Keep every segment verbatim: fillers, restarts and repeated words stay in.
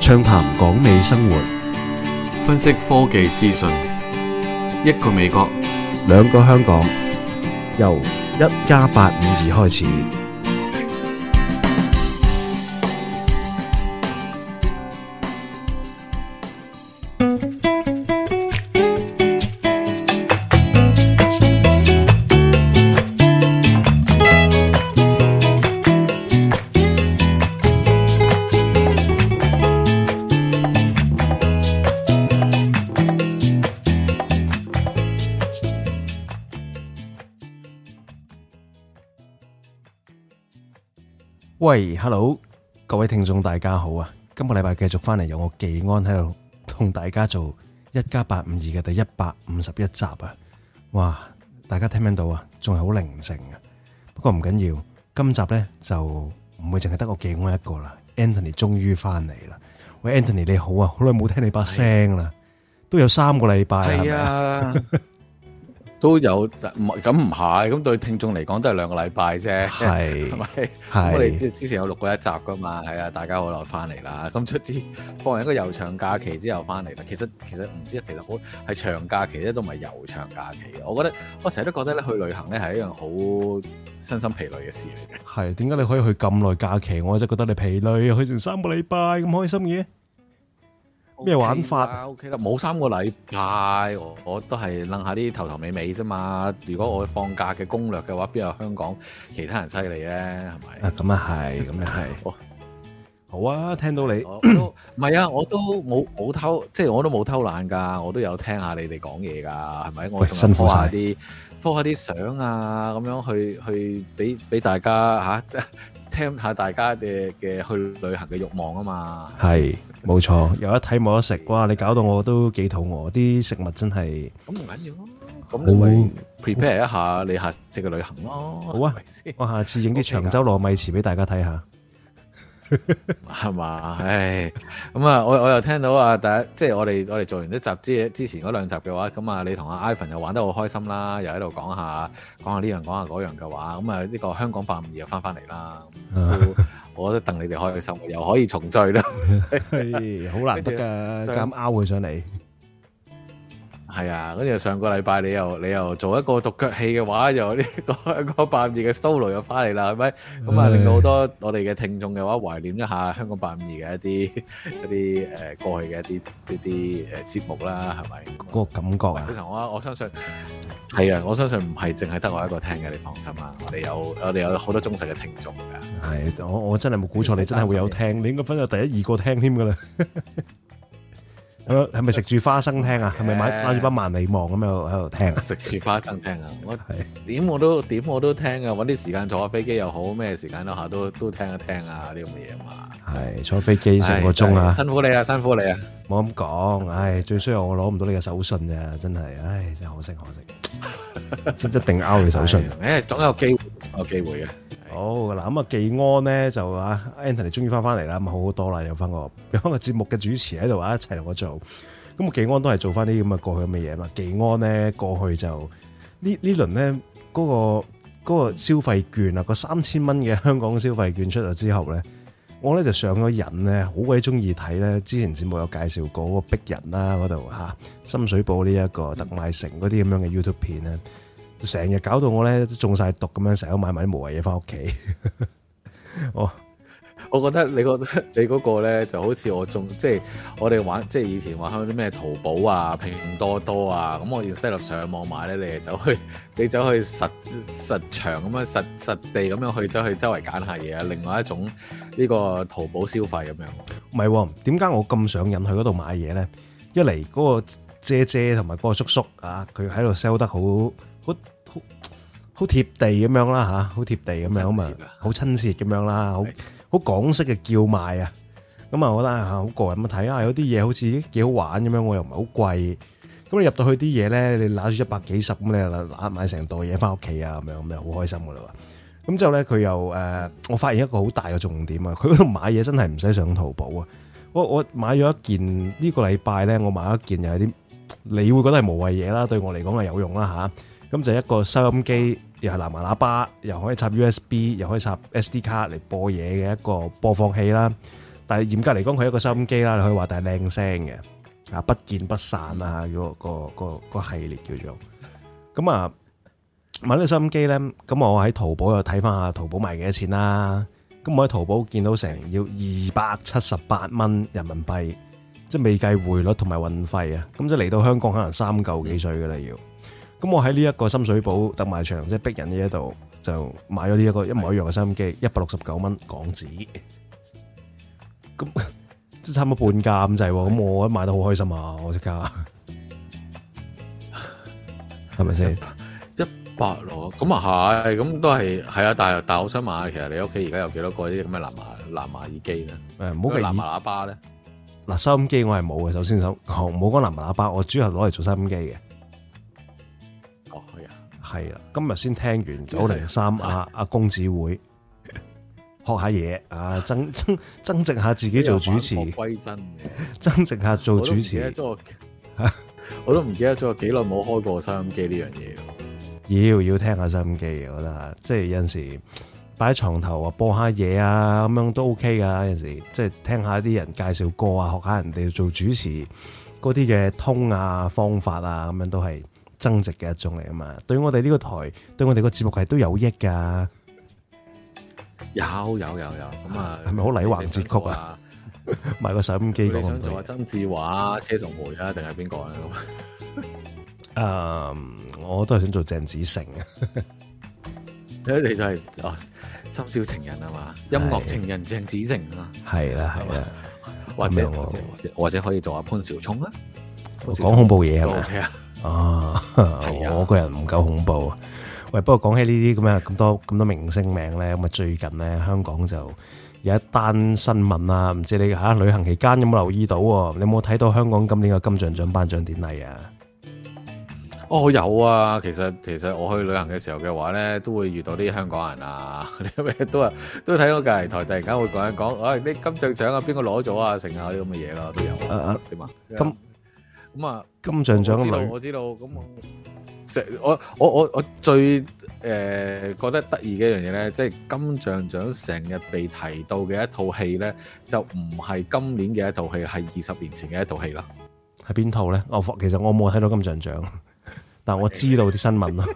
暢談港美生活， 分析科技資訊，一個美國， 兩個香港，由一加八五二開始。喂 ，Hello， 各位聽眾大家好啊！今個禮拜繼續翻嚟，有我技安喺度同大家做一加八五二嘅第一百五十一集啊！哇，大家聽唔聽到啊？仲係好寧靜啊！不過唔緊要，今集咧就唔會淨係得我技安一個啦。Anthony 終於翻嚟啦！喂 ，Anthony 你好啊，好耐冇聽你把聲啦，都有三個禮拜係啊。 都有，唔咁唔係，咁對聽眾嚟講都係兩個禮拜啫，係係咪？我哋即係之前有錄過一集噶嘛，係啊，大家好耐翻嚟啦。咁出之放完一個悠長假期之後翻嚟啦。其實其實唔知，其實好係長假期咧，都唔係悠長假期。我覺得我成日都覺得咧，去旅行咧係一樣好身心疲累嘅事嚟嘅。係點解你可以去咁耐假期？我真係覺得你疲累，去成三個禮拜咁開心嘅。咩玩法 ？O K 啦，冇三個禮拜，我我都係諗下啲頭頭尾尾啫嘛。如果我放假嘅攻略嘅話，邊有香港其他人犀利咧？係咪？ 啊，咁啊係，咁啊係。好啊，聽到你， 我都唔係啊，我都冇冇偷，即係我都冇偷懶噶，我都有聽下你哋講嘢噶，係咪？我仲辛苦下啲，鋪下啲相啊，咁樣去去俾俾大家吓、啊、聽下大家嘅嘅去旅行嘅慾望啊嘛。 係。冇錯，有得睇冇得食，哇！你搞到我都幾肚餓，啲食物真係咁唔緊要咯，咁你咪 prepare 一下你下次嘅旅行咯。 好啊，我下次影啲長洲糯米糍俾大家睇下， 係嘛？唉，咁啊，我我又聽到啊，第一即係我哋我哋做完一集之之前嗰兩集嘅話，咁啊，你同阿 Ivan 又玩得好開心啦，又喺度講下講下呢樣講下嗰樣嘅話，咁啊呢個香講八五二又翻翻嚟啦。我覺得戥你哋開心，又可以重聚啦， 好難得噶，咁拗佢上嚟。 係啊，跟住上個禮拜你又你又做一個獨腳戲嘅話，又呢個香講八五二嘅 solo 又翻嚟啦，係咪？咁啊，令到好多我哋嘅聽眾嘅話懷念一下香講八五二嘅一啲一啲誒過去嘅一啲一啲誒節目啦，係咪？ 嗰個感覺啊！ 其實我我相信係啊，我相信唔係淨係得我一個聽嘅，你放心啦。我哋有我哋有好多忠實嘅聽眾㗎。 係，我我真係冇估錯，你真係會有聽，你應該分到第一二個聽添㗎啦。係咪食住花生聽啊？係咪買買住把萬里望咁樣喺度聽？ 食住花生聽啊！我點我都點我都聽啊！搵啲時間坐下飛機又好，咩時間都下都都聽一聽啊！呢咁嘅嘢嘛。係坐飛機成個鐘啊！ 辛苦你啊！辛苦你啊！ 冇咁講，唉，最衰我攞唔到你嘅手信咋，真係，唉，真係可惜可惜，真一定拗你手信。 誒，總有機會，有機會嘅。 好嗱，咁啊，技安咧就啊 Anthony 終於翻翻嚟啦，咁好好多啦，有翻個有翻個節目嘅主持喺度啊，一齊同我做。咁啊，技安都係做翻啲咁嘅過去咁嘅嘢嘛。技安咧過去就呢呢輪咧嗰個嗰個消費券啊，個三千蚊嘅香港消費券出咗之後咧，我咧就上咗癮咧，好鬼中意睇咧。之前節目有介紹過嗰個逼人啦，嗰度吓深水埗呢一個特賣城嗰啲咁樣嘅 YouTube 片咧。成日搞到我咧都中晒毒咁樣，成日都買埋啲無謂嘢翻屋企。我我覺得你覺得你嗰個咧就好似我中，即係我哋玩，即係以前話開啲咩淘寶啊、拼多多啊，咁我 instead of 上網買咧，你就走去你走去實實場咁樣實實地咁樣去走去周圍揀下嘢啊，另外一種呢個淘寶消費咁樣。 唔係，點解我咁上癮去嗰度買嘢咧？一嚟嗰個姐姐同埋嗰個叔叔啊，佢喺度 sell 得好好。好貼地咁樣啦吓，好貼地咁樣咁啊，好親切咁樣啦，好好港式嘅叫賣啊，咁啊，我覺得好過癮咁睇下，有啲嘢好似幾好玩咁樣，我又唔係好貴，咁你入到去啲嘢咧，你拿住一百幾十咁，你又拿買成袋嘢翻屋企啊，咁樣咁就好開心噶啦。咁之後咧，佢又誒，我發現一個好大嘅重點啊，佢嗰度買嘢真係唔使上淘寶啊。我我買咗一件呢個禮拜咧，我買咗一件又係啲你會覺得係無謂嘢啦，對我嚟講係有用啦吓。咁就一個收音機，又係藍牙喇叭，又可以插 U S B， 又可以插 S D 卡嚟播嘢嘅一個播放器啦。 但係嚴格嚟講，佢係一個收音機啦，你可以話，但係靚聲嘅啊，不見不散啊，嗰個個個個系列叫做咁啊。買呢個收音機咧，咁我喺淘寶又睇翻下淘寶賣幾多錢啦。咁我喺淘寶見到成要二百七十八蚊人民幣，即係未計匯率同埋運費啊。咁即係嚟到香港可能三嚿幾水噶啦要。咁我喺呢一個深水埗特賣場，即係逼人呢一度就買咗呢一個一模一樣嘅收音機，一百六十九蚊港紙。咁即係差唔多半價咁滯喎。咁我買得好開心啊！我即刻係咪先？ 百咯，咁啊係，咁都係係啊，但係但係我想問下，其實你屋企而家有幾多個啲咁嘅藍牙藍牙耳機咧？誒，唔好計藍牙喇叭咧。嗱，收音機我係冇嘅，首先想講唔好講藍牙喇叭，我主要係攞嚟做收音機嘅。哦，係啊，係啦，今日先聽完九零三阿阿公子會學下嘢啊，增增增值下自己做主持，歸真嘅，增值下做主持。我都唔記得咗幾耐冇開過收音機呢樣嘢。要要聽下收音機嘅，我覺得即係有陣時擺喺床頭啊，播下嘢啊，咁樣都 OK 噶。有陣時即係聽下啲人介紹歌啊，學下人哋做主持嗰啲嘅通啊方法啊，咁樣都係增值嘅一種嚟啊嘛。對我哋呢個台，對我哋個節目係都有益噶。有有有有咁啊，係咪好禮橫節曲啊？買個收音機，你想做阿曾志華、車淑梅啊，定係邊個啊？誒、um, 我都係想做鄭子誠啊！你都係哦，深宵情人啊嘛，音樂情人鄭子誠啊，係啦係啦，或者或者或者或者可以做下潘紹聰啊，講恐怖嘢係咪啊？哦，我個人唔夠恐怖。喂，不過講起呢啲咁啊咁多咁多明星名咧，咁啊最近咧香港就有一單新聞啊，唔知你嚇、啊、旅行期間有冇留意到？你有冇睇到香港今年嘅金像獎頒獎典禮啊？哦，有啊，其實其實我去旅行嘅時候嘅話咧，都會遇到啲香港人啊，啲咩都啊都睇到隔離台突然間會講一講，哎，啲金像獎啊，邊個攞咗啊，剩下啲咁嘅嘢咯，都有。誒誒點啊？金咁啊，金像獎嘅女，我知道，我知道。咁成我我我我最誒、呃、覺得得意嘅一樣嘢咧，即係金像獎成日被提到嘅一套戲咧，就唔係今年嘅一套戲，係二十年前嘅一套戲啦。係邊套咧？我其實我冇睇到金像獎。但我知道啲新聞咯。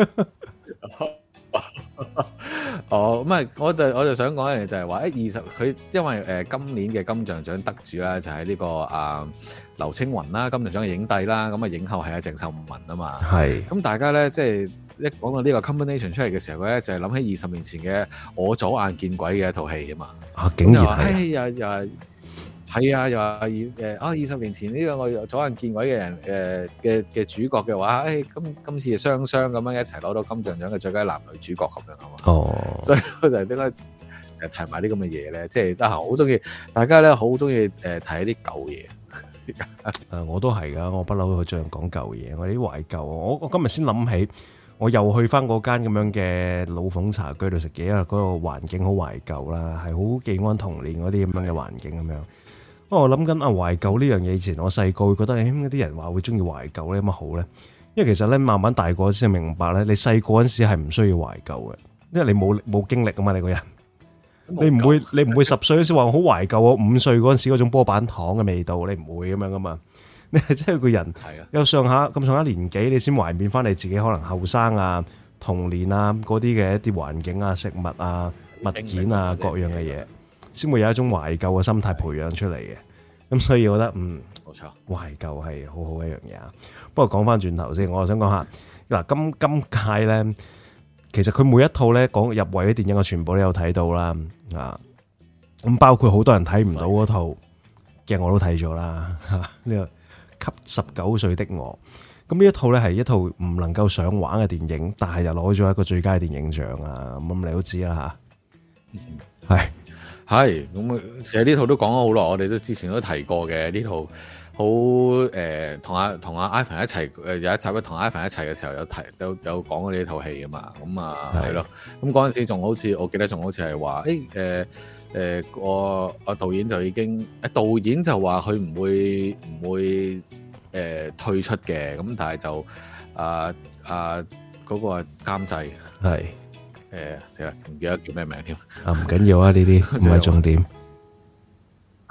哦，咁啊，我就我就想講一樣嘢，就係話，誒二十佢因為誒、呃、今年嘅金像獎得主啦，就係、是、呢、這個啊劉青雲啦，金像獎嘅影帝啦，咁啊影后係阿鄭秀文啊嘛。係。咁大家咧，即係一講到呢個 combination 出嚟嘅時候咧，就係、是、諗起二十年前嘅我左眼見鬼嘅一套戲啊嘛。啊，竟然係。哎呀呀！係啊，又話二誒啊二十年前呢個我左眼見鬼嘅人誒嘅嘅主角嘅話，誒、哎、今今次雙雙咁樣一齊攞到金像獎嘅最佳男女主角咁樣啊嘛。哦，所以我就係點解誒提埋啲咁嘅嘢咧？即係得閒好中意，大家咧好中意誒睇啲舊嘢。誒，我都係噶，我不嬲去盡量講舊嘢，我啲懷舊。我我今日先諗起，我又去翻嗰間咁樣嘅老鳳茶居度食嘢，因為嗰個環境好懷舊啦，係好記安童年嗰啲咁樣嘅環境咁樣。我諗緊啊懷舊呢樣嘢，以前我細個會覺得誒，啲人話會中意懷舊咧，有乜好咧？因為其實咧慢慢大個先明白咧，你細個嗰陣時係唔需要懷舊嘅，因為你冇冇經歷啊嘛，你個人，你唔會你唔會十歲嗰時話我好懷舊啊，五歲嗰陣時嗰種波板糖嘅味道，你唔會咁樣噶嘛。你係真係個人有上下咁上下年紀，你先懷緬翻你自己可能後生啊、童年啊嗰啲嘅一啲環境啊、食物啊、物件啊各樣嘅嘢。先會有一種懷舊嘅心態培養出嚟嘅，咁所以我覺得嗯，冇錯，懷舊係好好一樣嘢啊。不過講翻轉頭先，我想講下嗱，今今屆咧，其實佢每一套咧講入圍嘅電影，我全部都有睇到啦啊。咁包括好多人睇唔到嗰套嘅，我都睇咗啦。呢個給十九歲的我，咁呢一套咧係一套唔能夠上畫嘅電影，但係又攞咗一個最佳電影獎啊。咁你都知啦吓，係。係咁，其實呢套都講咗好耐，我哋都之前都提過嘅呢套好誒，同阿同阿 Ivan 一齊誒有一集咧，同 Ivan 一齊嘅時候有提有有講過呢套戲噶嘛，咁啊係咯，咁嗰陣時仲好似我記得仲好似係話誒誒誒個個導演就已經誒導演就話佢唔會唔會誒、呃、退出嘅，咁但係就啊啊嗰個監製係。誒，死啦，唔記得叫咩名添。啊，唔緊要啊，呢啲唔係重點。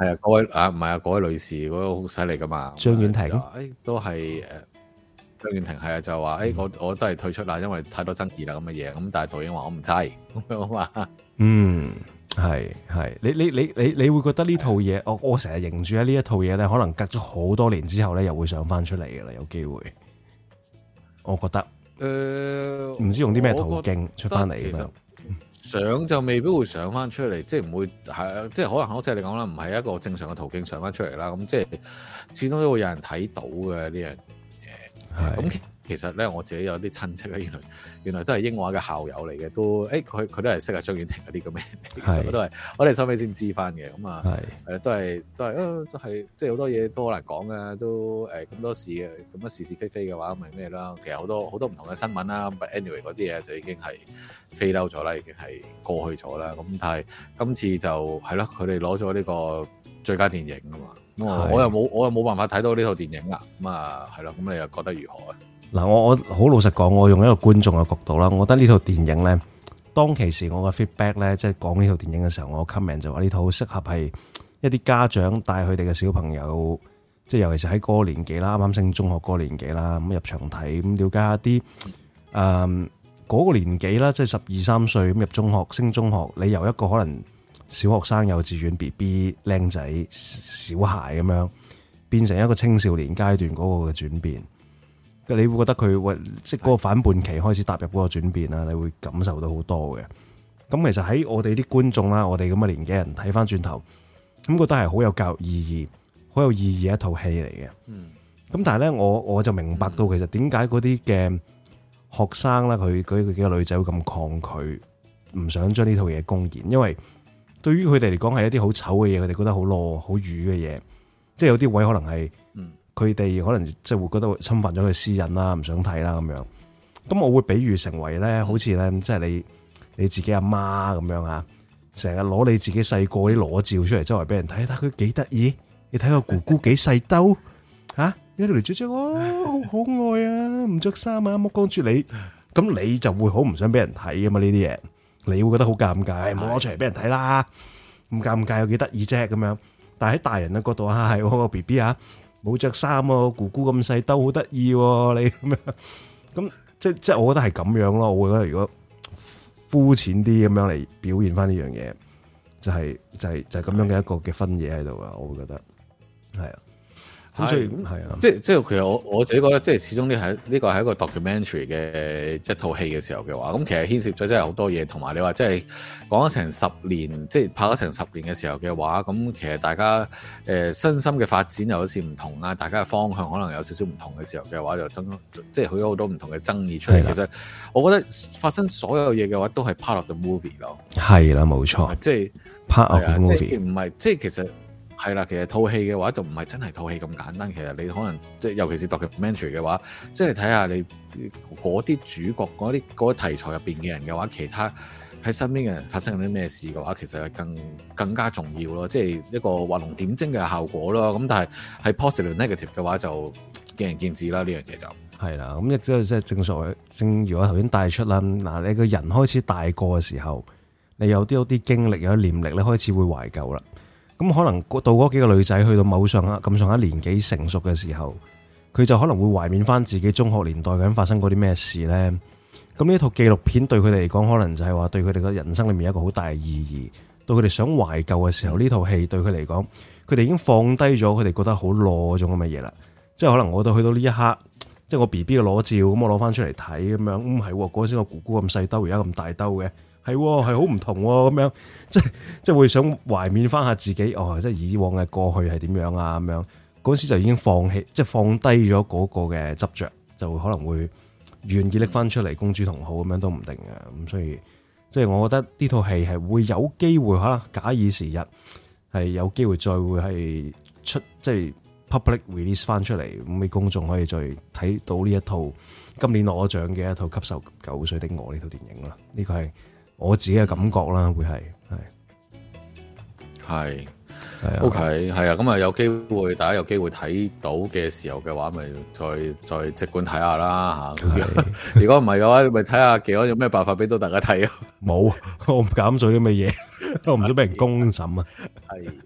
係啊，各位啊，唔係啊，各位女士嗰、那個好犀利噶嘛， 張婉婷，誒、 哎、都係誒張婉婷係啊，就話誒、哎、我我都係退出啦，因為太多爭議啦咁嘅嘢，咁但係導演話我唔制咁樣嘛，嗯， 係係，你你你你你會覺得呢套嘢，我我成日認住喺呢一套嘢咧，可能隔咗好多年之後咧，又會上翻出嚟嘅啦，有機會，我覺得，誒，唔知用啲咩途徑出翻嚟咁樣。 上就未必會上翻出嚟，即係唔會係，即係可能好似你講啦，唔係一個正常嘅途徑上翻出嚟啦。咁即係始終都會有人睇到嘅呢樣嘢。咁其實咧，我自己有啲親戚咧，原來原來都係英華嘅校友嚟嘅，都誒佢佢都係識阿張婉婷嗰啲咁嘅，我都係我哋收尾先知翻嘅。咁啊，誒都係都係都係即係好多嘢都好難講嘅，都誒咁多事嘅，咁多是是非非嘅話，咪咩啦？其實好多好多唔同嘅新聞啦，but anyway 嗰啲嘢就已經係飛溜咗啦，已經係過去咗啦。咁但係今次就係咯，佢哋攞咗呢個最佳電影啊嘛。我我又冇我又冇辦法睇到呢套電影啊。咁啊係咯，咁你又覺得如何啊？嗱，我我好老實講，我用一個觀眾嘅角度啦，我覺得呢套電影咧，當其時我嘅 feedback 咧，即係講呢套電影嘅時候，我 comment 就話呢套好適合係一啲家長帶佢哋嘅小朋友，即係尤其是喺嗰個年紀啦，啱啱升中學嗰個年紀啦，咁入場睇，咁了解下啲誒嗰個年紀啦，即係十二三歲咁入中學，升中學，你由一個可能小學生、幼稚園 B B 靚仔小孩咁樣，變成一個青少年階段嗰個嘅轉變。你會覺得佢喂，即係嗰個反叛期開始踏入嗰個轉變啦，你會感受到好多嘅。咁其實喺我哋啲觀眾啦，我哋咁嘅年紀人睇翻轉頭，咁覺得係好有教育意義、好有意義嘅一套戲嚟嘅。嗯。咁但係咧，我我就明白到其實點解嗰啲嘅學生啦，佢佢佢幾個女仔會咁抗拒，唔想將呢套嘢公演，因為對於佢哋嚟講係一啲好醜嘅嘢，佢哋覺得好裸、好瘀嘅嘢，即係有啲位可能係。佢哋可能即係會覺得侵犯咗佢私隱啦，唔想睇啦咁樣。咁我會比喻成為咧，好似咧，即係你你自己阿媽咁樣啊，成日攞你自己細個啲裸照出嚟，周圍俾人睇，睇佢幾得意。你睇個姑姑幾細兜嚇，一條條雀雀，哇，好可愛啊，唔着衫啊，目光住你，咁你就會好唔想俾人睇噶嘛呢啲嘢，你會覺得好尷尬，冇攞出嚟俾人睇啦，咁尷尬有幾得意啫咁樣。但係喺大人嘅角度啊，係我個 B B 啊。冇着衫喎，姑姑咁細兜好得意喎，你咁樣，咁即即我覺得係咁樣咯。我會覺得如果膚淺啲咁樣嚟表現翻呢樣嘢，就係就係就係咁樣嘅一個嘅分野喺度啊。我會覺得係啊。咁所以係啊，即即係其實我我自己覺得，即係始終呢係呢個係一個 documentary 嘅一套戲嘅時候嘅話，咁其實牽涉咗真係好多嘢，同埋你話即係講咗成十年，即係拍咗成十年嘅時候嘅話，咁其實大家誒身心嘅發展又好似唔同啊，大家嘅方向可能有少少唔同嘅時候嘅話，就爭即係佢有好多唔同嘅爭議出嚟。其實我覺得發生所有嘢嘅話，都係 part of the movie 咯。係啦，冇錯，即係 part of the movie，即係唔係即係其實。係啦，其實套戲嘅話就唔係真係套戲咁簡單。其實你可能即係尤其是 documentary 嘅話，即係你睇下你嗰啲主角嗰啲嗰啲題材入邊嘅人嘅話，其他喺身邊嘅人發生緊啲咩事嘅話，其實係更更加重要咯。即係一個畫龍點睛嘅效果咯。咁但係係 positive negative 嘅話就見仁見智啦。呢樣嘢就係啦。咁亦都即係正所謂，正如我頭先帶出啦。嗱，你個人開始大個嘅時候，你有啲有啲經歷，有啲念力，你開始會懷舊啦。咁可能到嗰幾個女仔去到某上下咁上下年紀成熟嘅時候，佢就可能會懷緬翻自己中學年代究竟發生過啲咩事咧。咁呢套紀錄片對佢哋嚟講，可能就係話對佢哋嘅人生裏面有一個好大嘅意義。到佢哋想懷舊嘅時候，呢套戲對佢嚟講，佢哋已經放低咗佢哋覺得好裸嗰種咁嘅嘢啦。即係可能我到去到呢一刻，即係我 B B 嘅裸照，咁我攞翻出嚟睇咁樣，唔係嗰陣時個姑姑咁細兜，而家咁大兜嘅。係係好唔同咁樣，即係即係會想懷緬翻下自己哦，即係以往嘅過去係點樣啊咁樣。嗰時就已經放棄，即係放低咗嗰個嘅執着，就可能會願意拎翻出嚟公諸同好咁樣都唔定嘅。咁所以即係我覺得呢套戲係會有機會吓，假以時日係有機會再會係出即係 public release 翻出嚟，咁俾公眾可以再睇到呢一套今年攞獎嘅一套《給十九歲的我》呢套電影啦。呢個係我自己嘅感覺啦，會係係係係 OK 係啊，咁啊有機會大家有機會睇到嘅時候嘅話，咪再再即管睇下啦嚇。如果唔係嘅話，咪睇下技安有咩辦法俾到大家睇啊？冇，我唔敢做啲咩嘢，我唔想俾人公審啊。係啊。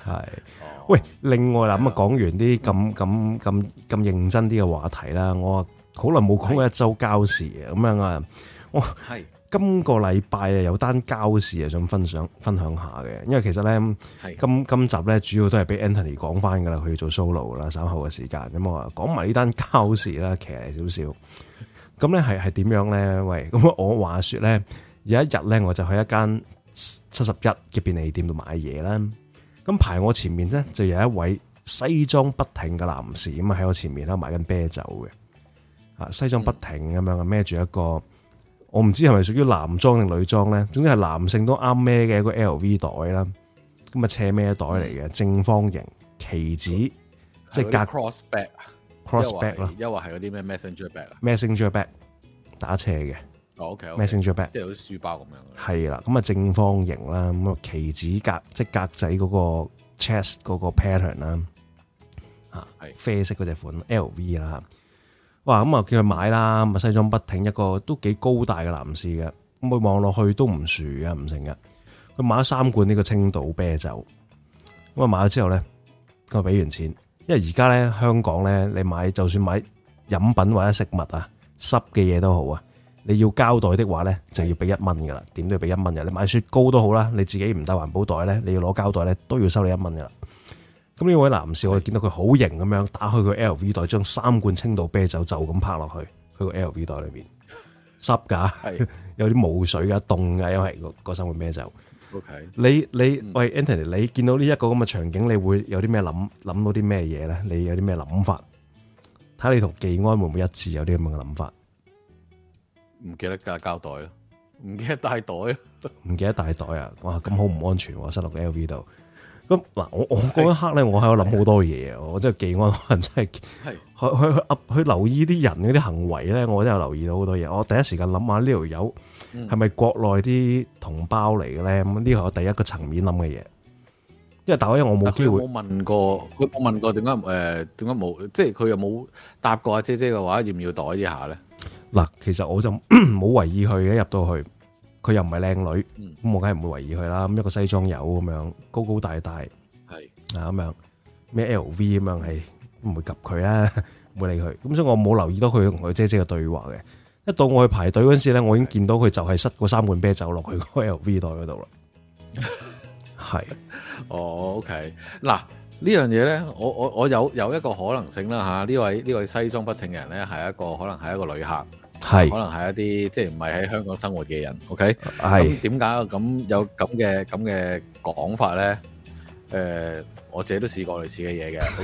係，喂，另外啦，咁啊講完啲咁咁咁咁認真啲嘅話題啦，我好耐冇講過一周膠事啊，咁樣啊，我係今個禮拜啊有單膠事啊想分享分享下嘅，因為其實咧今今集咧主要都係俾 Anthony 講翻噶啦，佢要做 solo 啦，稍後嘅時間咁我話講埋呢單膠事啦，騎嚟少少，咁咧係係點樣咧？喂，咁我話說咧有一日咧我就去一間七十一嘅便利店度買嘢啦。咁排我前面咧就有一位西裝筆挺嘅男士咁啊喺我前面啦買緊啤酒嘅，啊西裝筆挺咁樣啊孭住一個我唔知係咪屬於男裝定女裝咧，總之係男性都啱孭嘅一個 L V 袋啦，咁啊斜孭袋嚟嘅正方形旗子，即係隔 cross back cross back 咯， 又話係嗰啲咩 messenger bag 啊 messenger bag 打斜嘅。 哦 OK messenger bag 即係好似書包咁樣。 係啦，咁啊正方形啦，咁啊旗子格即係格仔嗰個 chest 嗰個 pattern 啦，啊係啡色嗰隻款 L V 啦，哇咁啊叫佢買啦，咁啊西裝筆挺一個都幾高大嘅男士嘅，咁佢望落去都唔樹嘅唔成嘅，佢買咗三罐呢個青島啤酒，咁啊買咗之後咧，佢俾完錢，因為而家咧香港咧你買就算買飲品或者食物啊濕嘅嘢都好啊。你要膠袋的話咧，就要俾一蚊噶啦，點都要俾一蚊嘅。你買雪糕都好啦，你自己唔帶環保袋咧，你要攞膠袋咧，都要收你一蚊噶啦。咁呢位男士，我見到佢好型咁樣，打開個 L V 袋，將三罐青島啤酒就咁拍落去佢個 L V 袋裏邊，濕噶，有啲霧水噶，凍噶，因為嗰三罐啤酒。 OK， 你你、嗯、喂 Anthony，你見到呢一個咁嘅場景，你會有啲咩諗諗到啲咩嘢咧？你有啲咩諗法？睇下你同技安會唔會一致有啲咁嘅諗法？ 唔記得加膠袋咯，唔記得帶袋咯， 唔記得帶袋啊！哇，咁好唔安全喎，塞落個 L V 度。咁嗱，我我嗰一刻咧，我喺度諗好多嘢啊！我真係技安可能真係去去去去留意啲人嗰啲行為咧，我真係留意到好多嘢。我第一時間諗下呢條友係咪國內啲同胞嚟嘅咧？咁呢個係我第一個層面諗嘅嘢。因為大因為我冇機會， 我問過佢，我問過點解誒點解冇？即係佢又冇答過阿姐姐嘅話，要唔要袋一下咧？ 嗱，其實我就冇為意佢嘅，入到去，佢又唔係靚女，咁、嗯、我梗係唔會為意佢啦。咁一個西裝友咁樣，高高大大，係啊咁樣，咩 L V 咁樣，係唔會及佢啦，唔會理佢。咁所以我冇留意到佢同佢姐姐嘅對話嘅。一到我去排隊嗰陣時咧，我已經見到佢就係塞嗰三罐啤酒落去個 L V 袋嗰度啦。係， 哦 ，OK，嗱。呢樣嘢咧，我我我有有一個可能性啦嚇，呢位呢位西裝筆挺嘅人咧，係一個可能係一個旅客，係可能係一啲即係唔係喺香港生活嘅人 ，OK，係點解咁有咁嘅咁嘅講法咧？誒、呃，我自己都試過類似嘅嘢嘅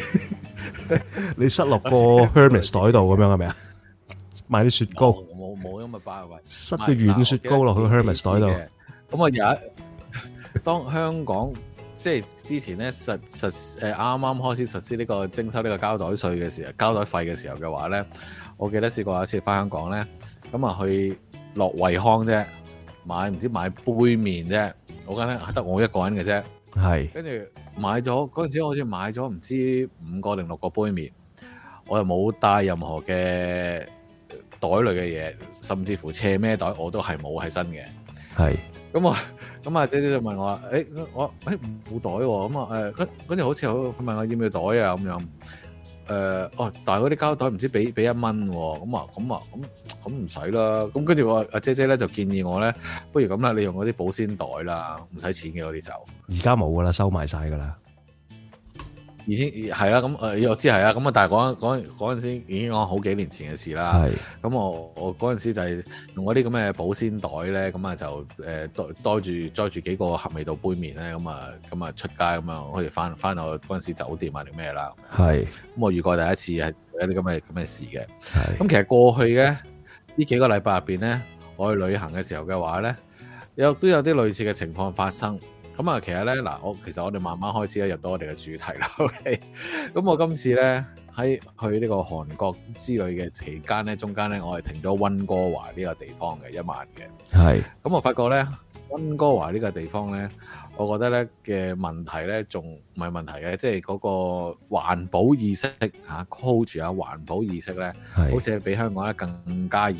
，OK，你塞落個 Hermes 袋度咁樣係咪啊？買啲雪糕， 冇冇咁嘅巴位， 塞個軟雪糕落去 Hermes 袋度。 咁啊有一當香港。即係之前咧實實誒啱啱開始實施呢個徵收呢個膠袋稅嘅時候，膠袋費嘅時候嘅話咧，我記得試過有一次翻香港咧，咁啊去落惠康啫，買唔知買杯麵啫，我覺得得我一個人嘅啫，係跟住買咗嗰陣時，我好似買咗唔知五個定六個杯麵，我又冇帶任何嘅袋類嘅嘢，甚至乎斜孭袋我都係冇喺身嘅，係。咁我咁啊姐姐就問我話，誒、欸、我誒冇袋喎，咁啊誒跟跟住好似佢問我要唔要袋啊咁樣，誒、呃、哦，但係嗰啲膠袋唔知俾俾一蚊喎，咁啊咁啊咁咁唔使啦，咁跟住我阿姐姐咧就建議我咧，不如咁啦，你用嗰啲保鮮袋啦，唔使錢嘅嗰啲就，而家冇噶啦，收埋晒噶啦。已經係啦，咁誒我知係啦，咁啊但係嗰嗰嗰陣時已經講好幾年前嘅事啦。係，咁我我嗰陣時就係用嗰啲咁嘅保鮮袋咧，咁啊就誒袋袋住載住幾個合味道杯麵咧，咁啊咁啊出街咁啊，可以翻翻到嗰陣時酒店啊定咩啦。係，咁我遇過第一次係有啲咁嘅咁嘅事嘅。係，咁其實過去嘅呢幾個禮拜入邊咧，我去旅行嘅時候嘅話咧，有都有啲類似嘅情況發生。咁啊，其實咧嗱，我其實我哋慢慢開始咧入到我哋嘅主題啦。OK，咁我今次咧喺去呢個韓國之旅嘅期間咧，中間咧我係停咗溫哥華呢個地方嘅一晚嘅。係。咁我發覺咧，溫哥華呢個地方咧，我覺得咧嘅問題咧，仲唔係問題嘅，即係嗰個環保意識嚇，hold 住啊環保意識咧，好似係比香港咧更加嚴重。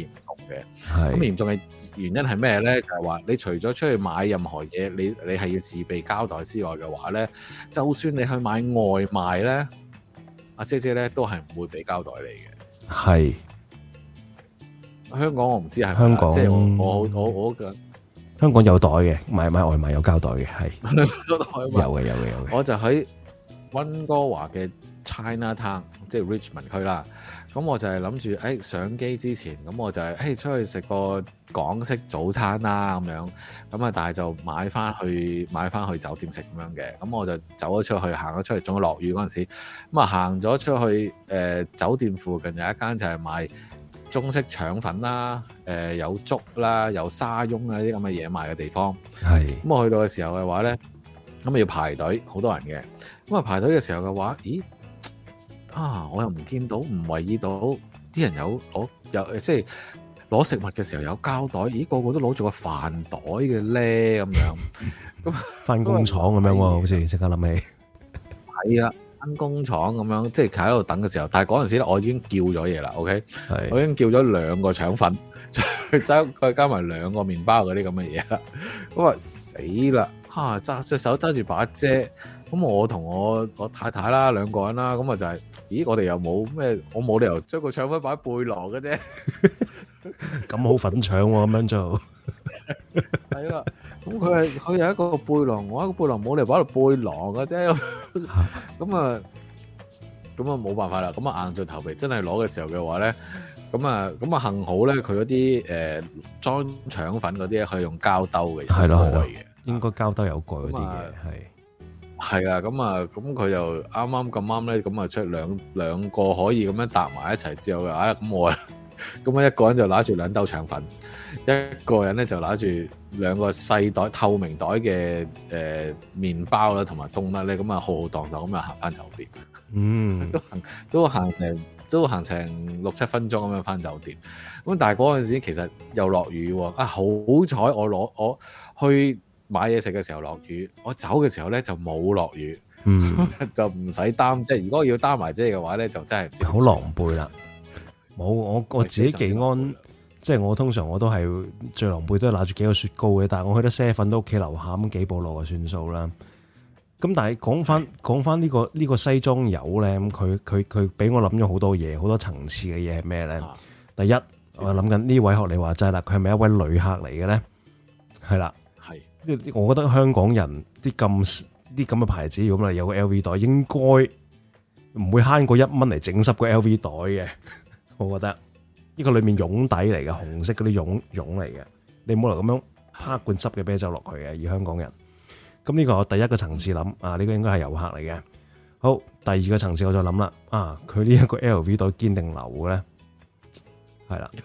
嘅。咁嚴重嘅原因係咩咧？就係話你除咗出去買任何嘢，你你係要自備膠袋之外嘅話咧，就算你去買外賣咧，阿姐姐咧都係唔會俾膠袋你嘅。 係香港我唔知係咪香港， 即係我我我我嘅香港有袋嘅，買買外賣有膠袋嘅，係有嘅有嘅有嘅。 我就喺溫哥華嘅 China Town， 即係 Richmond 區啦。咁我就係諗住，誒、哎、上機之前，咁我就係、是，誒、哎、出去食個港式早餐啦，咁樣。咁啊，但係就買翻去買翻去酒店食咁樣嘅。咁我就走咗出去，行咗出去，仲要落雨嗰陣時，咁啊行咗出去，誒、呃、酒店附近有一間就係賣中式腸粉啦，誒、呃、有粥啦，有沙翁啊啲咁嘅嘢賣嘅地方。 係。 咁我去到嘅時候嘅話咧，咁啊要排隊，好多人嘅。咁啊排隊嘅時候嘅話，咦？啊！我又唔見到，唔為意到啲人有攞有即係攞食物嘅時候有膠袋，咦個個都攞住個飯袋嘅咧咁樣，咁翻工廠咁樣喎，好似即刻諗起。 係啦，翻工廠咁樣，即係企喺度等嘅時候，但係嗰陣時咧，我已經叫咗嘢啦 ，OK，我已經叫咗兩個腸粉，再再加埋兩個麵包嗰啲咁嘅嘢啦，咁啊死啦！嚇揸隻手揸住把遮。咁我同我我太太啦兩個人啦，咁啊就係、是，咦我哋又冇咩，我冇理由將個腸粉擺喺背囊嘅啫， 咁好粉腸喎咁樣做， 係啦，咁佢係佢有一個背囊，我一個背囊冇理由擺喺背囊嘅啫，咁啊咁啊冇辦法啦，咁啊硬著頭皮真係攞嘅時候嘅話咧，咁啊咁啊幸好咧佢嗰啲誒裝腸粉嗰啲咧可以用膠兜嘅， 係咯係咯，應該膠兜有蓋嗰啲嘅係。 係啊，咁啊，咁佢就啱啱咁啱咧，咁啊出兩兩個可以咁樣搭埋一齊之後嘅，啊咁我啊，咁啊一個人就拿住兩兜腸粉，一個人咧就拿住兩個細袋透明袋嘅誒麵包啦，同埋冬甩咧，咁啊浩浩蕩蕩咁啊行翻酒店，嗯，都行都行成都行成六七分鐘咁樣翻酒店，咁但係嗰陣時其實又落雨喎，啊好彩我攞我去。買嘢食嘅時候落雨，我走嘅時候咧就冇落雨，嗯、就唔使擔。即係如果要擔埋遮嘅話咧，就真係好狼狽啦。冇我我自己幾安，即係我通常我都係最狼狽都係拿住幾個雪糕嘅，但係我去得啡粉都屋企樓下咁幾步路就算數啦。咁但係講翻講翻呢個呢、呢個西裝友咧，咁佢佢佢俾我諗咗好多嘢，好多層次嘅嘢係咩咧？第一，我諗緊呢位學你話齋啦，佢係咪一位旅客嚟嘅咧？係啦。我覺得香港人啲咁啲咁嘅牌子，如果有個 L V 袋，應該唔會慳過一蚊嚟整濕個 L V 袋嘅。我覺得呢個裏面絨底嚟嘅，紅色嗰啲絨絨嚟嘅，你唔好嚟咁樣啪罐濕嘅啤酒落去嘅。以香港人，咁呢個係我第一個層次諗啊，呢、呢個應該係遊客嚟嘅。好，第二個層次我就諗啦，啊，佢呢一個 L V 袋堅定流嘅咧，係啦，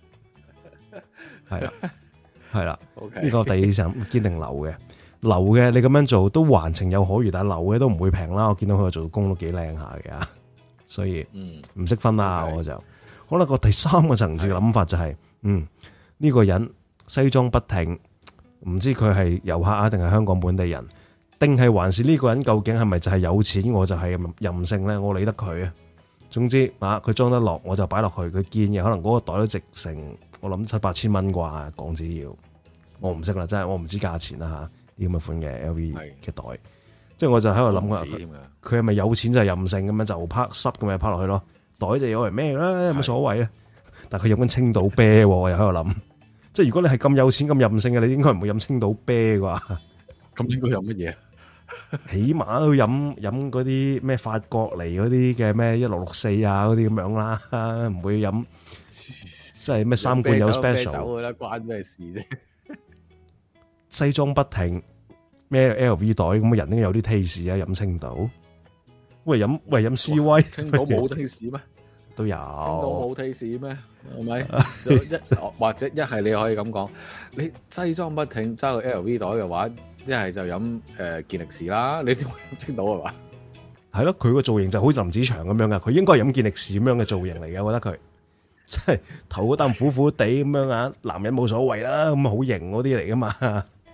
係啦。係啦，呢、okay. 個第二層堅定流嘅，流嘅你咁樣做都還情有可原，但係流嘅都唔會平啦。我見到佢做工都幾靚下嘅，所以唔識分啦。Okay. 我就好啦。個第三個層次嘅諗法就係、是，嗯，呢、這個人西裝筆挺，唔知佢係遊客啊，定係香港本地人，定係還是呢個人究竟係咪就係有錢，我就係任性咧？我理得佢啊。總之啊，佢裝得落我就擺落去，佢見嘅可能嗰個袋都值成。我諗七八千蚊啩港紙要，我唔識啦，真係我唔知價錢啦吓，呢咁嘅款嘅 L V 嘅袋，即係我就喺度諗啊，佢係咪有錢就係任性咁樣就拍濕咁樣拍落去咯？袋就有嚟咩啦，有乜所謂啊？但係佢飲緊青島啤，我又喺度諗，即係如果你係咁有錢咁任性嘅，你應該唔會飲青島啤啩？咁應該飲乜嘢？起碼都飲飲嗰啲咩法國嚟嗰啲嘅咩一六六四啊嗰啲咁樣啦，唔會飲。即係咩三罐有 special 酒嘅啦，關咩事啫？西裝筆挺咩 L V 袋咁嘅人應該有啲 taste 啊！飲青島，喂飲喂飲 C 威，青島冇 taste 咩？都有。青島冇 taste 咩？係咪？就一或者一係你可以咁講，你西裝筆挺揸個 L V 袋嘅話，一係就飲誒健力士啦。你點會飲青島係嘛？係咯，佢個造型就好似林子祥咁樣噶，佢應該係飲健力士咁樣嘅造型嚟嘅，我覺得佢。即係頭嗰啖苦苦地咁樣啊，男人冇所謂啦，咁好型嗰啲嚟噶嘛。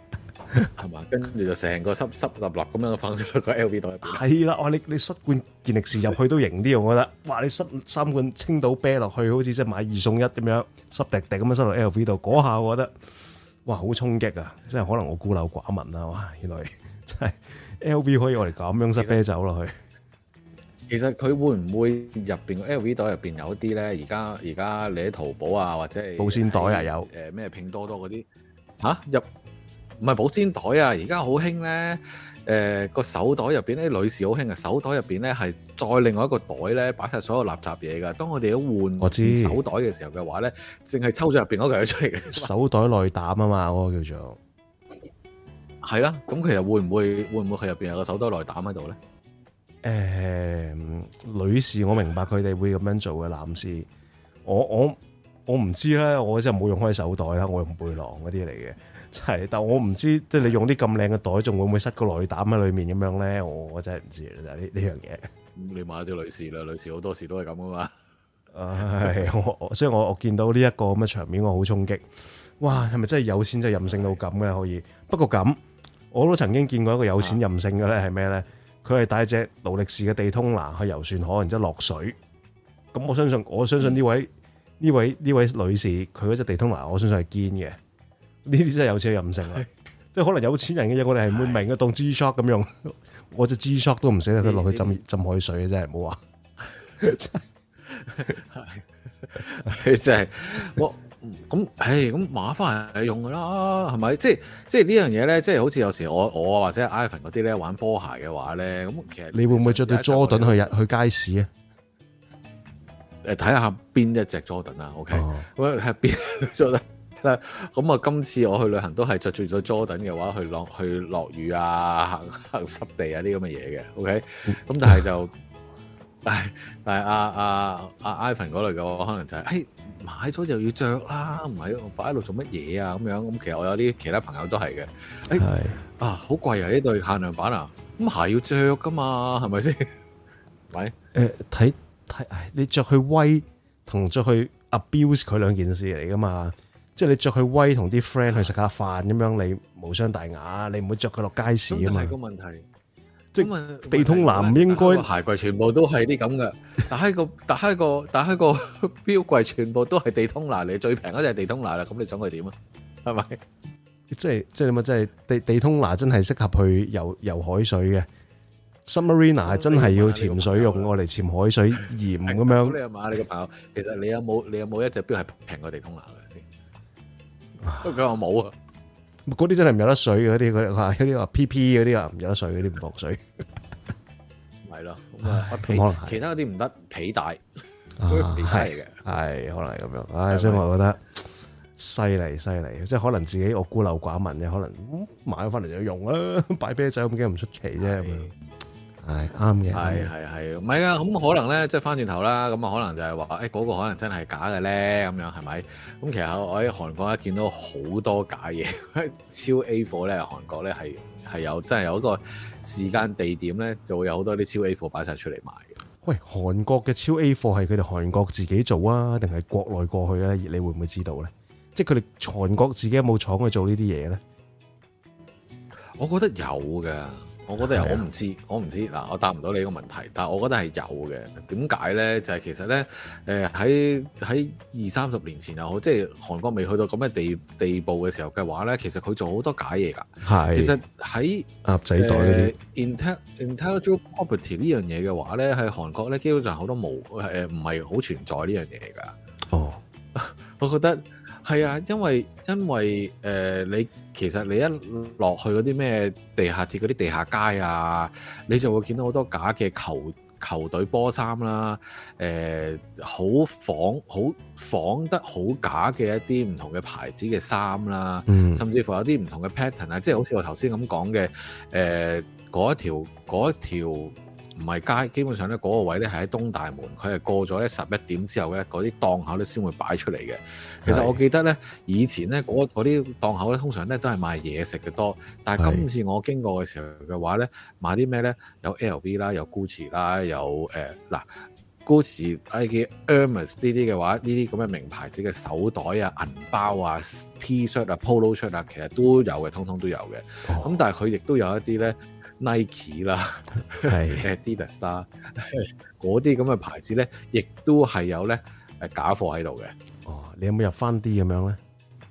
係嘛？跟住就成個濕濕立立咁樣放咗個 L V 袋入邊。 係啦，哇！你你塞罐健力士入去都型啲，我覺得。哇！你塞三罐青島啤落去，好似即係買二送一咁樣，濕滴滴咁樣塞到 L V 度，嗰下我覺得，哇！好衝擊啊！即係可能我孤陋寡聞啊！哇！原來真係 L V 可以我哋咁樣塞啤酒落去。 其實佢會唔會入邊個 L V 袋入邊有啲咧？而家而家你喺淘寶啊，或者係保鮮袋啊有誒咩拼多多嗰啲嚇入唔係保鮮袋啊？而家好興咧誒個手袋入邊咧，女士好興啊！手袋入邊咧係再另外一個袋咧，擺晒所有垃圾嘢㗎。當我哋一換我知手袋嘅時候嘅話咧，淨係抽咗入邊嗰嚿嘢出嚟嘅。 手袋內膽啊嘛，嗰個叫做係啦。咁其實會唔會會唔會佢入邊有個手袋內膽喺度咧？ 誒、呃，女士我明白佢哋會咁樣做嘅，男士我我我唔知咧，我真係冇用開手袋啦，我用背囊嗰啲嚟嘅，真係，但我唔知即係你用啲咁靚嘅袋，仲會唔會塞個內膽喺裏面咁樣咧？我我真係唔知啦，呢呢樣嘢。 你買啲女士啦，女士好多時都係咁噶嘛。 唉，我所以我我見到呢一個咁嘅場面，我好衝擊。哇，係咪真係有錢就任性到咁嘅可以？不過咁，我都曾經見過一個有錢任性嘅咧，係咩咧？佢係帶隻勞力士嘅地通拿去遊船河，然之後落水。咁我相信，我相信呢位呢、嗯、位呢位女士，佢嗰隻地通拿，我相信係堅嘅。呢啲真係有錢任性啊！即係可能有錢人嘅嘢，我哋係唔會明嘅，當 G-Shock 咁用。我隻 G-Shock 都唔捨得佢落去浸浸海水嘅，真係唔好話。 係真係我。咁，唉，咁買翻嚟用噶啦，係咪？即係即係呢樣嘢咧，即係好似有時我我或者 Ivan 嗰啲咧玩波鞋嘅話咧，咁其實你會唔會着對 Jordan 去日去街市啊？ 誒，睇下邊一隻 Jordan 啊 ，OK，咁係邊 Jordan 咧？咁啊，今次我去旅行都係着住咗 Jordan 嘅話，去落去落雨啊，行行濕地啊啲咁嘅嘢嘅 ，OK，咁但係就，唉，但係阿阿阿 Ivan 嗰類嘅話，可能就係、是，誒。買咗就要着啦，唔係擺喺度做乜嘢啊？咁樣咁，其實我有啲其他朋友都係嘅。誒、哎、啊，好貴啊！呢對限量版啊，咁鞋要着噶嘛，係咪先？喂， 誒睇睇，你着去威同着去 abuse 佢兩件事嚟噶嘛？即係你着去威同啲 friend 去食下飯咁樣，你無傷大雅，你唔會着佢落街市啊嘛。咁係個問題。即係地通拿唔應該鞋櫃全部都係啲咁嘅，打開個打開個打開個錶櫃全部都係地通拿，你最平嗰隻係地通拿啦，咁你想佢點啊？係咪？ 即係即係點啊？即係地地通拿真係適合去游游海水嘅 Submariner 係真係要潛水用，我嚟潛海水鹽咁樣。 你阿媽，你個朋友，其實你有冇你有冇一隻錶係平過地通拿嘅先？佢話冇啊。 嗰啲真係唔有得水嘅，嗰啲嗰啲話，嗰啲話 P P 嗰啲啊唔有得水，嗰啲唔防水。 係咯，咁啊皮，其他嗰啲唔得，皮帶啊，係嘅， 係可能係咁樣。唉，所以我覺得犀利犀利，即係可能自己我孤陋寡聞嘅，可能買咗翻嚟就用啦，擺啤酒咁驚唔出奇啫咁樣。係啱嘅， 係係係，唔係啊？咁可能咧，即係翻轉頭啦，咁啊可能就係話，誒嗰個可能真係假嘅咧，咁樣係咪？咁其實我喺韓國咧見到好多假嘢，超 A 貨咧，韓國咧係係有真係有一個時間地點咧，就會有好多啲超 A 貨擺晒出嚟賣嘅。喂， 韓國嘅超 A 貨係佢哋韓國自己做啊，定係國內過去咧？你會唔會知道咧？即係佢哋韓國自己有冇廠去做呢啲嘢咧？ 我覺得有嘅。我覺得有，我唔知，我唔知嗱，我答唔到你個問題，但係我覺得係有嘅。點解咧？就係、是、其實咧，誒喺喺二三十年前又好，即係韓國未去到咁嘅地地步嘅時候嘅話咧，其實佢做好多假嘢㗎。係，其實喺鴨仔袋嗰啲 intellectual property 呢樣嘢嘅話咧，喺韓國咧基本上好多冇誒唔係好存在呢樣嘢㗎。哦，我覺得。係啊，因為因為誒、呃、你其實你一落去嗰啲咩地下鐵嗰啲地下街啊，你就會見到好多假嘅球球隊波衫啦，誒、呃、好仿好仿得好假嘅一啲唔同嘅牌子嘅衫啦，嗯、甚至乎有啲唔同嘅 pattern 啊，即係好似我頭先咁講嘅誒嗰一條嗰一條。唔係街，基本上咧嗰個位咧係喺東大門，佢係過咗咧十一點之後咧，嗰啲檔口咧先會擺出嚟嘅。其實我記得咧，以前咧嗰啲檔口咧通常咧都係賣嘢食嘅多，但係今次我經過嘅時候嘅話咧，買啲咩咧？有 L V 啦，有 Gucci 啦，有誒嗱 Gucci、Nike、Hermes 呢啲嘅話，呢啲咁嘅名牌子嘅手袋啊、銀包啊、T-shirt 啊、Polo shirt 啊，其實都有嘅，通通都有嘅。咁、哦、但係佢亦都有一啲咧 Nike 啦、Adidas 啦，嗰啲咁嘅牌子咧，亦都係有咧誒假貨喺度嘅。 哦，你有冇入翻啲咁樣咧？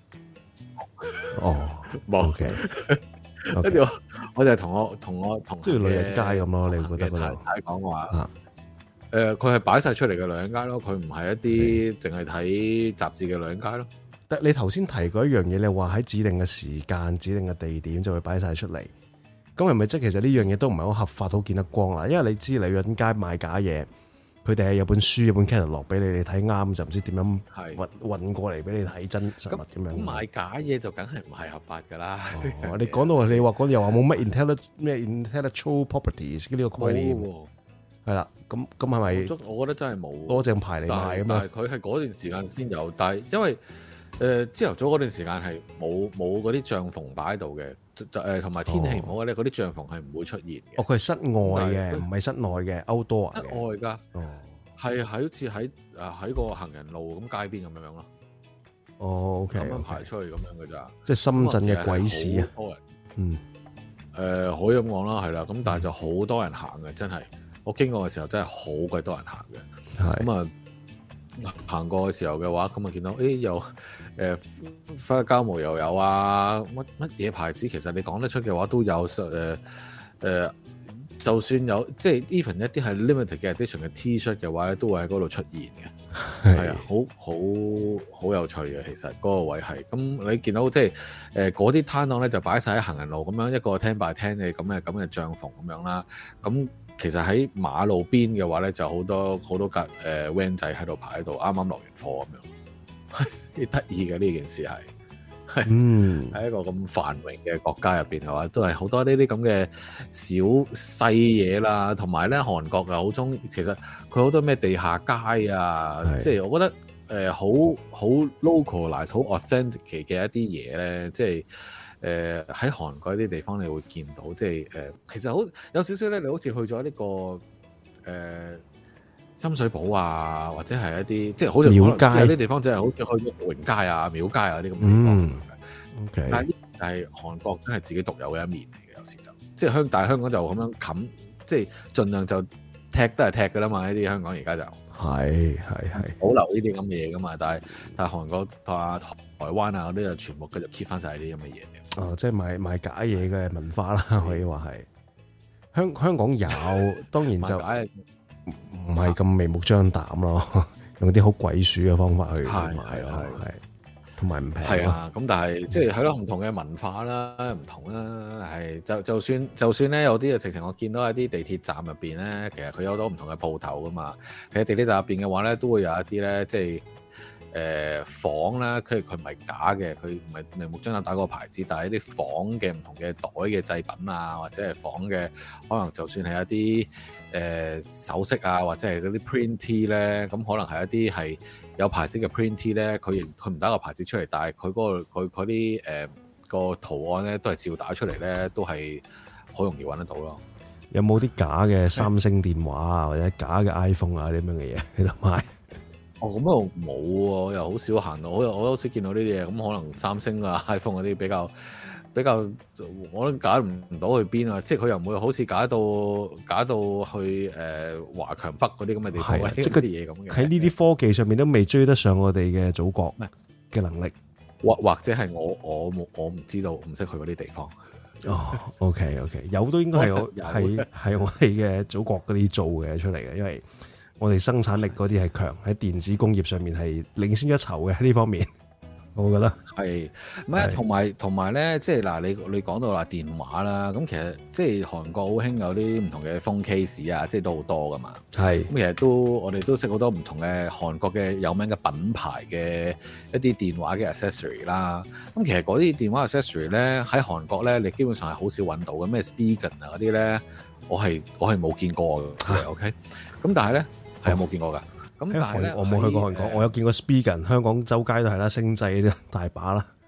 哦，冇嘅。跟住我我就係同我同我同即係女人街咁咯，你覺得嗰度？ 太講話誒，佢係擺晒出嚟嘅女人街咯，佢唔係一啲淨係睇雜誌嘅女人街咯。 但你頭先提過一樣嘢，你話喺指定嘅時間、指定嘅地點就會擺晒出嚟。咁係咪即係其實呢樣嘢都唔係好合法、好見得光啦？因為你知女人街賣假嘢，佢哋係有本書、有本 catalog 俾你哋睇啱，就唔知點樣運運過嚟俾你睇真實物咁樣。 咁賣假嘢就梗係唔係合法㗎啦。 哦、你講到你話嗰啲又話冇乜 intellectual 咩 intellectual properties 呢個概念。係啦，咁咁係咪？ 我覺得真係冇攞正牌嚟賣啊嘛。 但係佢係嗰段時間先有，但係因為誒朝頭早嗰段時間係冇冇嗰啲帳篷擺喺度嘅，誒同埋天氣唔好咧，嗰啲帳篷係唔會出現嘅。 哦，佢係室外嘅，唔係室內嘅 outdoor 嘅。 室外㗎，哦，係喺好似喺誒喺個行人路咁街邊咁樣咯。 哦 ，OK， 咁樣排出去咁樣嘅咋？ 即係深圳嘅鬼市啊！嗯，誒、 呃、可以咁講啦，係啦，咁但係就好多人行嘅，真係。我經過嘅時候真係好鬼多人行嘅，咁啊行過嘅時候嘅話，咁啊見到誒又誒花膠毛又有啊，乜乜嘢牌子其實你講得出嘅話都有，誒、呃、誒、呃，就算有即係 even 一啲係 limited 嘅 edition 嘅 T-shirt 嘅話咧，都會喺嗰度出現嘅，係啊，好好好有趣嘅，其實嗰個位係，咁你見到即係誒嗰啲攤檔咧就擺晒喺行人路咁樣一個ten by ten嘅咁嘅咁嘅帳篷咁樣啦，咁。其實喺馬路邊嘅話咧，就好多好多架誒 van 仔喺度排喺度，啱啱落完貨咁樣，幾得意嘅呢件事係，係嗯喺一個咁繁榮嘅國家入邊嘅話，都係好多呢啲咁嘅小細嘢啦，同埋咧韓國又好中，其實佢好多咩地下街啊，即係我覺得誒好好 localize 好 authentic 嘅一啲嘢咧，即係。誒喺韓國啲地方，你會見到即係誒、呃，其實好有少少咧，你好似去咗呢、這個誒、呃、深水埗啊，或者係一啲即係好似廟街有啲地方，即係好似去咗榮街啊、廟街啊啲咁嘅地方。嗯、okay. 但係呢，係韓國真係自己獨有嘅一面嚟嘅，有時就即係香，但係香港就咁樣冚，即係盡量就踢都係踢㗎啦嘛。呢啲香港而家就係係係保留呢啲咁嘅嘢㗎嘛。但係但係韓國同啊台灣啊嗰啲就全部繼續 keep 翻晒呢啲咁嘅嘢。 哦，即係賣賣假嘢嘅文化啦，可以話係香香港有，當然就唔係咁明目張膽咯，用啲好鬼鼠嘅方法去賣咯，係同埋唔平。係啊，咁但係即係係咯，唔同嘅文化啦，唔同啦，係就就算就算咧，有啲嘅直情我見到喺啲地鐵站入邊咧，其實佢有好多唔同嘅鋪頭噶嘛。其實地鐵站入邊嘅話咧，都會有一啲咧，即係。誒、呃、房啦，佢佢唔係假嘅，佢唔係明目張膽打嗰個牌子，但係一啲房嘅唔同嘅袋嘅製品啊，或者係房嘅可能就算係一啲誒、呃、首飾啊，或者係嗰啲 print T 咧，咁可能係一啲係有牌子嘅 print T 咧，佢佢唔打個牌子出嚟，但係佢嗰個佢嗰啲誒個圖案咧都係照打出嚟咧，都係好容易揾得到咯。 有冇啲假嘅三星電話啊，或者假嘅 iPhone 啊啲咁嘅嘢喺度賣？ 哦，咁又冇喎，又好少行到，我又我好少見到呢啲嘢。咁可能三星啊、iPhone 嗰啲比較比較，我都假唔到去邊啊！即係佢又唔會好似假到假到去誒、呃、華強北嗰啲咁嘅地方，即係嗰啲嘢咁嘅。喺呢啲科技上面都未追得上我哋嘅祖國嘅能力，或或者係我我冇我唔知道，唔識去嗰啲地方。 哦，OK OK，有都應該係我係係我哋嘅祖國嗰啲做嘅出嚟嘅，因為。我哋生產力嗰啲係強，喺電子工業上面係領先一籌嘅呢方面，我覺得係。唔係同埋同埋咧，即係嗱，你你講到話電話啦，咁其實即係韓國好興有啲唔同嘅 phone case 啊，即係都好多噶嘛。係咁，其實都我哋都識好多唔同嘅韓國嘅有名嘅品牌嘅一啲電話嘅 accessory 啦。咁其實嗰啲電話 accessory 咧喺韓國咧，你基本上係好少揾到嘅，咩 Spigen 啊嗰啲咧，我係我係冇見過嘅。OK，咁但係咧。係有冇見過㗎？咁但係咧，我冇去過韓國，我有見過 Spigen，香港周街都係啦，星際啲大把啦。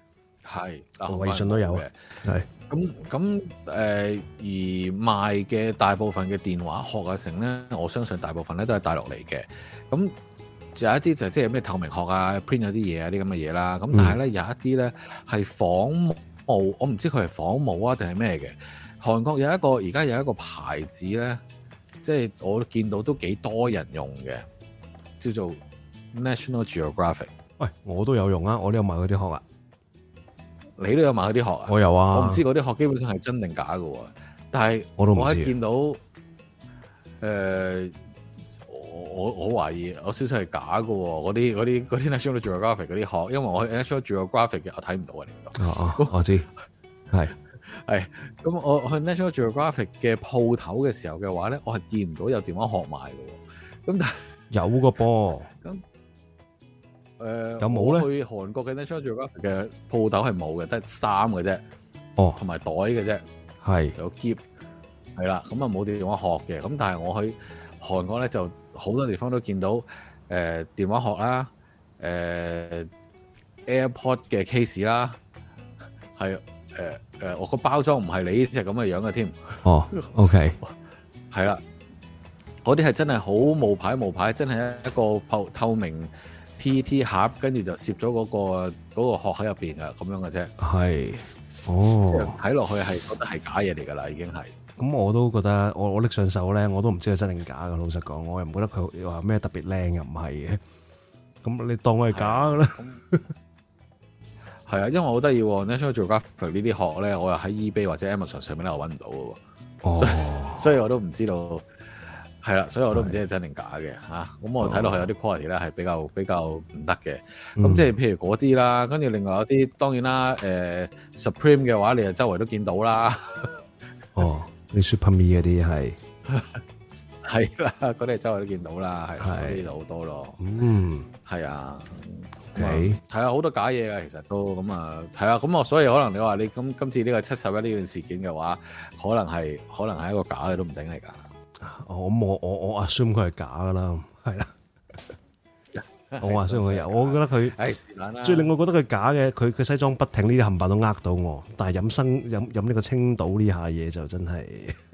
係， 微信都有嘅，係。 咁咁誒，而賣嘅大部分嘅電話殼啊，成咧，我相信大部分咧都係大陸嚟嘅。咁就有一啲就係即係咩透明殼啊 ，print 咗啲嘢啊，啲咁嘅嘢啦。咁但係咧有一啲咧係仿冒，我唔知佢係仿冒啊定係咩嘅。韓國有一個而家有一個牌子咧，即係我見到都幾多人用嘅，叫做 National Geographic。喂， 我都有用啊，我都有買嗰啲殼啊。 你都有買嗰啲殼啊？ 我有啊。 我唔知嗰啲殼基本上係真定假嘅喎，但係我都唔知。 我一見到誒、呃，我我我懷疑我少少係假嘅喎，嗰啲嗰啲嗰啲 National Geographic 嗰啲殼，因為我去 National Geographic 嘅我睇唔到啊，你哦哦，我知係係咁，我去 National Geographic 嘅鋪頭嘅時候嘅話咧，我係見唔到有電話殼賣嘅喎，咁但係有個噃咁。 誒、呃、 有冇咧？ 去韓國嘅 National Geographic 嘅鋪頭係冇嘅，得衫嘅啫。 哦， 同埋袋嘅啫。係有喼，係啦。咁啊冇電話殼嘅。咁但係我去韓國咧，就好多地方都見到誒、呃、電話殼啦，誒、呃、AirPod 嘅 case 啦，係誒誒，我個包裝唔係你呢隻咁嘅樣嘅添。 哦，OK， 係啦，嗰啲係真係好冒牌冒牌，真係一個透透明。P E T 盒，跟住就攝咗嗰個嗰、嗰個殼喺入邊啊，咁樣嘅啫。係，哦，睇落去係覺得係假嘢嚟㗎啦，已經係。咁我都覺得，我我拎上手咧，我都唔知係真定假㗎。老實講，我又唔覺得佢話咩特別靚，又唔係嘅。咁你當我係假㗎啦。係啊，因為好得意喎 National Geographic 呢啲殼咧，我又喺 eBay 或者 Amazon 上面咧，我揾唔到嘅喎。哦，所以，所以我都唔知道。係啦，所以我都唔知係真定假嘅嚇。咁我睇落去有啲 quality 咧係比較比較唔得嘅。咁、嗯、即係譬如嗰啲啦，跟住另外有啲當然啦，誒、呃、Supreme 嘅話，你就周圍都見到啦。哦，你 Super Me 嗰啲係係啦，嗰啲周圍都見到啦，係嗰啲就好多咯。嗯，係啊。OK，係啊，好多假嘢㗎，其實都咁啊，係啊。咁我所以可能你話你今今次呢個七十一呢段事件嘅話，可能係可能係一個假嘅都唔整嚟㗎。我我我我 assume 佢係假噶啦，係啦。我 assume 佢有，我覺得佢最令我覺得佢假嘅，佢佢西裝筆挺呢啲冚唪唥都呃到我，但係飲生飲飲呢個青島呢下嘢就真係，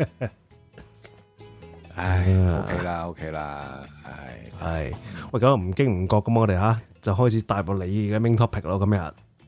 唉 OK 啦 OK 啦，係係喂，咁唔經唔覺咁我哋吓就開始帶入你嘅 main topic 咯，今日。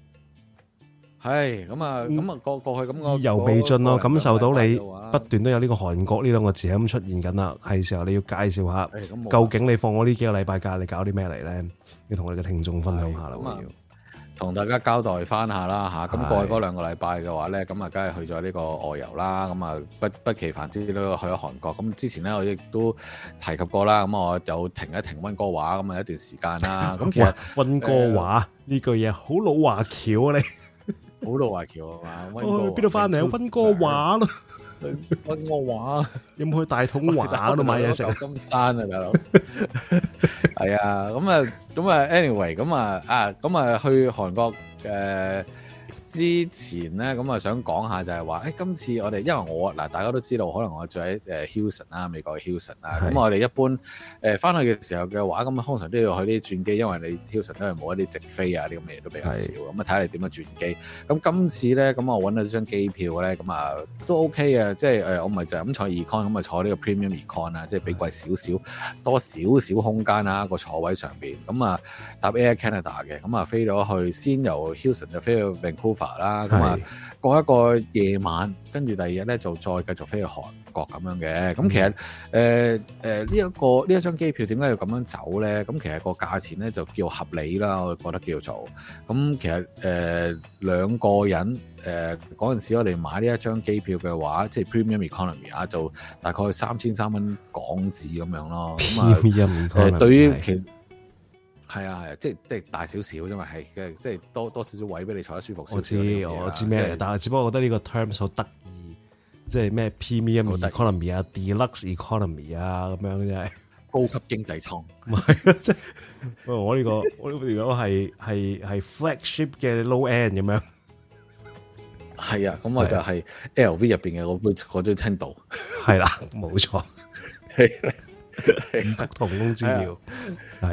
係咁啊，咁啊過過去咁個意猶未盡咯，感受到你不斷都有呢個韓國呢兩個字咁出現緊啦，係時候你要介紹下，究竟你放我呢幾個禮拜假，你搞啲咩嚟咧？要同我哋嘅聽眾分享下啦，要同大家交代翻下啦嚇。咁過去嗰兩個禮拜嘅話咧，咁啊，梗係去咗呢個外遊啦。咁啊，不不期凡之都去咗韓國。咁之前咧，我亦都提及過啦。咁我有停一停溫哥華咁啊一段時間啦。咁其實溫哥華呢句嘢好老華僑啊你。好老華僑啊嘛，我去邊度翻嚟啊？溫哥華咯，溫哥華有冇去大統華嗰度買嘢食？舊金山啊，大佬。係啊，咁啊，咁啊，anyway，咁啊，啊，咁啊，去韓國誒之前咧，咁啊，想講下就係話，誒，今次我哋因為我嗱，大家都知道，可能我住喺誒 Houston 啦，美國嘅 Houston 啦，咁我哋一般誒翻去嘅時候嘅話，咁啊，通常都要去啲轉機，因為你 Houston 都係冇一啲直飛啊，啲咁嘅嘢都比較少，咁啊，睇下你點樣轉機。咁今次咧，咁我揾到張機票咧，咁啊都 OK 嘅，即係誒，我唔係就咁坐 econ，咁啊坐呢個 premium econ 啊，即係比貴少少，多少少空間啊個坐位上邊，咁啊搭 Air Canada 嘅，咁啊飛咗去，先由 Houston 就飛去 Vancouver 啦，咁啊過一個夜晚，跟住第二日咧就再繼續飛去韓國咁樣嘅。咁其實誒誒呢一個呢一張機票點解要咁樣走咧？咁其實個價錢咧就叫合理啦，我覺得叫做。咁其實誒、呃、兩個人誒嗰陣時我哋買呢一張機票嘅話，即係 Premium Economy 啊，就大概三千三蚊港紙咁樣咯。咁啊誒對於其實係啊係啊，即係即係大少少啫嘛，係嘅，即係多多少少位俾你坐得舒服少少。我知我知咩嚟，但係只不過覺得呢個 terms 好得意，即係咩 Premium Economy 啊、Deluxe Economy 啊咁樣，真係高級經濟艙。唔係啊，即係我呢個我如果係係係 flagship 嘅 low end 咁樣。係啊，咁我就係 L V 入邊嘅嗰杯嗰張青島。係啦，冇錯。五福同工之妙係。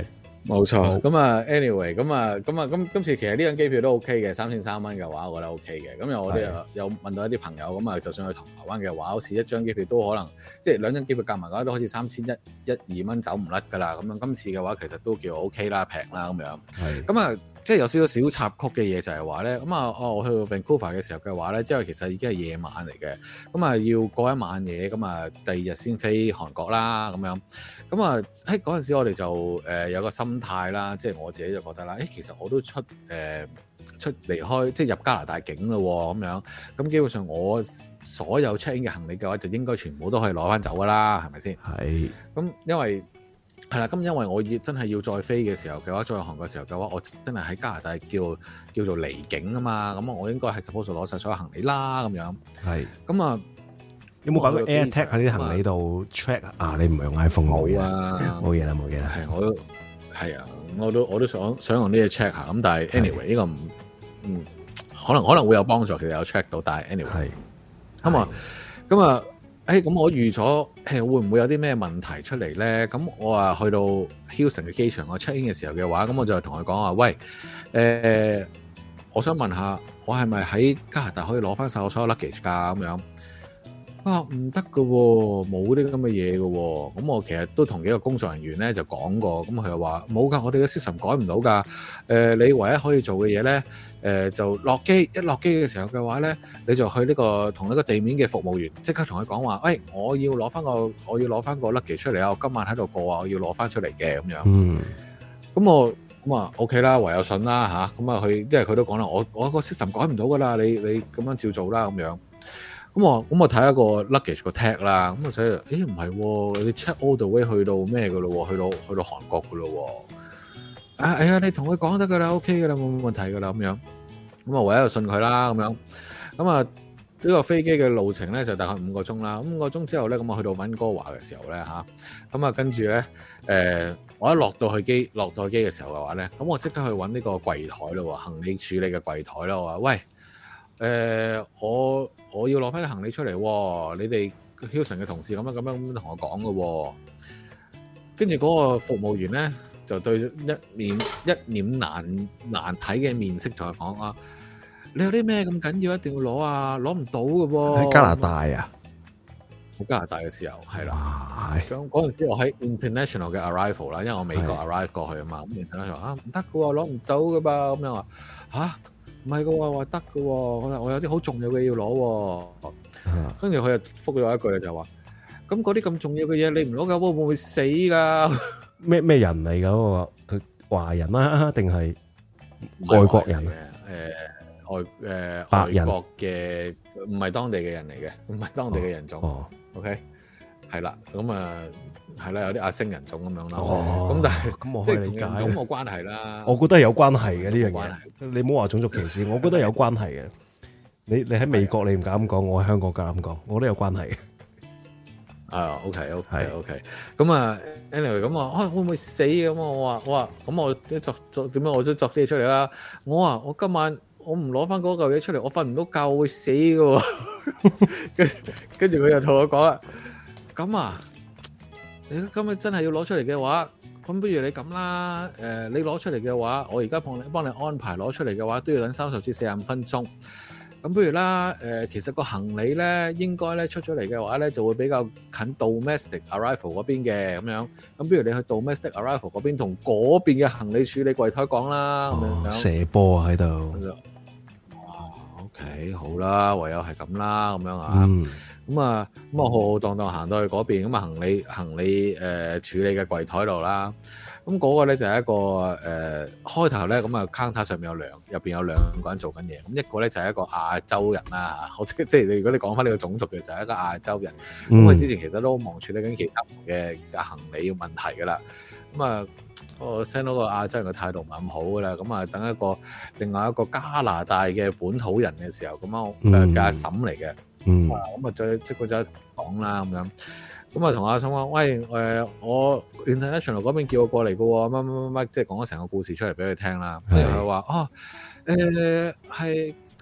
冇錯，咁啊，anyway，咁啊，咁啊，咁今次其實呢張機票都 OK 嘅，三千三蚊嘅話，我覺得 OK 嘅。咁有我哋有有問到一啲朋友，咁啊，就算去台灣嘅話，好似一張機票都可能，即係兩張機票夾埋嘅話，都好似三千一、一二蚊走唔甩㗎啦。咁樣今次嘅話，其實都叫 OK 啦，平啦咁樣。係。咁啊，即係有少少小插曲嘅嘢就係話咧，咁啊，哦，我去到 Vancouver 嘅時候嘅話咧，即係其實已經係夜晚嚟嘅，咁啊要過一晚嘢，咁啊第二日先飛韓國啦，咁樣。咁啊喺嗰陣時我哋就誒、呃、有個心態啦，即係我自己就覺得啦，誒其實我都出誒、呃、出離開即係入加拿大境咯喎，咁樣咁基本上我所有 check in 嘅行李嘅話，就應該全部都可以攞翻走噶啦，係咪先？係。咁因為係啦，咁因為我要真係要再飛嘅時候嘅話，再去韓國嘅時候嘅話，我真係喺加拿大叫叫做離境啊嘛，咁我應該係 suppose 攞晒所有行李啦，咁樣。係。咁啊。有冇擺個 AirTag 喺啲行李度 check 啊？你唔係用 iPhone 冇啊？冇嘢啦，冇嘢啦。係我都係啊，我都我都想想用呢嘢 check 下。咁但係 anyway 呢個唔嗯可能可能會有幫助，其實有 check 到，但係 anyway 係咁啊咁啊誒咁我預咗誒會唔會有啲咩問題出嚟咧？咁我啊去到 Houston 嘅機場，我 check in 嘅時候嘅話，咁我就同佢講話，喂誒、呃，我想問下，我係咪喺加拿大可以攞翻晒我所有 luggage 㗎？咁樣。啊，唔得㗎喎，冇啲咁嘅嘢㗎喎。咁我其實都同幾個工作人員咧就講過，咁佢又話冇㗎，我哋嘅 system 改唔到㗎。誒、呃，你唯一可以做嘅嘢咧，誒、呃、就落機，一落機嘅時候嘅話咧，你就去呢、這個同一個地面嘅服務員即刻同佢講話，喂、哎，我要攞翻個，我要攞翻個 luggage 出嚟啊！我今晚喺度過啊，我要攞翻出嚟嘅咁樣。嗯。咁我咁啊 OK 啦，唯有信啦吓。咁啊佢，因為佢都講啦，我我個 system 改唔到㗎啦，你你咁樣照做啦咁樣。咁我咁我睇一個 luggage 個 tag 啦，咁我睇，誒唔係，你 check all the way 去到咩嘅咯？去到去到韓國嘅咯？啊，哎呀，你同佢講得㗎啦 ，OK 㗎啦，冇冇問題㗎啦，咁樣。咁啊，唯一就信佢啦，咁樣。咁啊，呢個飛機嘅路程咧就大概五個鐘啦。五個鐘之後咧，咁我去到溫哥華嘅時候咧嚇，咁啊跟住咧，誒、呃、我一落到去機落到機嘅時候嘅話咧，咁我即刻去揾呢個櫃台咯，行李處理嘅櫃台啦，我話喂。誒、呃，我我要攞翻啲行李出嚟喎，你哋 Hilton 嘅同事咁樣咁樣咁同我講嘅喎，跟住嗰個服務員咧就對一面一臉難難睇嘅面色同佢講啊，你有啲咩咁緊要一定要攞啊，攞唔到嘅喎。喺加拿大啊，喺加拿大嘅時候係啦，咁嗰陣時我喺 international 嘅 arrival 啦，因為我美國 arrive 過去啊嘛，咁 international 啊唔得嘅喎，攞唔到嘅噃，咁樣話嚇。唔係嘅喎，話得嘅喎，我我有啲好重要嘅要攞喎。跟住佢又覆咗一句咧，就話：咁嗰啲咁重要嘅嘢，你唔攞嘅話，會唔會死㗎？咩咩人嚟㗎？嗰個佢華人啊，定係外國人？誒、呃、外誒、呃、白人外國嘅，唔係當地嘅人嚟嘅，唔係當地嘅人種。哦、OK，係啦，咁啊。係啦，有啲亞星人種咁樣啦。哦，咁但係咁我可以理解，即係同人種冇關係啦。我覺得係有關係嘅呢樣嘢。你唔好話種族歧視，我覺得有關係嘅。你你喺美國你唔敢咁講，我喺香港夠膽講，我覺得有關係嘅。啊 ，OK OK OK。咁啊 ，anyway 咁啊，啊會唔會死咁啊？我話我話咁我都作作點樣我都作啲嘢出嚟啦。我話我今晚我唔攞翻嗰嚿嘢出嚟，我瞓唔到覺會死㗎。跟跟住佢又同我講啦，咁啊。你今日真係要攞出嚟嘅話，咁不如你咁啦，誒、呃，你攞出嚟嘅話，我而家幫你幫你安排攞出嚟嘅話，都要等三十至四十五分鐘。咁不如啦，誒、呃，其實個行李咧，應該咧出咗嚟嘅話咧，就會比較近 domestic arrival 嗰邊嘅咁樣。咁不如你去 domestic arrival 嗰邊同嗰邊嘅行李處理櫃台講啦，咁、哦、樣射波啊喺度。哇 ，OK， 好啦，唯有係咁啦，咁樣啊。嗯咁啊，咁啊，浩浩蕩蕩行到去嗰邊，咁啊，行李行李誒、呃、處理嘅櫃台度啦。咁嗰個咧就係一個誒、呃、開頭咧，咁啊 counter 上面有兩入邊有兩個人做緊嘢。咁一個咧就係一個亞洲人啦，好即即係你如果你講翻呢個種族嘅就係一個亞洲人。咁、嗯、佢之前其實都忙處理緊其他嘅行李問題噶啦。咁啊，我聽到個亞洲人嘅態度唔係咁好噶啦。咁啊，等一個另外一個加拿大嘅本土人嘅時候，咁啊嘅阿嬸嚟嘅。嗯，咁啊，再即佢就講啦，咁樣，咁啊，同阿嬸話，喂，誒、呃，我 international 嗰邊叫我過嚟嘅喎，乜乜乜乜，即係講咗成個故事出嚟俾佢聽啦。跟住佢話，哦，誒、呃，係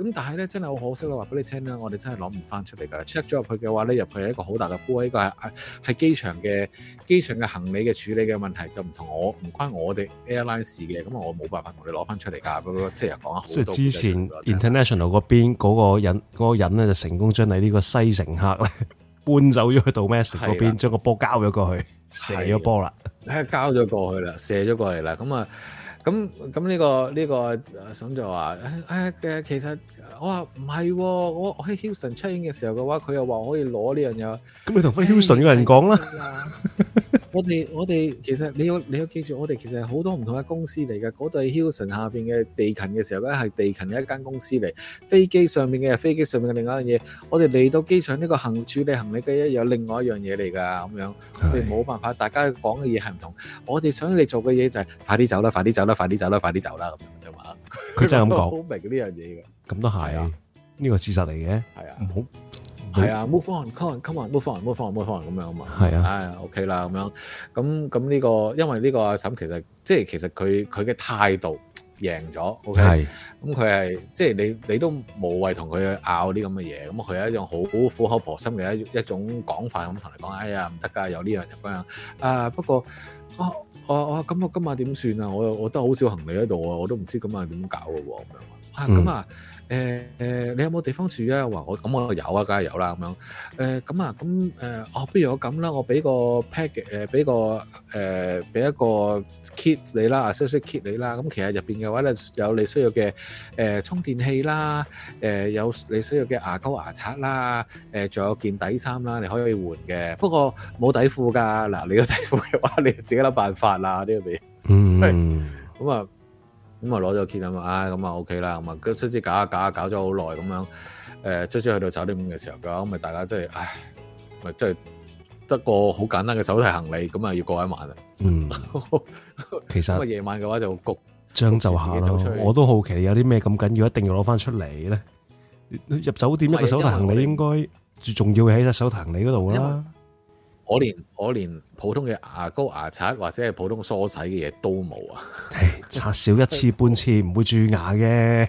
咁但係咧真係好可惜啦，話俾你聽啦，我哋真係攞唔翻出嚟㗎。check 咗入去嘅話咧，入去係一個好大嘅煲，呢個係係機場嘅機場嘅行李嘅處理嘅問題，就唔同我唔關我哋 airline 事嘅，咁我冇辦法同你攞翻出嚟㗎。嗰個即係又講咗好多。即係之前 international 嗰邊嗰個人嗰個人咧就成功將你呢個西乘客咧搬走咗去 domestic 嗰邊，將個波交咗過去，射咗波啦， 係交咗過去啦，射咗過嚟啦，咁啊。咁咁呢個呢個阿嬸就話誒誒其實我話唔係喎，我我喺 Houston check in嘅時候嘅話，佢又話可以攞呢樣嘢。咁你同翻 Houston 嘅人講啦。 我哋我哋其實你要你要記住，我哋其實係好多唔同嘅公司嚟嘅。嗰度係 Houston 下邊嘅地勤嘅時候咧，係地勤嘅一間公司嚟。飛機上面嘅係飛機上面嘅另外一樣嘢。我哋嚟到機場呢個行處理行李嘅有另外一樣嘢嚟㗎，咁樣我哋冇辦法，大家講嘅嘢係唔同。我哋想你做嘅嘢就係快啲走啦，快啲走啦，快啲走啦，快啲走啦咁樣啫嘛。 佢真係咁講， 好明呢樣嘢嘅。 咁都係啊，呢個事實嚟嘅。 係啊，唔好。係啊 ，move on，come on，come on，move on，move on，move on 咁樣啊嘛。 係啊， 唉 ，OK 啦咁樣。咁咁呢個，因為呢個阿嬸其實即係其實佢佢嘅態度贏咗 ，OK。係。咁佢係即係你你都無謂同佢拗啲咁嘅嘢。咁佢係一種好苦口婆心嘅一一種講法咁同你講，哎呀唔得㗎，有呢樣有嗰樣。啊不過啊啊啊咁我今晚點算啊？我我得好少行李喺度啊，我都唔知今晚點搞嘅喎咁樣。啊咁啊。嗯誒、呃、誒，你有冇地方住啊？話我咁我有啊，梗係有啦咁樣。誒咁啊，咁誒，哦，不如我咁啦，我俾個 pack 誒，俾個誒，俾一個 kit 你啦，啊，少少 kit 你啦。咁其實入邊嘅話咧，有你需要嘅誒、呃、充電器啦，誒、呃、有你需要嘅牙膏牙刷啦，誒、呃、仲有件底衫啦，你可以換嘅。不過冇底褲㗎，嗱，你個底褲嘅話，你自己諗辦法啦，呢個嘢。嗯。咁啊。咁啊攞咗 kit 啊嘛，唉咁啊 OK 啦，咁啊跟住搞下搞下搞咗好耐咁樣，誒卒之去到酒店嘅時候嘅話，咁咪大家真係，唉，咪真係得個好簡單嘅手提行李，咁啊要過一晚啦。嗯，其實咁啊夜晚嘅話就焗將就下咯。我都好奇有啲咩咁緊要，一定要攞翻出嚟咧。入酒店一個手提行李應該最重要嘅喺隻手提行李嗰度啦。我連我連普通嘅牙膏牙刷或者係普通梳洗嘅嘢都冇啊！刷少一次半次唔會蛀牙嘅。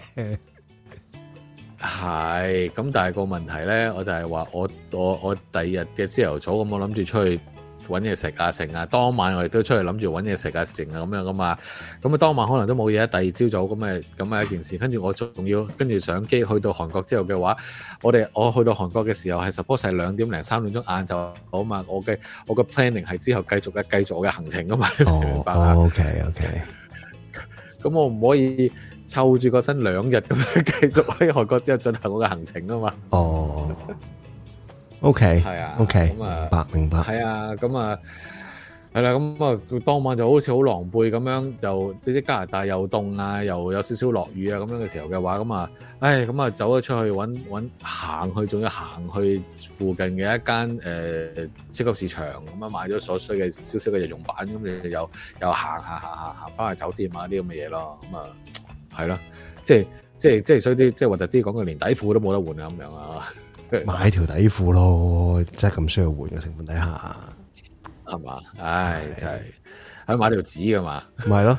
係咁，但係個問題咧，我就係話我我我第二日嘅朝頭早咁，我諗住出去揾嘢食啊成啊，當晚我哋都出去諗住揾嘢食啊成啊咁樣噶嘛。咁啊當晚可能都冇嘢，第二朝早咁嘅咁嘅一件事。跟住我仲要跟住上機去到韓國之後嘅話，我哋我去到韓國嘅時候係 suppose 係兩點零三點鐘晏晝好嘛。我嘅我嘅 planning 係之後繼續嘅繼續我嘅行程噶嘛。哦，明白啊。OK OK。咁我唔可以湊住個身兩日咁樣繼續喺韓國之後進行我嘅行程啊嘛。哦。OK，係啊，OK，咁啊，明白明白，係啊，咁啊，係啦，咁啊，當晚就好似好狼狽咁樣，又呢啲加拿大又凍啊，又有少少落雨啊，咁樣嘅時候嘅話，咁啊，唉，咁啊，走咗出去揾揾行去，仲要行去附近嘅一間誒、呃、超級市場，咁啊買咗所需嘅少少嘅日用品，咁你又又行行行行行翻去酒店啊啲咁嘅嘢咯，咁啊，係咯，即係即係即係所以啲即係核突啲講句，連底褲都冇得換啊咁樣啊。買條底褲咯，真係咁需要換嘅成分底下，係嘛？唉，真係，喺買條紙噶嘛？咪係咯，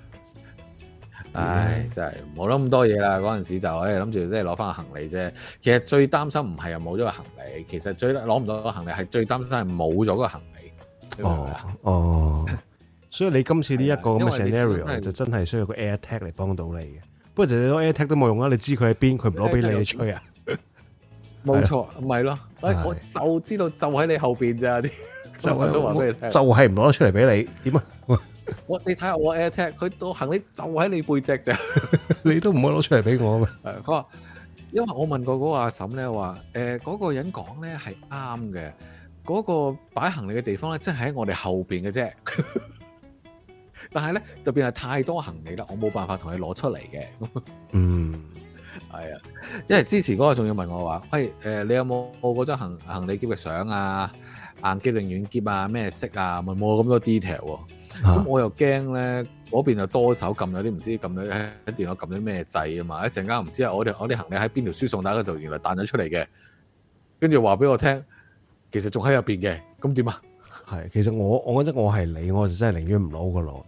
唉，真係冇諗咁多嘢啦。嗰陣時就誒諗住即係攞翻個行李啫。其實最擔心唔係又冇咗個行李，其實最攞唔到個行李係最擔心係冇咗個行李。哦哦，所以你今次呢一個咁嘅 scenario 就真係需要個 AirTag 嚟幫到你嘅。不過就你攞 AirTag 都冇用啦，你知佢喺邊，佢唔攞俾你去吹啊？冇錯，唔係咯，我就知道就喺你後邊咋啲，就係都話俾你聽，就係唔攞得出嚟俾你，點啊？我你睇下我 AirTag，佢個行李就喺你背脊咋，你都唔可以攞出嚟俾我啊嘛？佢話，因為我問過嗰個阿嬸咧，話誒嗰個人講咧係啱嘅，嗰個擺行李嘅地方咧，真係喺我哋後邊嘅啫。但係咧就變係太多行李啦，我冇辦法同你攞出嚟嘅。嗯。係啊，因為之前嗰個仲要問我話，喂，誒、呃，你有冇嗰張行行李篋嘅相啊，硬篋定軟篋啊，咩色啊，問冇咁多 detail 喎、啊。咁、啊、我又驚咧，嗰邊又多手撳咗啲唔知撳咗喺電腦撳咗咩掣啊嘛，一陣間唔知啊，我哋我啲行李喺邊條輸送帶嗰度，原來彈咗出嚟嘅，跟住話俾我聽，其實仲喺入邊嘅，咁點啊？係，其實我我覺得我係你，我就真係寧願唔攞個攞。因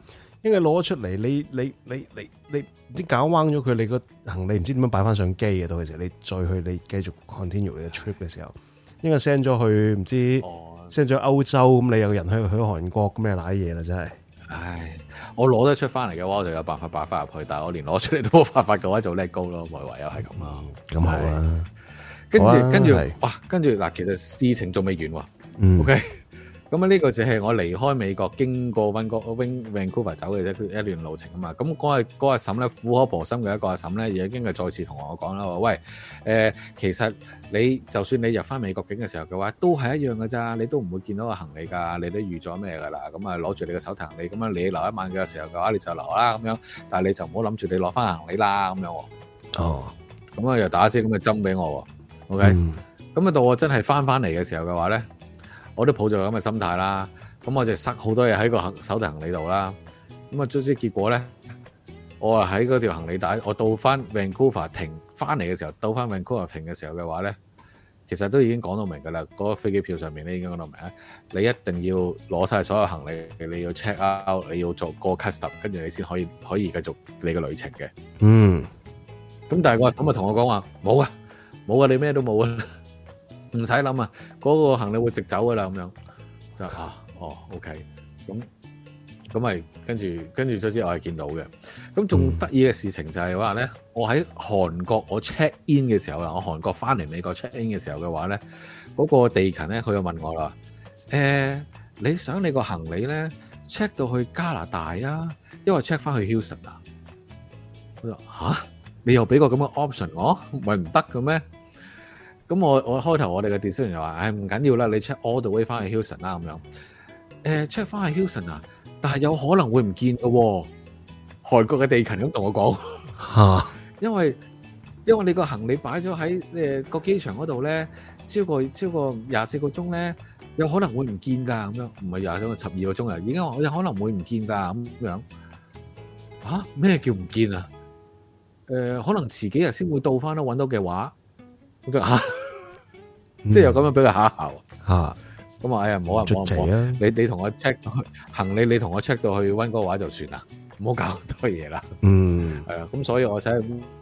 因為攞出嚟，你你你你你唔知搞彎咗佢，你個行李唔知點樣擺翻上機嘅，到時你再去你繼續 continue 你嘅 trip 嘅時候，應該 send 咗去唔知 send 咗歐洲，咁你有人去去韓國咁，咩瀨嘢啦，真係。 唉，我攞得出翻嚟嘅話，我就有辦法擺翻入去，但係我連攞出嚟都冇辦法嘅話，就 let go 咯，咪唯有係咁啦。 咁好啦， 跟住跟住哇，跟住嗱，其實事情仲未完喎。嗯、OK。咁啊，呢個就係我離開美國經過溫哥 Vancouver 走嘅啫，一段路程啊嘛。咁嗰日嗰阿嬸咧，苦口婆心嘅一個阿嬸咧，已經係再次同我講啦，話喂，誒、呃，其實你就算你入翻美國境嘅時候嘅話，都係一樣嘅咋，你都唔會見到個行李㗎，你都預咗咩㗎啦。咁啊，攞住你嘅手提行李，咁啊，你留一晚嘅時候嘅話，你就留啦咁樣。但係你就唔好諗住你攞翻行李啦咁樣。哦。咁啊，又打支咁嘅針俾我。OK、嗯。咁啊，到我真係翻翻嚟嘅時候嘅話咧。我都抱住咁嘅心態啦，咁我就塞好多嘢喺個手提行李度啦。咁啊，最終結果咧，我啊喺嗰條行李帶，我到翻 Vancouver 停翻嚟嘅時候，到翻 Vancouver 停嘅時候嘅話咧，其實都已經講到明㗎啦。嗰、嗰個飛機票上面咧已經講到明啊，你一定要攞晒所有行李，你要 check out，你要做個 custom，跟住你先可以可以繼續你嘅旅程嘅。嗯。咁但係我咁啊同我講話冇啊，冇啊，你咩都冇啊。唔使諗啊，嗰、那個行李會直走噶啦，咁樣就啊，哦 ，OK，咁咁咪跟住跟住咗之後我係見到嘅。咁仲得意嘅事情就係話咧，我喺韓國我 check in 嘅時候啦，我韓國翻嚟美國 check in 嘅時候嘅話咧，嗰、那個地勤咧佢又問我啦，誒、欸，你想你個行李咧 check 到去加拿大啊，因為 check 翻去 Houston 啊？佢話吓，你又俾個咁嘅 option 我，唔係唔得嘅咩？咁我我開頭我哋嘅 decision 就話，唉唔緊要啦，你 check all the way 翻去 Houston 啦咁樣。誒 check 翻去 Houston 啊，但係有可能會唔見嘅喎。韓國嘅地勤咁同我講嚇，因為因為你個行李擺咗喺誒個機場嗰度咧，超過超過廿四個鐘咧，有可能會唔見㗎咁樣。唔係廿四個十二個鐘啊，已經話有可能會唔見㗎咁樣。嚇咩叫唔見啊？誒、呃、可能遲幾日先會到翻咯，揾到嘅話。咁就嚇，即係又咁樣俾佢嚇一嚇嚇。咁啊，哎呀，唔好啊，唔好啊，你你同我 check 行李，你同我 check 到去溫哥華就算啦，唔好搞咁多嘢啦。嗯，係啊，咁所以我喺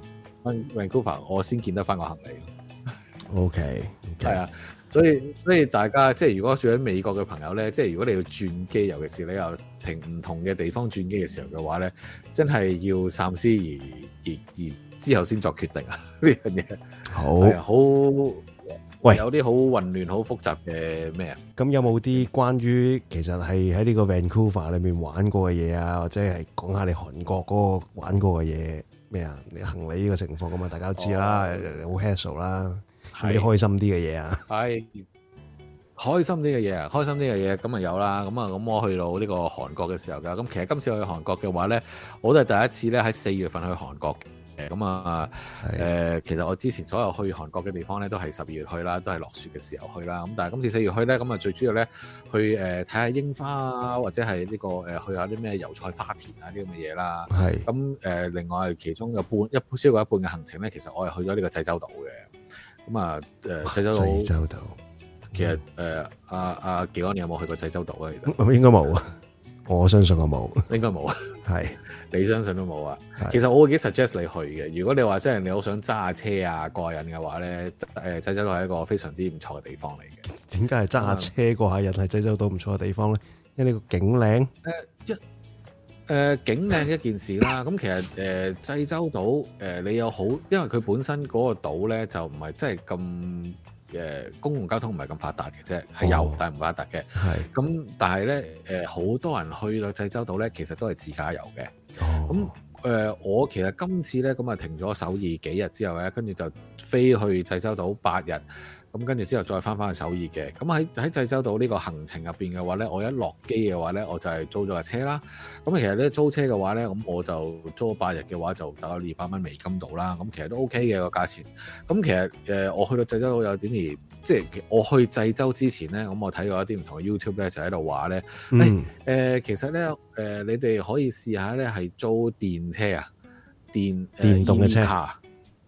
Vancouver 我先見得翻個行李。OK，係啊，所以所以大家即係如果住喺美國嘅朋友咧，即係如果你要轉機，尤其是你又停唔同嘅地方轉機嘅時候嘅話咧，真係要三思而而而之後先作決定啊！呢樣嘢好好喂，有啲好混亂、好複雜嘅咩啊？咁有冇啲關於其實係喺呢個 Vancouver 裏面玩過嘅嘢啊，或者係講下你韓國嗰個玩過嘅嘢咩啊？你行李呢個情況咁啊，大家都知啦，好 hassle 啦，有啲開心啲嘅嘢啊，係開心啲嘅嘢啊，開心啲嘅嘢咁啊有啦，咁啊咁我去到呢個韓國嘅時候㗎，咁其實今次去韓國嘅話咧，我都係第一次咧喺四月份去韓國。誒咁啊誒，其實我之前所有去韓國嘅地方咧，都係十二月去啦，都係落雪嘅時候去啦。咁但係今次四月去咧，咁啊最主要咧去誒睇下櫻花啊，或者係呢、這個誒、呃、去下啲咩油菜花田啊啲咁嘅嘢啦。係咁誒，另外其中有半一超過一半嘅行程咧，其實我係去咗呢個濟州島嘅。咁啊誒濟州島，濟州島其實誒阿阿技安，你有冇去過濟州島啊？其實應該冇啊。我相信我冇，應該冇啊。係你相信都冇啊。其實我會幾 suggest 你去嘅。如果你話即係你好想揸下車啊過癮嘅話咧，誒濟州島係一個非常之唔錯嘅地方嚟嘅。點解係揸下車過下癮係濟州島唔錯嘅地方咧？因為呢個景靚。誒、呃、一誒、呃、景靚一件事啦。咁其實誒濟、呃、州島誒、呃、你有好，因為佢本身嗰個島咧就唔係真係咁。誒公共交通唔係咁發達嘅啫，係有、哦、但係唔發達嘅。係咁，但係咧誒，好、呃、多人去到濟州島咧，其實都係自駕遊嘅。咁誒、呃，我其實今次咧咁啊停咗首爾幾日之後咧，跟住就飛去濟州島八日。咁跟住之後再翻返去首爾嘅。咁喺喺濟州島呢個行程入邊嘅話咧，我一落機嘅話咧，我就係租咗架車啦。咁其實咧租車嘅話咧，咁我就租八日嘅話就大概二百蚊美金度啦。咁其實都 OK 嘅個價錢。咁其實誒、呃，我去到濟州島有點而，即係我去濟州之前咧，咁我睇過一啲唔同嘅 YouTube 咧，就喺度話咧，誒、嗯欸呃、其實咧誒、呃，你哋可以試下咧係租電車啊，電電動嘅車。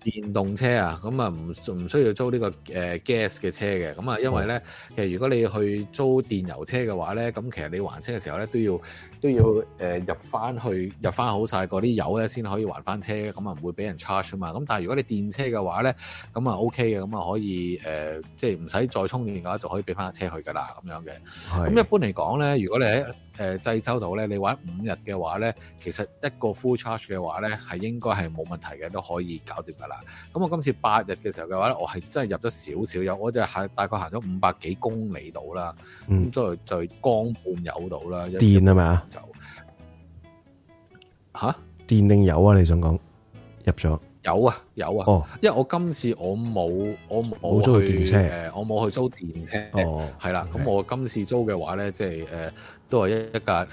電動車啊，咁啊唔唔需要租呢、這個誒、呃、gas 嘅車嘅，咁啊因為咧，其實如果你去租電油車嘅話咧，咁其實你還車嘅時候咧都要都要誒、呃、入翻去入翻好晒嗰啲油咧，先可以還翻車，咁啊唔會俾人 charge 啊嘛。咁但係如果你電車嘅話咧，咁啊 OK 嘅，咁啊可以誒、呃、即係唔使再充電嘅話，就可以俾翻架車去㗎啦，咁樣嘅。咁一般嚟講咧，如果你喺誒濟州島咧，你玩五日嘅話咧，其實一個 full charge 嘅話咧，係應該係冇問題嘅，都可以搞掂㗎啦。咁我今次八日嘅時候嘅話咧，我係真係入咗少少油，我就係大概行咗五百幾公里度啦，咁就就缸半油度啦。 電係咪啊？就嚇電定油啊？你想講入咗有啊有啊，哦，因為我今次我冇我冇租電車， 誒我冇去租電車，哦，係啦，咁我今次租嘅話咧，即係誒都係一一架誒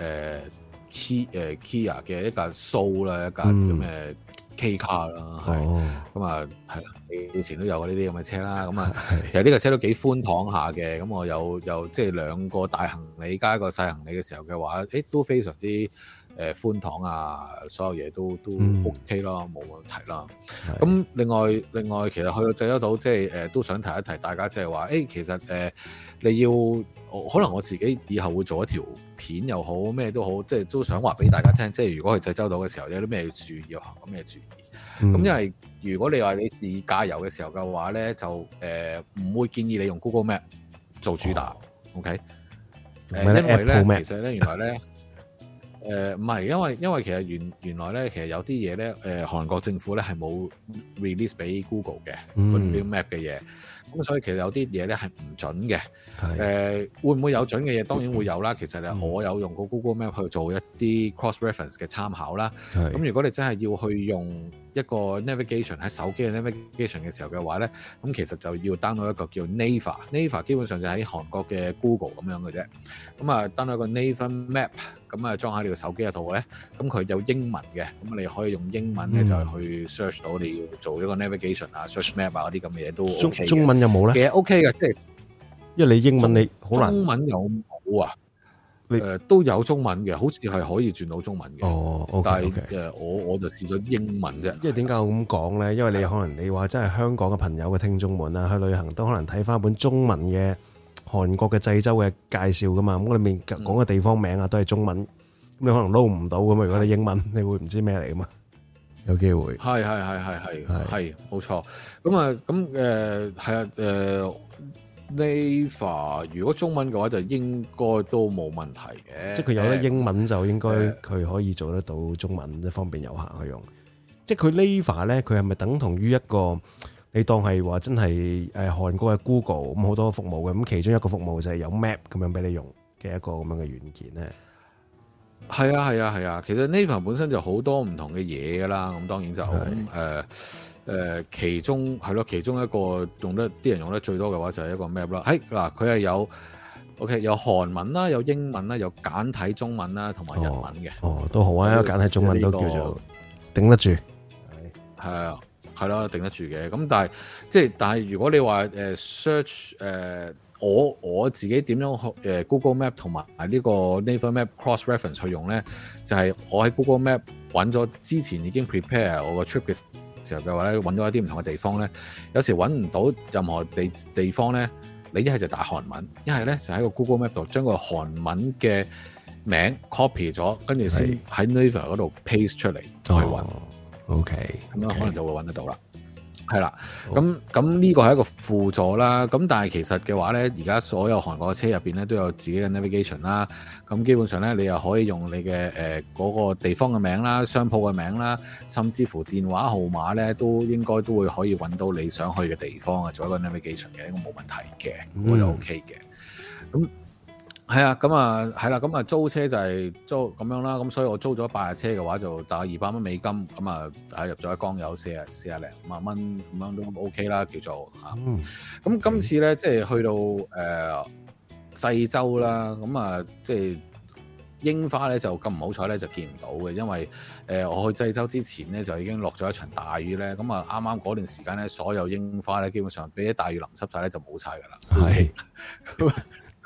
Key 誒 Kia 嘅一架 Soul 啦，一架咁嘅 K 卡啦，係咁啊係啦，以前都有呢啲咁嘅車啦，咁啊其實呢架車都幾寬敞下嘅，咁我有有即係兩個大行李加一個細行李嘅時候嘅話，誒都非常之。誒寬敞啊，所有嘢都都 OK 啦，冇、嗯、問題啦。咁另外另外，其實去到濟州島，即係誒都想提一提大家，即係話誒，其實誒、呃、你要可能我自己以後會做一條片又好，咩都好，即係都想話俾大家聽，即係如果去濟州島嘅時候有啲咩要注意，要行咁咩注意。咁、嗯、因為如果你話你自駕遊嘅時候嘅話咧，就誒唔、呃、會建議你用 Google Map 做主打、哦、，OK？誒、呃，因為咧，其實咧，原來咧。誒唔係，因為因為其實原原來咧，其實有啲嘢咧，誒、呃、韓國政府咧係冇 release 俾 Google 嘅嗰啲 map 嘅嘢，咁所以其實有啲嘢咧係唔準嘅。誒、呃、會唔會有準嘅嘢？當然會有啦。其實咧，我有用過 Google Map 去做一啲 cross reference 嘅參考啦。咁如果你真係要去用一個 navigation 喺手機嘅 navigation 嘅時候嘅話咧，咁其實就要 download 一個叫 Naver，Naver 基本上就喺韓國嘅 Google 咁樣嘅啫。咁啊 download 一個 Naver Map，咁啊裝喺你個手機度咧，咁佢有英文嘅，咁你可以用英文咧、嗯、就去 search 到你要做一個 navigation 啊、search map 啊嗰啲咁嘅嘢都 OK 嘅。中文有冇咧？其實 OK 嘅，即係因為你英文你好難。中文有冇啊？誒、呃、都有中文嘅，好似係可以轉到中文嘅。哦，okay, 但係誒、okay. 我我就試咗英文啫。因為點解我咁講咧？因為你可能你話真係香港嘅朋友嘅聽眾們啊，去旅行都可能睇翻本中文嘅韓國嘅濟州嘅介紹噶嘛。咁我裏面講嘅地方名啊都係中文，咁、嗯、你可能撈唔到咁啊。如果你英文，你會唔知咩嚟噶嘛？有機會。係係係係係係冇錯。咁啊咁誒係啊誒。Naver 如果中文嘅話就應該都冇問題嘅，即係佢有得英文就應該佢可以做得到中文，即方便遊客去用。即係佢 Naver 咧，佢係咪等同於一個你當係話真係誒韓國嘅 Google 咁好多服務嘅，咁其中一個服務就係有 Map 咁樣俾你用嘅一個咁樣嘅軟件咧？係啊係啊係啊，其實 Naver 本身就好多唔同嘅嘢噶啦，咁當然就誒。誒、呃、其中係咯，其中一個用得啲人用得最多嘅話就係一個 map 啦。喺嗱，佢係有 OK 有韓文啦，有英文啦，有簡體中文啦，同埋日文嘅。哦，都好啊，簡體中文都叫做頂得住。係啊，係咯，頂得住嘅。咁但係即係，但係如果你話誒 search 誒，我我自己點樣誒 Google Map 同埋呢個 Naver Map cross reference 去用咧，就係、是、我喺 Google Map 揾咗之前已經 prepare 我個 trip 嘅時候嘅話咧，揾到一啲唔同嘅地方咧，有時揾唔到任何地地方咧，你一係就打韓文，一係咧就喺個 Google Map 度將個韓文嘅名 copy 咗，跟住先喺 Naver 嗰度 paste 出嚟去揾。哦、OK，咁樣可能就會揾得到啦。係啦，咁咁呢個係一個輔助啦。咁但係其實嘅話咧，而家所有韓國嘅車入邊咧都有自己嘅 navigation 啦。咁基本上咧，你又可以用你嘅誒嗰個地方嘅名啦、商鋪嘅名啦，甚至乎電話號碼咧，都應該都會可以揾到你想去嘅地方啊，做一個 navigation 嘅，應該冇問題嘅，我就 OK 嘅。咁係啊，咁啊係啦，咁啊租車就係租咁樣啦。咁所以我租咗八日車嘅話，就大概二百蚊美金，咁啊係入咗一缸油四啊四啊零萬蚊咁樣都 OK 啦，叫做嚇。咁、嗯、今次咧，即係去到誒濟、呃、州啦，咁啊即係櫻花咧就咁唔好彩咧就見唔到嘅，因為誒、呃、我去濟州之前咧就已經落咗一場大雨咧，咁啊啱啱嗰段時間咧所有櫻花咧基本上俾啲大雨淋濕晒咧就冇晒㗎啦。係。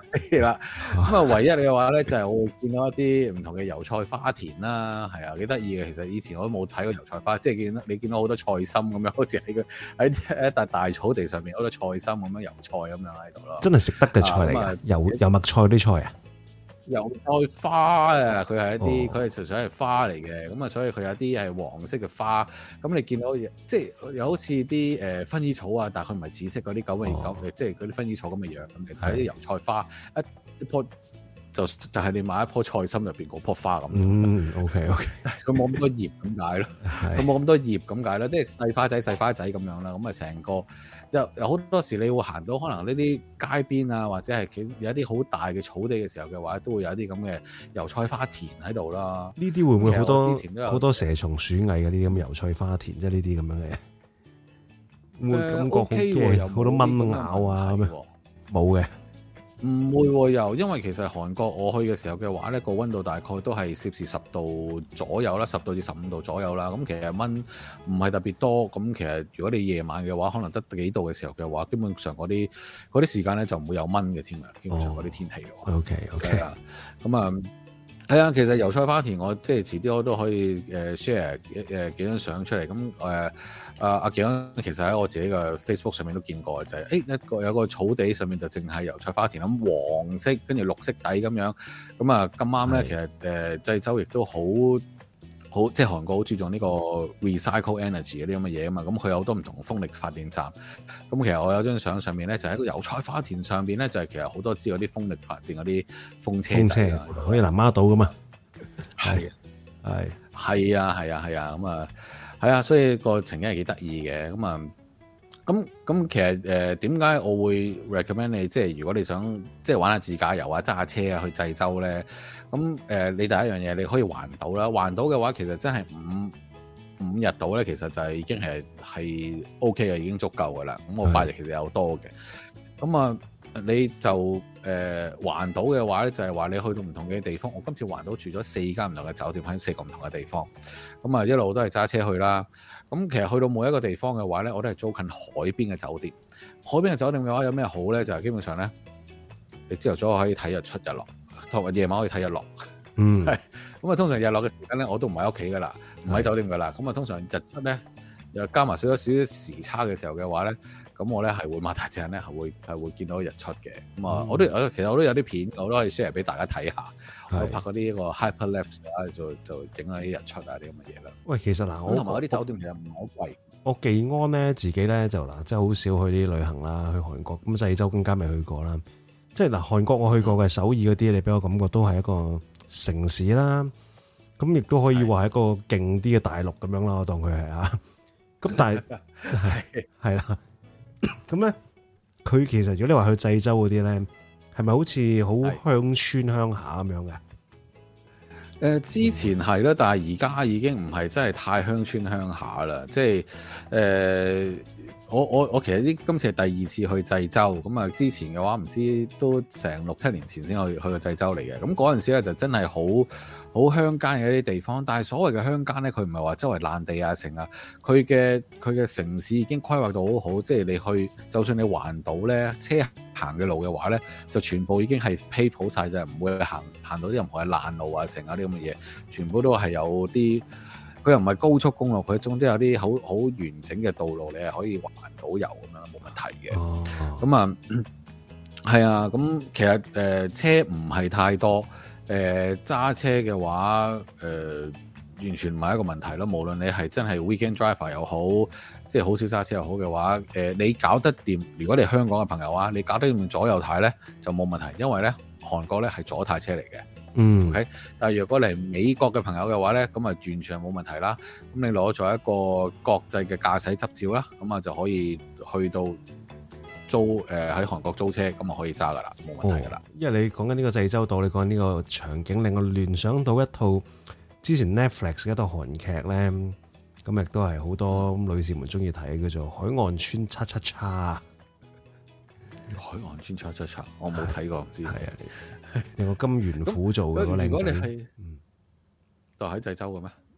係啦，咁啊唯一嘅話咧就係我會見到一啲唔同嘅油菜花田啦，係啊幾得意嘅。其實以前我都冇睇過油菜花，即係見到你見到好多菜心咁樣，好似喺個喺一笪大草地上面好多菜心咁樣油菜咁樣喺度咯。 真係食得嘅菜嚟㗎， 啊、 油油麥菜啲菜啊！ 油菜花啊，佢係一啲，佢係純粹係花嚟嘅，咁啊，所以佢有啲係黃色嘅花，咁你見到即係有好似啲誒薰衣草啊，但係佢唔係紫色嗰啲咁嘅咁，即係嗰啲薰衣草咁嘅樣，咁你睇啲油菜花一一樖。就就係你買一樖菜心入邊嗰樖花咁。 嗯 ，OK OK， 佢冇咁多葉咁解咯，佢冇咁多葉咁解咯，即係細花仔細花仔咁樣啦。咁啊，成個有有好多時你會行到可能呢啲街邊啊，或者係有一啲好大嘅草地嘅時候嘅話，都會有一啲咁嘅油菜花田喺度啦。 呢啲會唔會好多好多蛇蟲鼠蟻嘅呢啲咁嘅油菜花田，即係呢啲咁樣嘅？會感覺好驚，好多蚊咬啊咁樣。冇嘅。 唔會喎，又因為其實韓國我去嘅時候嘅話咧，個溫度大概都係攝氏十度左右啦，十度至十五度左右啦。咁其實蚊唔係特別多。咁其實如果你夜晚嘅話，可能得幾度嘅時候嘅話，基本上嗰啲嗰啲時間咧就唔會有蚊嘅添啊。基本上嗰啲天氣嘅話。 Oh, OK OK。 咁啊。係啊，其實油菜花田我即係遲啲我都可以誒 share 誒幾張相出嚟。咁誒啊阿景其實喺我自己嘅 Facebook 上面都見過，就係誒一個有個草地上面就淨係油菜花田咁黃色跟住綠色底咁樣。咁啊咁啱咧，其實誒濟州亦都好好即係韓國好注重呢個 recycle energy 嗰啲咁嘅嘢啊嘛。咁佢有好多唔同風力發電站。咁其實我有張相上面咧，就喺個油菜花田上邊咧，就係其實好多支嗰啲風力發電嗰啲風車仔啊， 可以南丫島噶嘛。 係係係啊係啊係啊咁啊係啊，所以個情景係幾得意嘅。咁啊咁咁其實誒點解我會 recommend 你即係如果你想即係玩下自駕遊啊揸下車啊去濟州咧？咁誒、呃、你第一樣嘢你可以環島啦，環島嘅話其實真係五五日島咧，其實就係已經係係 OK 嘅，已經足夠噶啦。咁我八日其實有多嘅。咁啊你就誒、呃、環島嘅話咧，就係、是、話你去到唔同嘅地方。我今次環島住咗四間唔同嘅酒店喺四個唔同嘅地方。咁啊一路都係揸車去啦。咁其實去到每一個地方嘅話咧，我都係租近海邊嘅酒店。海邊嘅酒店嘅話有咩好咧？就係、是、基本上咧，你朝頭早可以睇日出日落，同埋夜晚可以睇日落。 嗯， 係咁啊，通常日落嘅時間咧，我都唔喺屋企噶啦，唔喺酒店噶啦。咁啊，通常日出咧又加埋少少少少時差嘅時候嘅話咧，咁我咧係會擘大隻眼咧，係會係會見到日出嘅。咁啊、嗯，我都其實我都有啲片，我都可以 share 俾大家睇下。我拍嗰啲個 hyperlapse 啊，就就整下啲日出啊啲咁嘅嘢啦。喂， 其實嗱，我同埋嗰啲酒店其實唔係好貴。 我技安咧自己咧就嗱，即係好少去啲旅行啦，去韓國咁濟州更加未去過啦。即係嗱，韓國我去過嘅、嗯、首爾嗰啲，你俾我感覺都係一個城市啦。咁亦都可以話係一個勁啲嘅大陸咁樣啦，我當佢係啊。咁但係係係啦。咁咧，佢其實如果你話去濟州嗰啲咧，係咪好似好鄉村鄉下咁樣嘅？ 誒、呃、之前係啦，但係而家已經唔係真係太鄉村鄉下啦。即係誒、呃，我我我其實呢今次係第二次去濟州，咁啊之前嘅話唔知都成六七年前先去去過濟州嚟嘅。咁嗰陣時咧就真係好好鄉間嘅一啲地方，但係所謂嘅鄉間咧，佢唔係話周圍爛地啊成啊，佢嘅佢嘅城市已經規劃到好好，即係你去就算你環島咧，車行嘅路嘅話咧，就全部已經係 pave 好晒，就唔會行行到啲任何嘅爛路啊成啊啲咁嘅嘢，全部都係有啲，佢又唔係高速公路，佢總之有啲好好完整嘅道路，你係可以環島遊咁樣冇問題嘅。咁、哦、啊，係啊，咁其實誒、呃、車唔係太多。誒、呃、揸車嘅話，誒、呃、完全唔係一個問題咯。無論你係真係 weekend driver 又好，即係好少揸車又好嘅話，誒、呃、你搞得掂。如果你係香港嘅朋友啊，你搞得掂左右軚咧就冇問題，因為咧韓國咧係左軚車嚟嘅。嗯，OK。但係如果你係美國嘅朋友嘅話咧，咁啊完全冇問題啦。咁你攞咗一個國際嘅駕駛執照啦，咁啊就可以去到。租誒喺韓國租車咁啊可以揸噶啦，冇問題噶啦、哦。 因為你講緊呢個濟州島，你講緊呢個場景令我聯想到一套之前 Netflix 嘅一套韓劇咧，咁亦都係好多女士們中意睇，叫做《海岸村叉叉叉》。 海岸村叉叉叉，我冇睇過，唔知係啊。 有個金元虎做嘅嗰個靚仔， 嗯，就喺濟州嘅咩？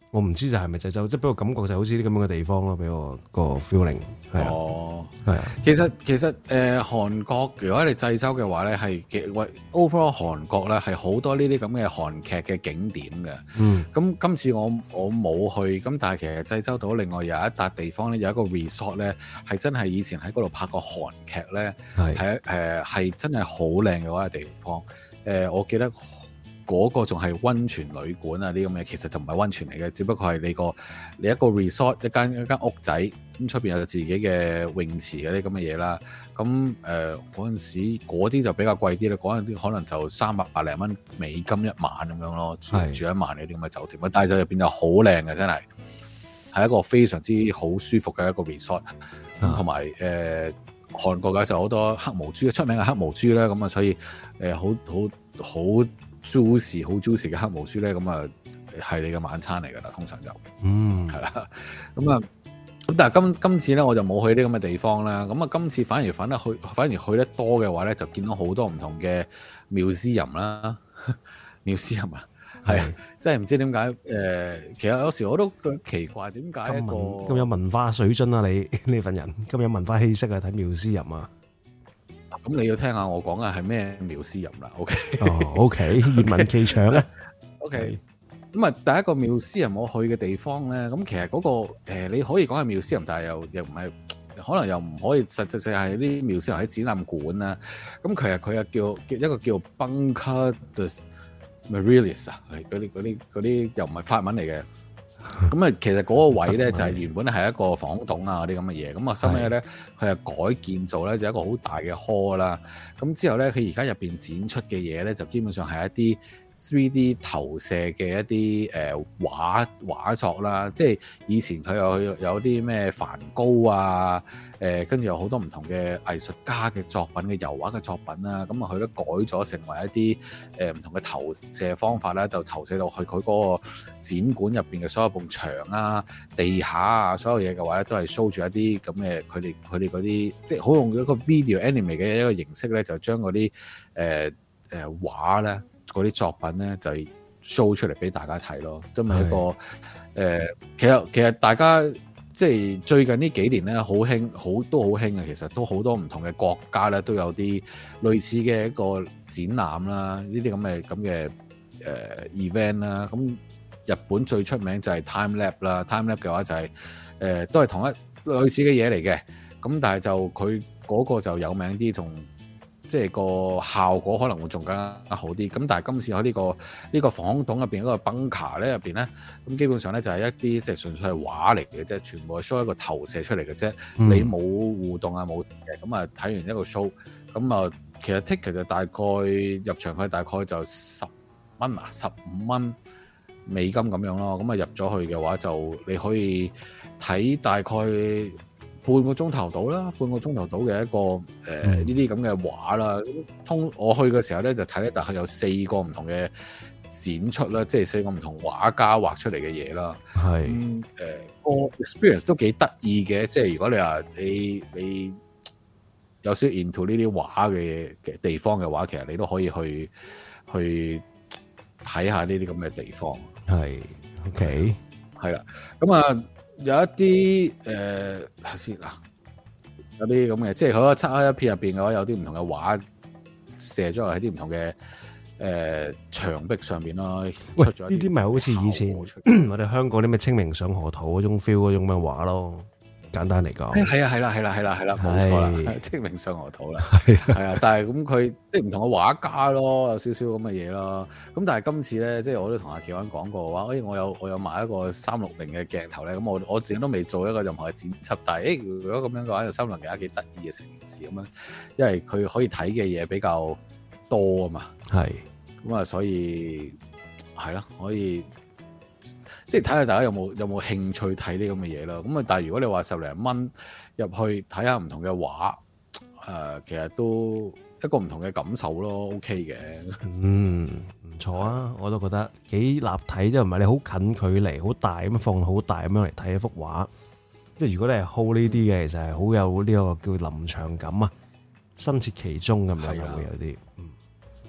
我唔知就係咪濟州，即係俾我感覺就好似啲咁樣嘅地方咯，俾我個 feeling 係啊。 哦， 係啊。 其實其實誒、呃、韓國如果你濟州嘅話咧，係喂 overall 韓國咧係好多呢啲咁嘅韓劇嘅景點嘅。嗯。咁今次我我冇去，咁但係其實濟州島另外有一笪地方咧，有一個 resort 咧，係真係以前喺嗰度拍過韓劇咧，係係誒係真係好靚嘅嗰個地方。誒、呃，我記得。嗰、那個仲係溫泉旅館啊！呢啲咁嘅其實就唔係溫泉嚟嘅，只不過係你個你一個 resort 一間一間屋仔，咁出邊有自己嘅泳池嗰啲咁嘅嘢啦。咁誒嗰陣時嗰啲就比較貴啲啦，嗰陣啲可能就三百百零蚊美金一晚咁樣咯，住住一晚嗰啲咁嘅酒店。但係就入邊就好靚嘅，真係係一個非常之好舒服嘅一個 resort。咁同埋誒韓國嘅就好多黑毛豬，出名嘅黑毛豬啦。咁啊，所以誒好好好。很 juicy 好 juicy 嘅黑毛豬咧，咁啊係你嘅晚餐嚟噶啦，通常就嗯係啦，咁啊咁但係今今次咧我就冇去啲咁嘅地方啦，咁啊今次反而反得去反而去得多嘅話咧，就見到好多唔同嘅廟私人啦，廟私人啊，係即係唔知點解誒，其實有時我都覺得奇怪點解一個咁有文化水準啊，你呢份人咁有文化氣息啊，睇廟私人啊！ 咁你要聽下我講嘅係咩廟私人啦 ，OK？ 哦，OK，願聞其詳咧 ，OK。咁啊，第一個廟私人我去嘅地方咧，咁其實嗰、那個、呃、你可以講係廟私人，但係又又唔係，可能又唔可以實際上係啲廟私人喺展覽館啦。咁其實佢又叫一個叫 Bunker des Marilis 啊，嗰啲嗰啲嗰啲又唔係法文嚟嘅。咁啊，其實嗰個位咧就係原本係一個防空洞啊，嗰啲咁嘅嘢。咁啊，收尾咧佢係改建造咧，就一個好大嘅 hall 啦。咁之後咧，佢而家入邊展出嘅嘢咧，就基本上係一啲 three D 投射嘅一啲誒畫畫作啦。即係以前佢有有啲咩梵高啊，誒跟住有好多唔同嘅藝術家嘅作品嘅油畫嘅作品啦。咁啊，佢都改咗成為一啲誒唔同嘅投射方法咧，就投射到去佢嗰個展館入邊嘅所有埲牆啊、地下啊，所有嘢嘅話咧，都係 show 住一啲咁嘅佢哋佢哋嗰啲，即係好用一個 video anime 嘅一個形式咧，就將嗰啲誒誒畫咧，嗰啲作品咧就 show 出嚟俾大家睇咯。真係一個誒、呃，其實其實大家即係最近呢幾年咧，好興好都好興嘅，其實都好多唔同嘅國家咧都有啲類似嘅一個展覽啦，呢啲咁嘅咁嘅誒 event 啦，咁。日本最出名就係 Time Lab 啦 ，Time Lab 嘅話就係、是、誒、呃、都係同一類似嘅嘢嚟嘅，咁但係就佢嗰個就有名啲，仲即係個效果可能會仲更加好啲。咁但係今次喺呢、這個呢、這個防空洞入邊嗰個 bunker 咧入邊咧，咁基本上咧就係一啲即係純粹係畫嚟嘅啫，全部係 show 一個投射出嚟嘅啫，嗯、你冇互動啊冇嘅，咁啊睇完一個 show，咁啊其實 ticket 就大概入場費大概就十蚊啊，十五蚊美金咁樣咯，咁啊入咗去嘅話就你可以睇大概半個鐘頭到啦，半個鐘頭到嘅一個誒呢啲咁嘅畫啦。通我去嘅時候咧就睇咧，大概有四個唔同嘅展出啦，即係四個唔同畫家畫出嚟嘅嘢啦。係誒個 experience 都幾得意嘅，即係如果你話你你有少少 into 呢啲畫嘅嘅地方嘅話，其實你都可以去去睇下呢啲咁嘅地方。係 OK 係啦，咁啊有一啲誒睇先嗱，有啲咁嘅，即係佢個漆黑一片入邊嘅話，有啲唔同嘅畫射咗喺啲唔同嘅誒牆壁上邊咯。喂，呢啲咪好似以前我哋香港啲咩清明上河圖嗰種 feel 嗰種咩畫咯。簡單嚟講，係啊，係啦，係啦，係啦，係啦，冇錯啦，清明上河圖啦，係啊，但係咁佢即係唔同嘅畫家咯，有少少咁嘅嘢咯。咁但係今次咧，即係我都同阿喬安講過話，誒，我有我有買一個三六零嘅鏡頭咧，咁我我自己都未做一個任何嘅剪輯，但係誒，如果咁樣嘅話，有三六零更加幾得意嘅成件事咁樣，因為佢可以睇嘅嘢比較多啊嘛，係，咁啊，所以係咯，可以。即係睇下大家有冇有冇興趣睇呢咁嘅嘢咯，咁啊但係如果你話十零蚊入去睇下唔同嘅畫，誒、呃、其實都一個唔同嘅感受咯 ，OK 嘅。嗯，唔錯啊，我都覺得幾立體，即係唔係你好近距離、好大咁樣放好大咁樣嚟睇一幅畫。即係如果你係 hold 呢啲嘅，其實係好有呢個叫臨場感啊，身處其中咁樣會有啲。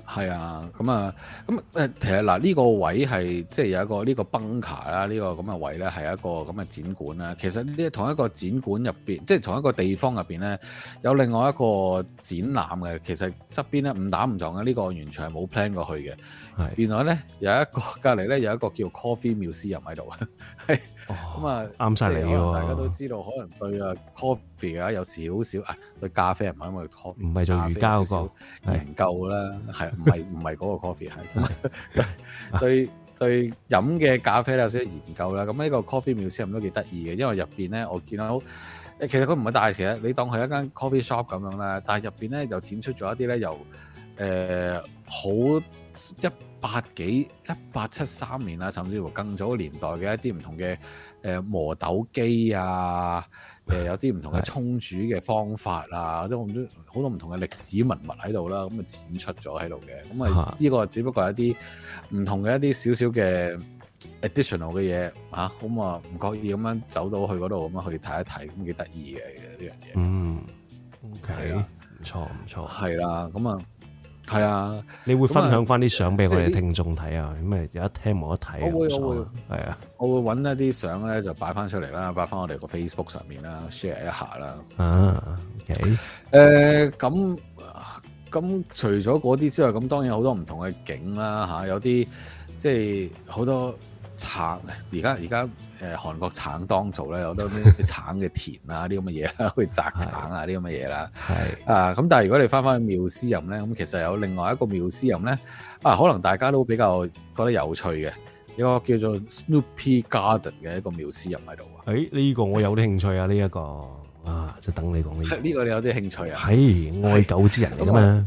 係啊，咁啊，咁誒，其實嗱呢個位係即係有一個呢個 bunker 啦，呢個咁嘅位咧係一個咁嘅展館啦。其實呢同一個展館入邊，即係同一個地方入邊咧，有另外一個展覽嘅。其實側邊咧誤打誤撞嘅，呢個完全係冇 plan 過去嘅。係原來咧有一個隔離咧有一個叫 Coffee Museum 喺度，係咁啊啱晒你喎！大家都知道，可能對啊 coffee 啊有少少啊對咖啡唔係因為 coffee 唔係做瑜伽嗰個研究啦，係唔係唔係嗰個 coffee 係對對飲嘅咖啡有少少研究啦。咁呢個 Coffee Museum 都幾得意嘅，因為入邊咧我見到誒其實佢唔係大嘅，你當佢一間 coffee shop 咁樣啦，但係入邊咧就展出咗一啲咧由誒好一八幾一八七三年啊，甚至乎更早年代嘅一啲唔同嘅誒磨豆機啊，誒有啲唔同嘅沖煮嘅方法啊，都好多好多唔同嘅歷史文物喺度啦，咁啊展出咗喺度嘅，咁啊呢個只不過係一啲唔同嘅一啲少少嘅 additional 嘅嘢嚇，咁啊唔覺意咁樣走到去嗰度咁樣去睇一睇，咁幾得意嘅呢樣嘢。嗯 ，OK，唔錯唔錯，係啦，咁啊。係啊，你會分享翻啲相俾我哋聽眾睇啊？咁咪有得聽冇得睇？我會我會係啊，我會揾一啲相咧就擺翻出嚟啦，擺翻我哋個 Facebook 上面啦 ，share 一下啦。啊 ，OK，誒咁咁除咗嗰啲之外，咁當然好多唔同嘅景啦嚇，有啲即係好多橙，而家而家。誒韓國橙當造咧，有好多啲橙嘅田啊，啲咁嘅嘢啦，去摘橙啊，啲咁嘅嘢啦。係啊，咁但係如果你翻返去妙思任咧，咁其實有另外一個妙思任咧，啊，可能大家都比較覺得有趣嘅，一個叫做 Snoopy Garden 嘅一個妙思任喺度啊。誒、欸，呢、這個我有啲興趣啊，呢、這、一個啊，就等你講呢、這個。呢、這個你有啲興趣啊？係愛狗之人咁啊，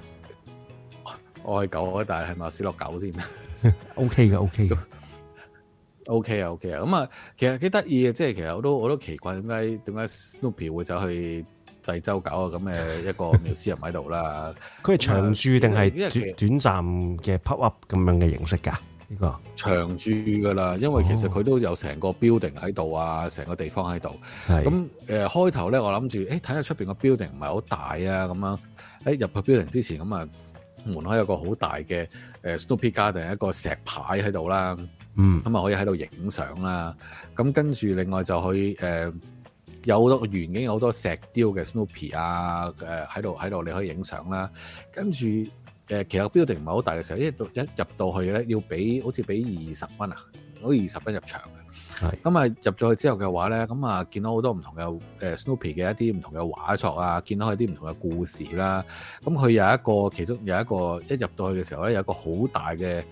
愛狗啊，但係係咪斯洛狗先？O K 嘅，O K 嘅。O K 啊 ，O K 啊，咁啊，其實幾得意嘅，即係其實我都我都奇怪點解點解 Snoopy 會走去濟州搞個咁嘅一個妙思任喺度啦？佢係長駐定係短短暫嘅 pop up 咁樣嘅形式㗎？呢個長駐㗎啦，因為其實佢都有成個 building 喺度啊，成個地方喺度。咁誒、呃、開頭咧，我諗住誒睇下出邊個 building 唔係好大啊，咁樣誒入去 building 之前咁啊，門口有個好大嘅誒 Snoopy Garden 一個石牌喺度啦。嗯，咁啊可以喺度影相啦，咁跟住另外就去誒、呃、有好多園景有好多石雕嘅 Snoopy 啊，誒喺度喺度你可以影相啦。跟住誒其實 building 唔係好大嘅時候，一到一入到去咧要俾好似俾二十蚊啊，好似二十蚊入場嘅。係咁啊入咗去之後嘅話咧，咁啊見到好多唔同嘅誒 Snoopy 嘅一啲唔同嘅畫作啊，見到佢啲唔同嘅故事啦。咁佢有一個其中有一個一入到去嘅時候咧，有一個好大嘅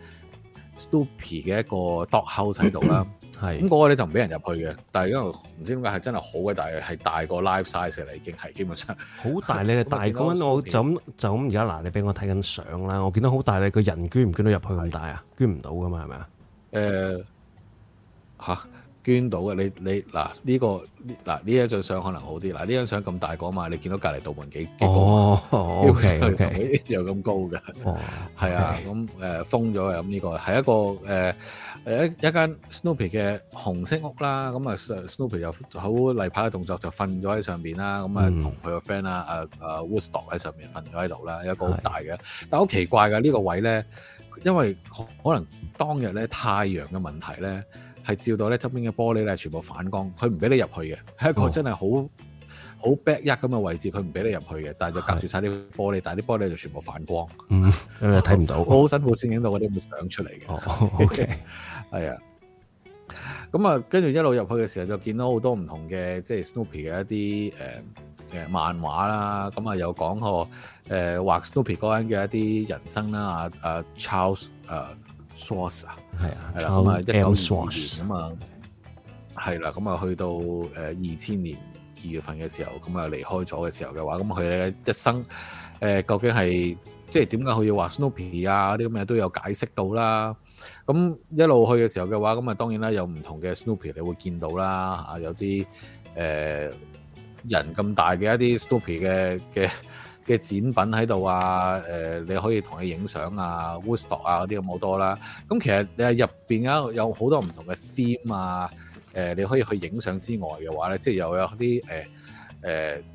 Snoopy 嘅一個 dog house 喺度啦，係咁嗰個咧就唔俾人入去嘅，但係因為唔知點解係真係好嘅，但係係大過 life size 啦，已經係基本上好大咧，大嗰陣我就咁就咁而家嗱，你俾我睇緊相啦，我見到好大咧，個人捐唔捐到入去咁大啊？捐唔到噶嘛，係咪啊？誒嚇！捐到嘅，你你嗱呢、這個嗱呢一張相可能好啲，嗱呢張相咁大個嘛，你見到隔離道門幾幾高啊？哦，OK OK，又咁高嘅，哦，係啊，咁誒、呃、封咗嘅，咁呢個係一個誒誒、呃、一一間 Snoopy 嘅紅色屋啦，咁啊 Snoopy 又好例牌嘅動作就瞓咗喺上邊啦，咁啊同佢個 friend 啦，啊啊 Woodstock 喺上面瞓咗喺度啦，有一個好大嘅，但係好奇怪嘅呢、這個位咧，因為可能當日咧太陽嘅問題咧。係照到咧側邊嘅玻璃咧，全部反光，佢唔俾你入去嘅，係一個真係好好 back 一咁嘅位置，佢唔俾你入去嘅，但係就隔住晒啲玻璃，但係啲玻璃就全部反光，嗯，你睇唔到，我好辛苦先影到嗰啲咁嘅相出嚟嘅。哦，OK，係啊，咁啊，跟住一路入去嘅時候，就見到好多唔同嘅即係 Snoopy 嘅一啲誒誒漫畫啦，咁啊有講過誒畫 Snoopy 嗰陣嘅一啲人生啦，啊啊 Charles 誒。Schwarz 啊，係啊，係啦，咁啊，一九二二年咁啊，係啦，咁啊，去到誒二千年二月份嘅時候，咁啊離開咗嘅時候嘅話，咁佢嘅一生誒、呃、究竟係即係點解佢要畫 Snoopy 啊啲咁嘅都有解釋到啦。咁一路去嘅時候嘅話，咁啊當然啦，有唔同嘅 Snoopy 你會見到啦，嚇有啲誒、呃、人咁大嘅一啲 Snoopy 嘅嘅。嘅展品喺度啊，誒、呃、你可以同佢影相啊 Woodstock 啊嗰啲咁好多啦。咁其實你係入邊有有好多唔同嘅 theme 啊，誒、呃、你可以去影相之外嘅話咧，即係又有啲誒誒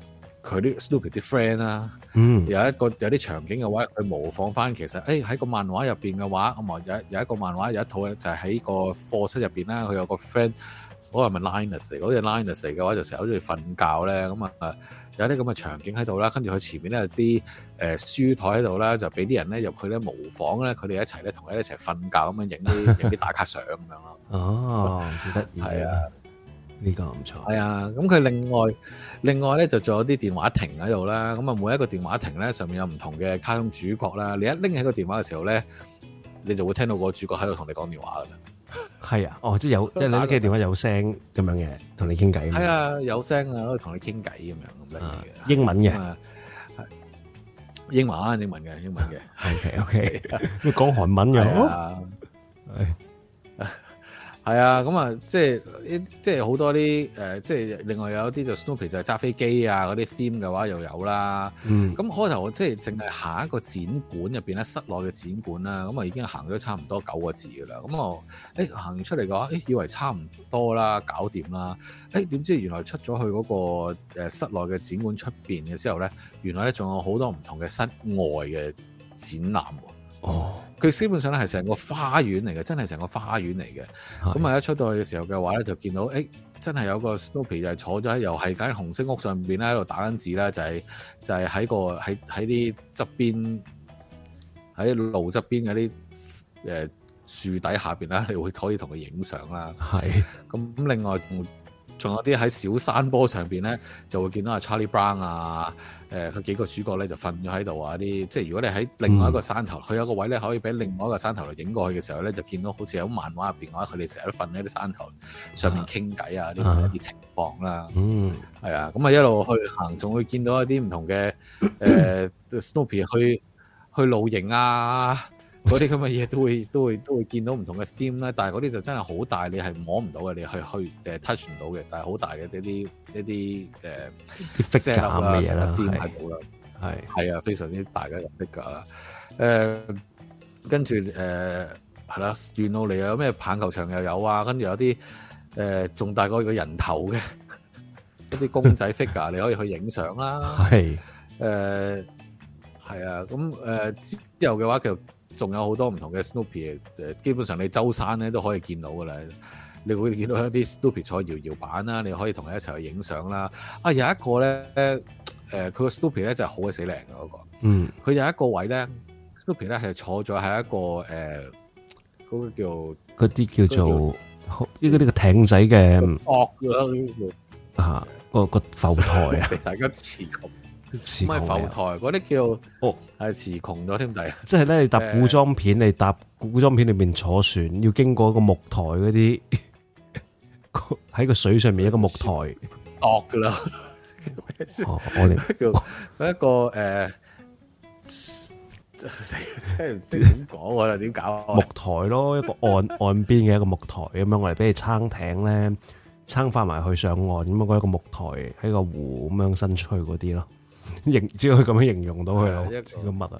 佢啲 Snoopy 啲 friend 啦， 嗯， 有一個有啲場景嘅話，佢模仿翻其實，誒喺個漫畫入邊嘅話，咁啊有有一個漫畫有一套咧，就係喺個課室入邊啦，佢有個 friend，嗰個係咪 Linus 嚟？嗰隻 Linus 嚟嘅話，就成日好中意瞓覺咧，咁啊有啲咁嘅場景喺度啦，跟住佢前面咧有啲誒書台喺度啦，就俾啲人咧入去咧模仿咧，佢哋一齊咧同佢一齊瞓覺咁樣影啲影啲打卡相咁樣咯。 哦，幾得意，係啊。呢、這個唔錯， 係啊，咁佢另外另外咧就仲有啲電話亭喺度啦，咁啊每一個電話亭咧上面有唔同嘅卡通主角啦，你一拎起個電話嘅時候咧，你就會聽到個主角喺度同你講電話噶啦。係啊，哦，即係有，即係你拎起電話有聲咁樣嘅，同你傾偈。係啊，有聲啊，可以同你傾偈咁樣咁樣嘅。 英文嘅， 英文英文嘅英文嘅。 OK OK，咁講韓文嘅。 係啊，咁啊，即係即係好多啲誒、呃，即係另外有啲就 Snoopy 就係揸飛機啊，嗰啲 theme 嘅話又有啦。嗯，咁開頭我即係淨係行一個展館入邊咧，室內嘅展館啦，咁啊已經行咗差唔多九個字噶啦。咁我誒行完出嚟嘅話，誒以為差唔多啦，搞掂啦。誒點知原來出咗去嗰個誒室內嘅展館出邊嘅時候咧，原來咧仲有好多唔同嘅室外嘅展覽喎。哦。佢基本上咧係成個花園嚟嘅，真係成個花園嚟嘅。咁啊一出到去嘅時候嘅話咧，就見到誒、欸，真係有個 Snoopy 就係坐咗喺又係間紅色屋上邊咧，喺度打緊字啦，就係、是、就係、是、喺個喺喺啲側邊喺路側邊嗰啲誒樹底下邊啦，你會可以同佢影相啦。係。咁另外仲有啲喺小山坡上邊咧，就會見到阿 Charlie Brown 啊，誒、呃、佢幾個主角咧就瞓咗喺度啊啲，即係如果你喺另外一個山頭，佢、嗯、有個位咧可以俾另外一個山頭嚟影過去嘅時候咧，就見到好似喺漫畫入邊嘅話，佢哋成日都瞓喺啲山頭上面傾偈啊，呢啲一啲情況啦。嗯，係啊，咁啊一路去行，仲會見到一啲唔同嘅誒、呃、Snoopy 去去露營啊。嗰啲咁嘅嘢都會都會都會見到唔同嘅 theme 啦，但係嗰啲就真係好大，你係摸唔到嘅，你去去誒 touch 唔到嘅，但係好大嘅一啲一啲誒 set up 啦，成個 theme 喺度啦，係係啊，非常之大嘅一個 figure 啦。誒，跟住誒係啦，沿路嚟有咩棒球場又有啊，跟住有啲誒仲大過個人頭嘅一啲公仔 figure，你可以去影相啦。係誒係啊，咁誒之後嘅話其實仲有好多唔同嘅 Snoopy，誒基本上你周山咧都可以見到噶啦，你會見到一啲 Snoopy 坐搖搖板啦，你可以同佢一齊去影相啦。啊，有一個咧，誒佢個 Snoopy 咧就係好鬼死靚嘅嗰個，嗯，佢有一個位咧 Snoopy 咧係坐咗喺一個誒嗰、呃嗰個叫嗰啲叫做呢個呢個艇仔嘅惡啦，啊個個浮台啊，大家詞窮。唔係浮台，嗰啲叫哦，係詞窮咗添，第即係咧，你搭古裝片，你搭古裝片裏面坐船，要經過一個木台嗰啲，喺個水上面一個木台，惡噶啦。哦，我哋叫一個誒，即係唔知點講啦，點搞？木台咯，一個岸岸邊嘅一個木台咁樣，我哋俾你撐艇咧，撐翻埋去上岸咁樣，嗰一個木台喺個湖咁樣伸出去嗰啲咯。形只可以咁樣形容到佢咯，一個乜啊？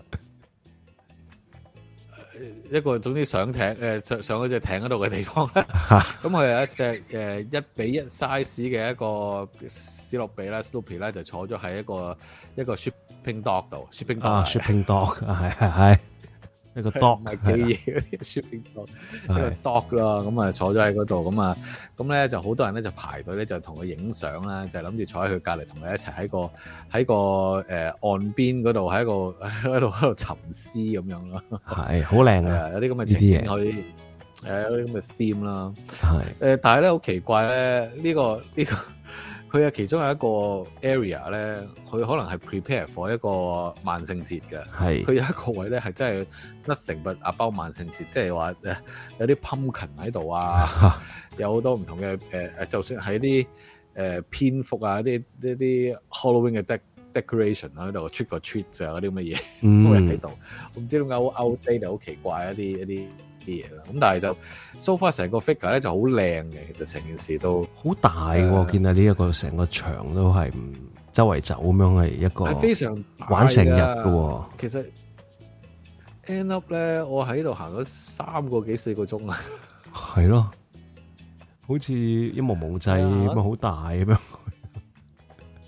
一個總之上艇誒上上嗰隻艇嗰度嘅地方咧，咁佢有一隻誒一比一 size 嘅一個史諾比啦 Snoopy 咧，就坐咗喺一個一個 shipping dock 度 ，shipping dock 啊 ，shipping dock 係係係一個 dock 係幾嘢嗰啲 shipping dock，一個 dock 啦，咁啊坐咗喺嗰度，咁啊咁咧就好多人咧就排隊咧就同佢影相啦，就諗住坐喺佢隔離同佢一齊喺個喺個誒岸邊嗰度喺個喺度喺度沉思咁樣咯，係好靚啊！有啲咁嘅情景可以誒有啲咁嘅 theme 啦，係誒，但係咧好奇怪咧，呢個呢個。佢啊，其中有一個 area 咧，佢可能係 prepare for 一個萬聖節嘅。係佢有一個位咧，係真係 nothing but about 萬聖節，即係話誒有啲 pumpkin 喺度啊，有好多唔同嘅誒誒，就算係啲誒蝙蝠啊，啲一啲 Halloween 嘅 de decoration 喺度 trick or treat 啊嗰啲咁嘅嘢都係喺度。我唔知點解好 outdated 好奇怪一啲一啲啲嘢啦。咁但係就 so far 成個 figure 咧就好靚嘅，其實成件事都好大喎。我見到呢一個成個場都係周圍走咁樣，係一個係非常玩成日嘅。其實 end up 咧，我喺度行咗三個幾四個鐘啊。係咯，好似一望無際咁啊，好大咁樣。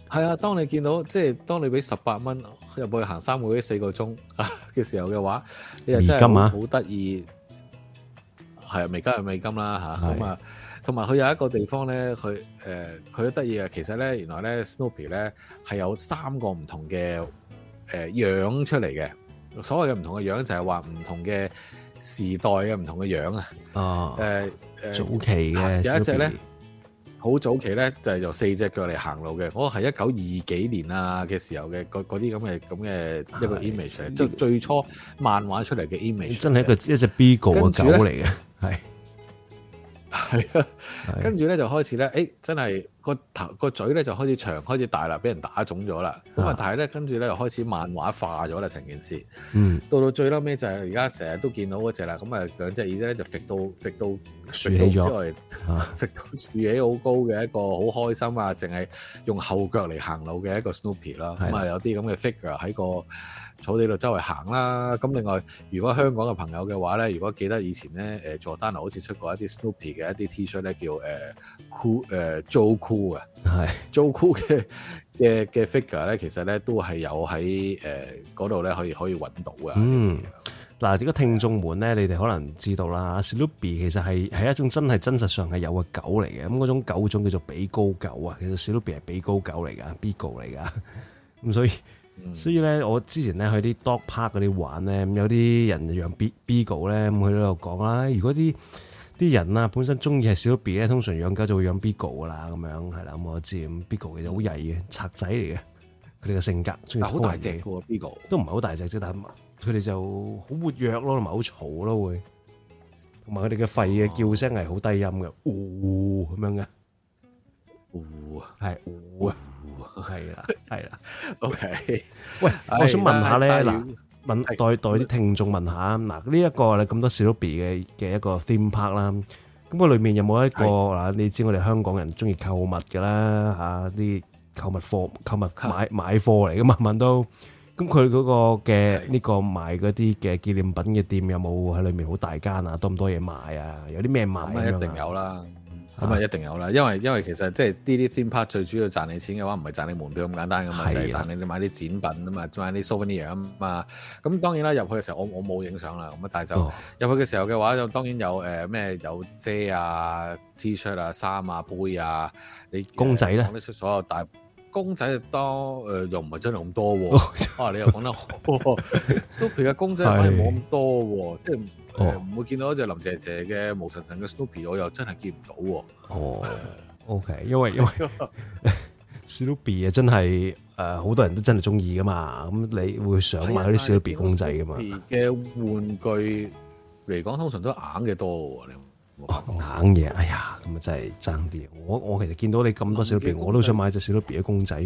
係啊，當你見到即係當你俾十八蚊入去行三個幾四個鐘嘅時候嘅話，你又真係好得意。係啊，美金係美金啦嚇，咁啊，同埋佢有一個地方咧，佢誒佢都得意啊。其實咧，原來咧 Snoopy 咧係有三個唔同嘅誒、呃、樣出嚟嘅。所謂嘅唔同嘅樣就係話唔同嘅時代嘅唔同嘅樣啊。哦，誒、呃、誒， 早期嘅有一隻咧。好早期咧就係、是、由四隻腳嚟行路嘅，我係一九二幾年啊嘅時候嘅嗰啲咁嘅咁嘅一個 image 嚟，即係最初漫畫出嚟嘅 image。真係一個一隻 Beagle 嘅狗嚟嘅，係係啊，跟住咧就開始咧，誒、欸、真係個頭個嘴咧就開始長開始大啦，俾人打腫咗啦。咁啊，但係咧跟住咧又開始漫畫化咗啦，成件事。嗯，到到最嬲尾就係而家成日都見到嗰隻啦，咁啊兩隻耳仔咧就揈到揈到豎起咗，之外揈到豎起好高嘅一個好開心啊，淨係用後腳嚟行路嘅一個 Snoopy 啦。咁啊有啲咁嘅 figure 喺個草地度周圍行啦。咁另外，如果香港嘅朋友嘅話咧，如果記得以前咧，誒 Giordano 好似出過一啲 Snoopy 嘅一啲 T-shirt 咧，叫誒 Cool 誒 Joe Cool 嘅，係 Joe Cool 嘅嘅嘅 figure 咧，其實咧都係有喺誒嗰度咧可以可以揾到嘅。嗯， 嗱，如果聽眾們咧，你哋可能知道啦 ，Snoopy 其實係係一種真係真實上係有嘅狗嚟嘅。咁嗰種狗種叫做比高狗啊，其實 Snoopy 係比高狗嚟㗎 ，Beagle 嚟㗎。咁所以。嗯、所以咧，我之前咧去啲 dog park 嗰啲玩咧，有啲人養 Beagle 咧，咁佢喺度講啦，如果啲啲人啊本身中意係小 B 咧，通常養狗就會養 Beagle 噶啦，咁樣係啦，咁我知咁 Beagle 其實好曳嘅賊仔嚟嘅，佢哋嘅性格中意好大隻嘅 Beagle 都唔係好大隻啫，但係佢哋就好活躍咯，同埋好嘈咯會，同埋佢哋嘅吠嘅叫聲係好低音嘅，嗚、哦、咁樣嘅，嗚係嗚啊。係啦，係啦。OK，喂，我想問下咧，嗱，問代代啲聽眾問下，嗱，呢一個咧咁多 Snoopy 嘅嘅一個 theme park 啦，咁個裏面有冇一個嗱？你知我哋香港人中意購物噶啦，吓啲購物貨、購物買買貨嚟噶嘛，問到，咁佢嗰個嘅呢個賣嗰啲嘅紀念品嘅店有冇喺裏面好大間啊？多唔多嘢賣啊？有啲咩賣咁一定有啦。咁啊，一定有啦，因為因為其實即係呢啲 theme park 最主要賺你錢嘅話，唔係賺你門票咁簡單噶嘛，就係賺你買啲展品啊嘛，買啲 souvenir 啊嘛。咁當然啦，入去嘅時候我我冇影相啦，咁啊，但係就入去嘅時候嘅話，就當然有誒咩、呃、有遮啊、T-shirt 啊、衫啊、杯啊，你公仔咧講得出所有大公仔多誒、呃，又唔係真係咁多喎、啊。啊，你又講得好，Snoopy 嘅公仔反而冇咁多喎，即係。誒、哦、唔會見到一隻林姐姐嘅毛神神嘅 Snoopy， 我又真係見唔到喎。哦 ，OK，因為因為 Snoopy 啊，真係誒好多人都真係中意噶嘛。咁你會想買嗰啲 Snoopy 公仔噶嘛？ 嘅玩具嚟講，通常都硬嘅多喎。你哦硬嘢，哎呀，咁啊真係爭啲。我我其實見到你咁多 Snoopy，我都想買隻 Snoopy 嘅公仔。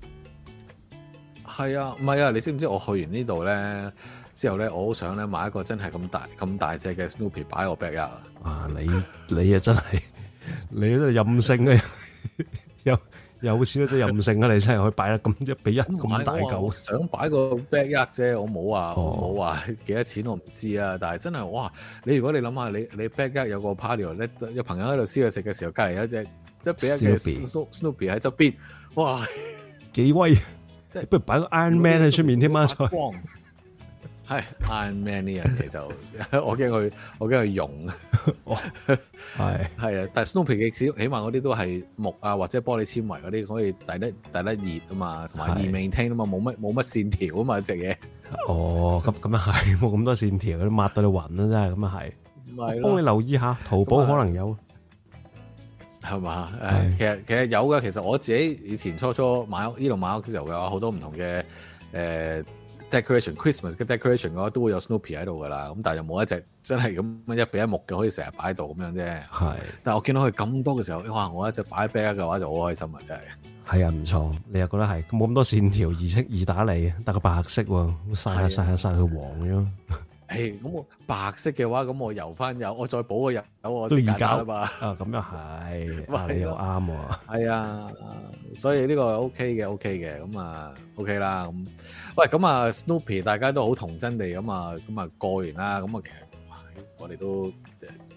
係啊，唔係啊，你知唔知我去完呢度咧？之後咧，我好想咧買一個真係咁大咁大隻嘅 Snoopy 擺喺我 backyard 啊！你你啊真係你真係任性啊！有有錢都真係任性啊！你真係可以擺得咁一比一咁大嚿。 我想擺個 backyard 啫，我冇話冇話幾多錢，我唔知啊。但係真係哇！你如果你諗下，你你 backyard 有個 party，咧有朋友喺度燒嘢食嘅時候，隔離有一隻一比一嘅 Snoopy 喺側邊，哇！ 幾威！即係不如擺個 Iron Man 喺出面添啊！再係 Iron Man 呢樣嘢就我驚佢，我驚佢溶。係係啊，但係 Snoopy 嘅起碼嗰啲都係木啊或者玻璃纖維嗰啲，可以抵得抵得熱啊嘛，同埋易 maintain 啊嘛，冇乜冇乜線條啊嘛隻嘢。 哦，咁咁啊係，冇咁多線條，都抹到你暈啦真係，咁啊係。唔係，幫你留意下，淘寶可能有。 係嘛？誒，其實其實有㗎。其實我自己以前初初買屋呢度買屋嘅時候嘅話，好多唔同嘅誒。呃decoration Christmas 嘅 decoration 嘅話都會有 Snoopy 喺度噶啦，咁但係又冇一隻真係咁一比一木嘅可以成日擺喺度咁樣啫。係，但係我見到佢咁多嘅時候，哇！我一隻擺喺 bag 嘅話就好開心啊，真係。係啊，唔錯，你又覺得係冇咁多線條，易識易打理，得個白色喎，曬下曬下曬佢黃咗。誒，咁我白色嘅話，咁我油翻油，我再補個油，我先揀啦嘛。啊，咁又係，你又啱喎。係啊，所以呢個 OK 嘅 OK 嘅，咁啊 OK 啦咁。喂，咁啊 Snoopy 大家都好童真地咁啊，咁啊過完啦，咁啊其實我哋都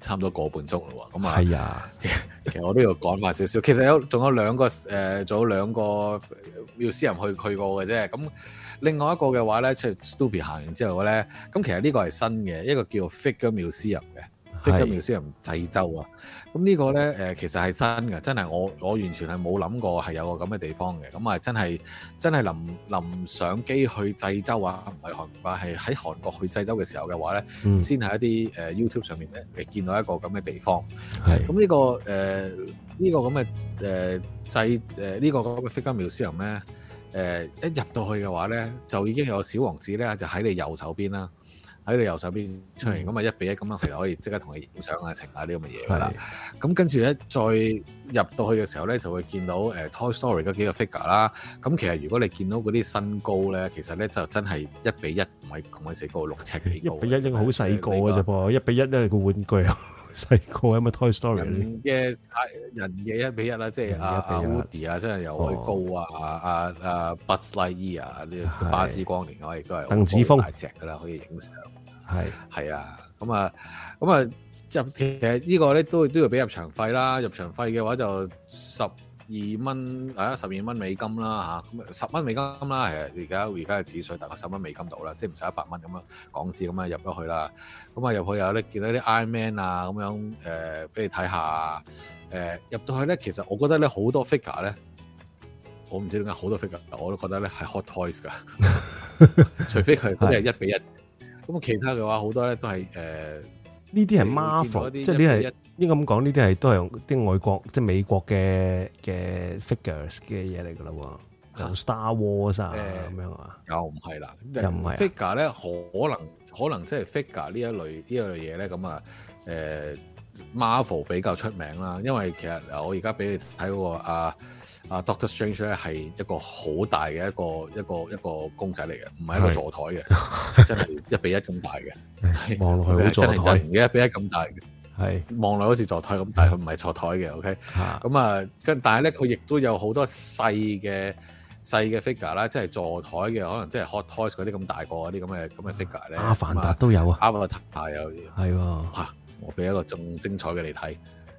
差唔多個半鐘咯喎。咁啊， 係啊， 其實我都要講快少少。其實有仲有兩個誒，仲有兩個 museum 去去過嘅啫。咁另外一個嘅話咧，即係 Stupid 行完之後咧，咁其實呢個係新嘅，一個叫 Figure Museum 嘅。Figure Museum濟州啊，咁呢個咧誒其實係新嘅，真係我我完全係冇諗過係有個咁嘅地方嘅，咁啊真係真係臨臨上機去濟州啊，唔係韓國啊，係喺韓國去濟州嘅時候嘅話咧，嗯、先喺一啲誒 YouTube 上面咧，你見到一個咁嘅地方。係咁呢個誒呢、呃呢個咁嘅誒濟誒呢個咁嘅 Figure Museum 咧，誒、呃、一入到去嘅話咧，就已經有小王子咧，就喺你右手邊啦。喺你右手邊出嚟，咁、嗯、啊一比一咁樣，其實可以即刻同你影相啊、成下呢咁嘅嘢㗎啦。咁跟住咧，再入到去嘅時候咧，就會見到誒、呃、Toy Story 嗰幾個 figure 啦。咁其實如果你見到嗰啲身高咧，其實咧就真係一比一，唔係咁鬼死高，六尺幾高。一比一應該好細個嘅啫噃，一比一咧個玩具啊細個啊嘛 Toy Story 人嘅人嘅一比一啦，即係阿阿 Woody 啊，真係又可高啊，阿阿阿 Buzz Lightyear 啊，呢個巴斯光年嘅話亦都係鄧子峰大隻㗎啦，可以影相。係係啊，咁啊，咁啊入其實呢個咧都都要俾入場費啦。入場費嘅話就十二蚊，係啊，十二蚊美金啦嚇，咁十蚊美金啦。係啊，而家而家嘅紙水大概十蚊美金到啦，即係唔使一百蚊咁樣港紙咁樣入咗去啦。咁啊入去有咧見到啲 Iron Man 啊咁樣誒，俾你睇下誒入到去咧，其實我覺得咧好多 figure 咧，我唔知點解好多 figure 我都覺得咧係 Hot Toys 㗎，除非佢嗰啲係一比一。咁其他嘅話好多咧都係誒呢啲係 Marvel，即係呢係應該咁講，呢啲係都係啲外國即係美國嘅嘅 figures 嘅嘢嚟㗎啦喎，有 Star Wars 啊咁樣啊，又唔係啦，又唔係 figure 咧，可能可能即係 figure 呢一類呢一類嘢咧，咁啊誒 Marvel 比較出名啦，因為其實我而家俾你睇嗰個啊。啊 Doctor Strange 咧係一個好大嘅一個一個一個公仔嚟嘅，唔係一個座台嘅，真係一比一咁大嘅，望落去好座台嘅一比一咁大嘅，係望落好似座台咁大，佢唔係座台嘅 ，OK，咁啊，跟但係咧佢亦都有好多細嘅細嘅 figure 啦，即係座台嘅，可能即係 Hot Toys 嗰啲咁大個嗰啲咁嘅咁嘅 figure 咧，阿凡達都有啊，阿凡達有，係喎，嚇，我俾一個仲精彩嘅你睇。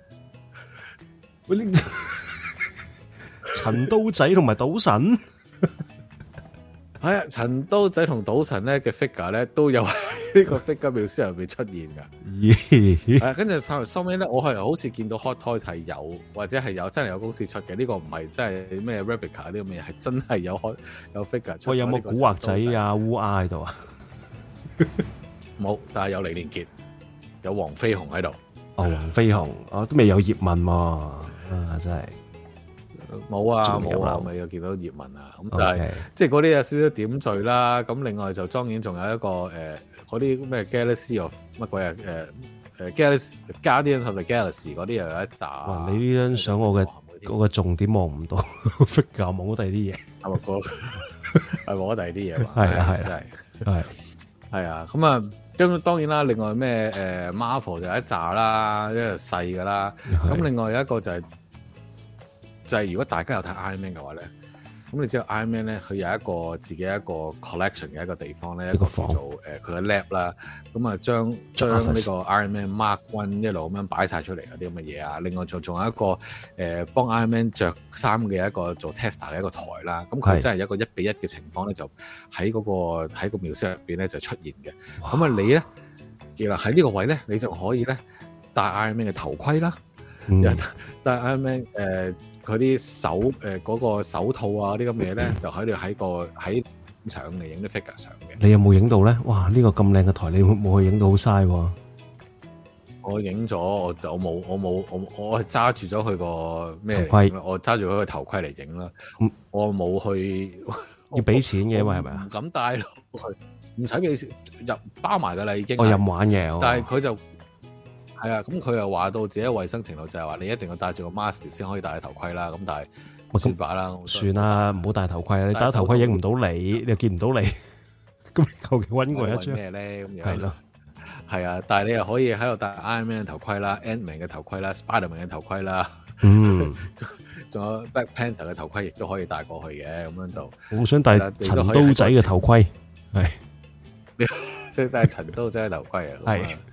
陳刀仔同埋賭神，係啊！陳刀仔同賭神咧嘅 figure 咧都有呢個 figure museum入邊出現噶。咦？係跟住收收尾咧，我係好似見到 Hot Toys 係有，或者係有真係有公司出嘅。呢、這個唔係真係咩 replica 呢個咩，係真係有開有 figure 出。喂，有冇古惑仔啊？烏鴉喺度啊？冇，但係有李連杰，有黃飛鴻喺度。哦，黃飛鴻，我都未有葉問喎，啊，真係。冇啊冇啊，咪又見到葉問啊，咁但係、okay. 即係嗰啲有少少點綴啦。咁另外就當然仲有一個誒嗰啲咩 Galaxy of 乜鬼啊誒誒 Galaxy Guardians of the Galaxy 嗰啲又有一集。哇！你呢張相我嘅嗰個重點望唔到 figure 望到第二啲嘢，係咪嗰係望到第二啲嘢嘛？係啊係真係係係啊咁啊。咁當然啦，另外咩誒 Marvel 就有一集啦，一個細噶啦。咁另外有一個就係、是。就係、是、如果大家有睇 Iron Man 嘅話咧，咁你知道 Iron Man 咧，佢有一個自己一個 collection 嘅一個地方咧，一個叫做誒佢嘅 lab 啦，咁啊將將呢個 Iron Man Mark One 一路咁樣擺晒出嚟嗰啲咁嘅嘢啊，另外仲仲有一個誒、呃、幫 Iron Man 着衫嘅一個做 tester 嘅一個台啦，咁佢真係一個一比一嘅情況咧，就喺嗰、那個喺個描述入邊咧就出現嘅。咁啊你咧，原來喺呢個位咧，你就可以咧戴 Iron Man 嘅頭盔啦，嗯、戴 Iron Man 誒、呃。佢啲手誒嗰、呃那個手套啊啲咁嘅嘢咧，就喺度喺個喺相嚟影啲 figure 相嘅。你有冇影到咧？哇！呢、這個咁靚嘅台，你冇去影到好嘥喎。我影咗，我就冇，我冇，我我係揸住咗佢個咩頭盔，我揸住佢個頭盔嚟影啦。我冇去要俾錢嘅嘛，係咪啊？唔敢帶落去，唔使俾錢入包埋噶啦，已經。我任玩嘢，但係佢就。係啊，咁佢又話到自己衛生程度就係話你一定要戴住個 mask 先可以戴頭盔啦。咁但係算罷啦，算啦，唔好戴頭盔啦。你戴頭盔影唔到你，你又見唔到你。咁你求其揾過一張咩咧？咁樣係咯，係啊。但係你又可以喺度戴 Iron Man 嘅頭盔啦、Ant-Man 嘅頭盔啦、Spider-Man 嘅頭盔啦。嗯，仲有 Black Panther 嘅頭盔亦都可以戴過去嘅。咁樣就我想戴陳刀仔嘅頭盔，係你戴陳刀仔嘅頭盔啊。係。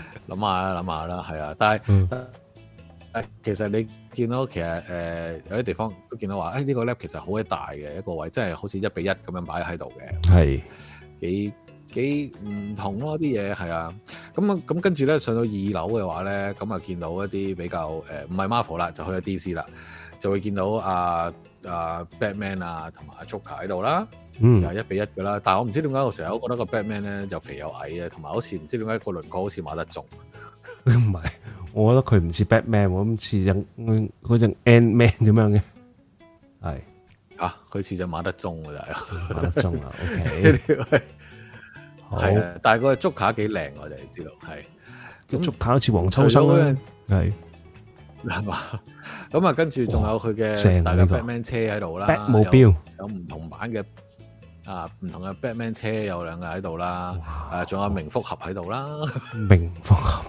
諗下啦，諗下啦，係啊，但係。嗯誒，其實你見到其實誒、呃、有啲地方都見到話，誒、哎、呢、這個 lab 其實好鬼大嘅一個位，真係好似一比一咁樣擺喺度嘅， 係幾幾唔同咯啲嘢係啊。咁啊咁跟住咧上到二樓嘅話咧，咁啊見到一啲比較誒唔係 Marvel 啦，就去咗 D C 啦，就會見到阿阿 Batman 啊同埋阿 Joker 喺度啦，嗯，又係一比一噶啦。但係我唔知點解我成日都覺得個 Batman 咧又肥又矮嘅，同埋好似唔知點解個輪廓好似馬得中，唔係。我覺得佢唔似 Batman，我咁似隻嗰隻 Ant-Man 點樣嘅，係啊，佢似隻馬德鐘㗎咋， 馬德鐘啊 ，OK， 係啊，但係個竹卡幾靚，我哋知道係， 個竹卡好似黃秋生咧，係係嘛，咁啊，跟住仲有佢嘅大嘅 Batman 車喺度啦， 目標有唔同版嘅啊，唔同嘅 Batman 車有兩個喺度啦，誒，仲有明福俠喺度啦， 明福俠。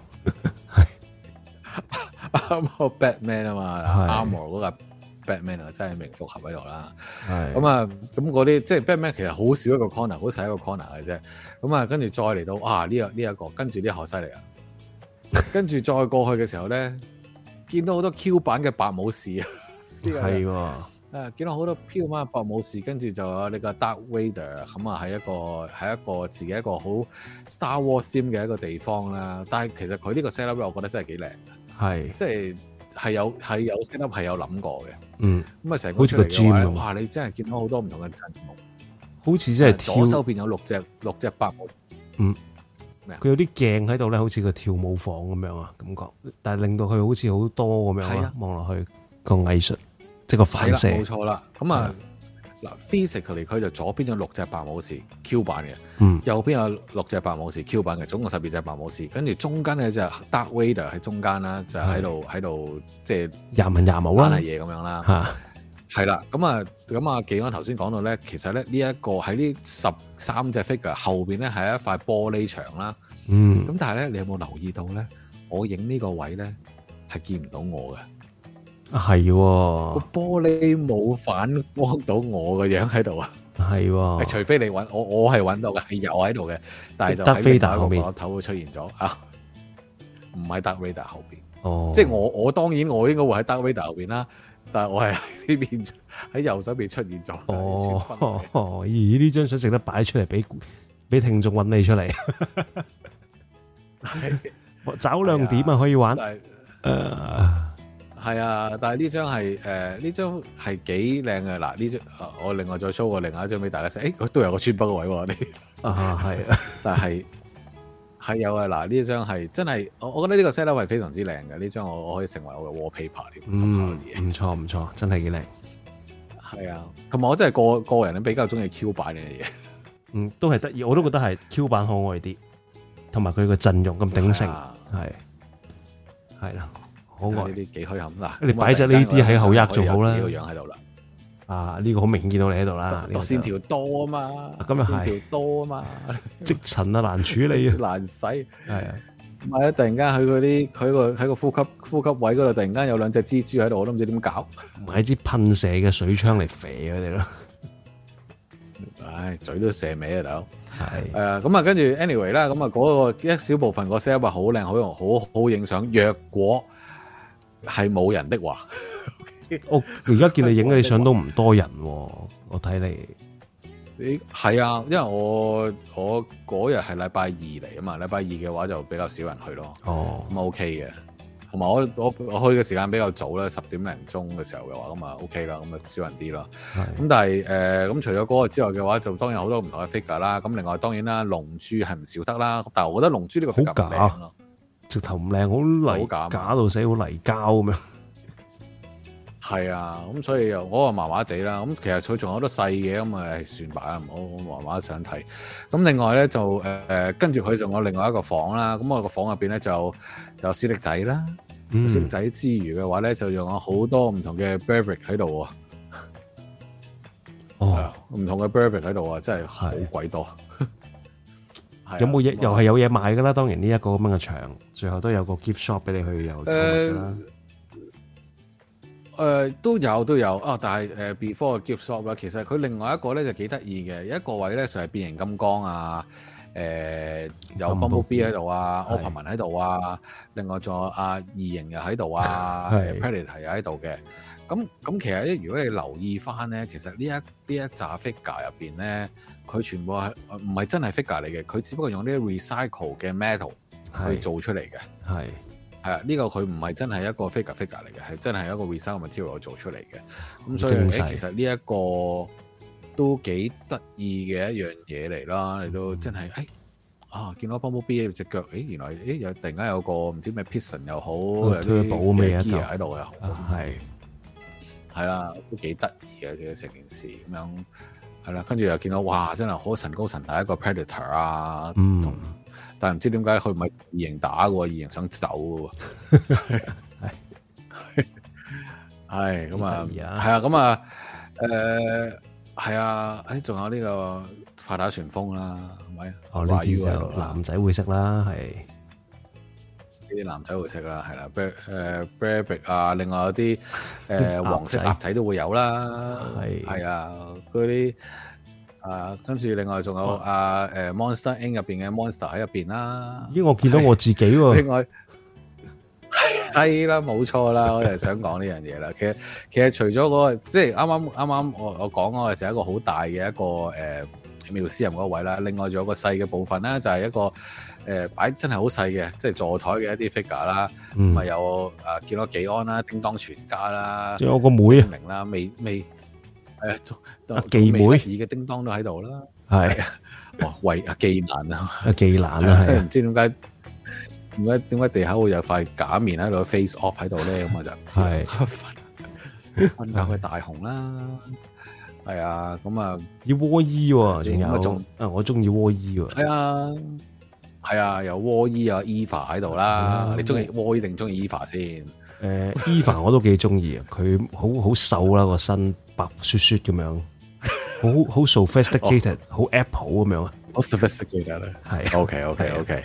啱個 Batman 啊嘛 ，Armor 嗰個 Batman 啊，真係名副合喺度啦。咁啊，咁嗰啲即係 Batman 其實好少一個 corner，好細一個 corner 嘅啫。咁啊，跟住再嚟到啊呢、這個呢一、這個，跟住啲好犀利啊！跟住再過去嘅時候咧，見到好多 Q 版嘅白武士啊，係喎。誒，見到好多飄馬白武士，跟住就有呢個 Dark Vader，咁啊喺一個喺一個自己一個好 Star Wars theme 嘅一個地方啦。但係其實佢呢個 set up 咧，我覺得真係幾靚嘅。係，即係係有係有 set up 係有諗過嘅。嗯，咁啊成個出嚟嘅話，哇！你真係見到好多唔同嘅陣目，好似真係左手邊有六隻六隻白武。嗯，咩啊？佢有啲鏡喺度咧，好似個跳舞房咁樣啊，感覺。但係令到佢好似好多咁樣啊，望落去個藝術。即個反射，冇錯啦。咁啊，嗱 physically 佢就左邊有六隻白武士 Q 版嘅，嗯，右邊有六隻白武士 Q 版嘅，總共十二隻白武士。跟住中間咧就 Darth Vader 喺中間啦，就喺度喺度即係廿文廿武啦，嘢咁樣啦，嚇，係啦。咁啊，咁啊，技安頭先講到咧，其實咧呢一個喺呢十三隻 figure 後邊咧係一塊玻璃牆啦，嗯，咁但係咧你有冇留意到咧？我影呢個位咧係見唔到我嘅。係個玻璃冇反光到我個樣喺度啊！係，除非你揾我，我係揾到嘅，係有喺度嘅，但係就喺另外一個角頭會出現咗啊！唔喺 Darth Vader 後邊，哦，即係我我當然我應該會喺 Darth Vader 後邊啦，但係我係喺呢邊喺右手邊出現咗。哦，哦，咦？呢張相值得擺出嚟俾俾聽眾揾你出嚟，找亮點啊！可以玩，誒。係啊，但係呢張係誒呢張係幾靚嘅。嗱，呢張我另外再 show 個另外一張俾大家睇。誒、欸，都有個穿幫個位喎，你啊係，但係係有啊。嗱，呢張係真係，我我覺得呢個 set up 係非常之靚嘅。呢張我我可以成為我嘅 wallpaper 添。嗯，唔錯唔錯，真係幾靚。係啊，同埋我真係個個人咧比較中意 Q 版嘅嘢。嗯，都係得意，我都覺得係 Q 版可愛啲，同埋佢個陣容咁鼎盛，係係啦。好愛呢啲幾虛冚嗱，你擺隻呢啲喺後額仲好啦。個樣喺度啦，啊呢個好明顯見到你喺度啦。度線條多啊嘛，咁又係線條多啊嘛，積塵啊難處理啊，難洗係啊。唔係啊，突然間喺嗰啲佢個喺個呼吸呼吸位嗰度，突然間有兩隻蜘蛛喺度，我都唔知點搞。買支噴射嘅水槍嚟射佢哋咯。唉，嘴都射尾啊大佬。係誒咁啊，跟住 anyway 啦，咁啊嗰個一小部分個 set 好靚，好用，好好影相。若果係冇人的話，我而家見你影嗰啲相都唔多人，我睇你，你係啊，因為我我嗰日係禮拜二嚟啊嘛，禮拜二嘅話就比較少人去咯。哦，咁 OK 嘅，同埋我我我去嘅時間比較早啦，十點零鐘嘅時候嘅話，咁啊 OK 啦，咁啊少人啲啦。咁但係誒，咁、呃、除咗嗰個之外嘅話，就當然有好多唔同嘅 figure 啦。咁另外當然啦，龍珠係唔少得啦。但係我覺得龍珠呢個 figure 唔靚咯。直頭唔靚，好泥假到死，好泥膠咁樣。係啊，咁所以又我話麻麻地啦。咁其實佢仲有好多細嘅，咁啊算吧啦，唔好麻麻想睇。咁另外咧就誒誒，跟住佢仲有另外一個房啦。咁我個房入邊咧就就有史力仔啦。嗯、史力仔之餘嘅話咧，就用咗好多唔同嘅 Burberry 喺度啊。哦，唔同嘅 Burberry 喺度啊，真係好鬼多。有冇嘢？又係有嘢賣噶啦。當然呢一個咁樣嘅場，最後都有個 gift shop 俾你去有購物噶啦。誒、呃，都有都有啊、哦！但係誒 before 嘅 gift shop 啦，其實佢另外一個咧就幾得意嘅，有一個位咧就係變形金剛啊， 呃、有 Bumblebee 喺度啊 Opperman 喺度啊，另外仲有阿異形又喺度啊 Predator 又喺度嘅。咁咁其實咧，如果你留意翻咧，其實呢一呢一紮 figure 入邊咧，佢全部係唔係真係 figure 嚟嘅，佢只不過用啲 recycle 嘅 metal 去做出嚟嘅。係係啊，呢、這個佢唔係真係一個 figure figure 嚟嘅，係真係一個 recycle material 做出嚟嘅。咁所以誒，其實呢一個都幾得意嘅一樣嘢嚟啦。你都真係誒、哎、啊，見到 Bumblebee 隻腳，誒原來誒有突然間有個唔知咩 piston 又好，有啲保咩 gear 喺度又好，係。係啦，都幾得意嘅，成件事咁樣係啦。跟住又見到哇，真係好神高神大一個 Predator 啊，嗯，但係唔知點解佢唔係異形打嘅喎，異形想走嘅喎，係係咁啊，係啊，咁啊，誒係啊，誒仲有呢個快打旋風啦，係咪？哦，呢啲就男仔會識啦，係。啲男仔會識啦，係啦 ，Bear 誒 Bearbrick 啊，另外有啲誒、呃、黃色鴨仔都會有啦，係係啊，嗰啲啊，跟住另外仲有啊誒 Monster Incorporated 入邊嘅 Monster 喺入邊啦。咦，我見到我自己喎。另外係啦，冇錯啦，我就係想講呢樣嘢啦。其實其實除咗嗰、嗰個，即係啱啱啱啱我我講嗰個就係一個好大嘅一個誒妙思人嗰位啦。另外仲有個細嘅部分咧，就係、係、一個。誒擺真係好細嘅，即係座台嘅一啲 figure 啦，咁啊有誒見到紀安啦、叮當全家啦，仲有個妹啊，明啦，未未誒阿紀妹二嘅叮當都喺度啦，係哇喂阿紀蘭啊，阿紀蘭啊，即係唔知點解點解點解地下會有塊假面喺度 face off 喺度咧，咁我就唔知啦。瞓覺嘅大雄啦，係啊，咁啊要窩衣喎，仲有啊我中意窩衣喎，係啊。係啊，有窩伊啊 Eva 喺度啦，嗯、你中意窩伊定中意 Eva 先？誒、呃、，Eva 我都幾中意啊，佢好好瘦啦，個身白雪雪咁樣，好好 sophisticated，好、哦、Apple 咁樣啊，好 sophisticated 咧，係 OK OK OK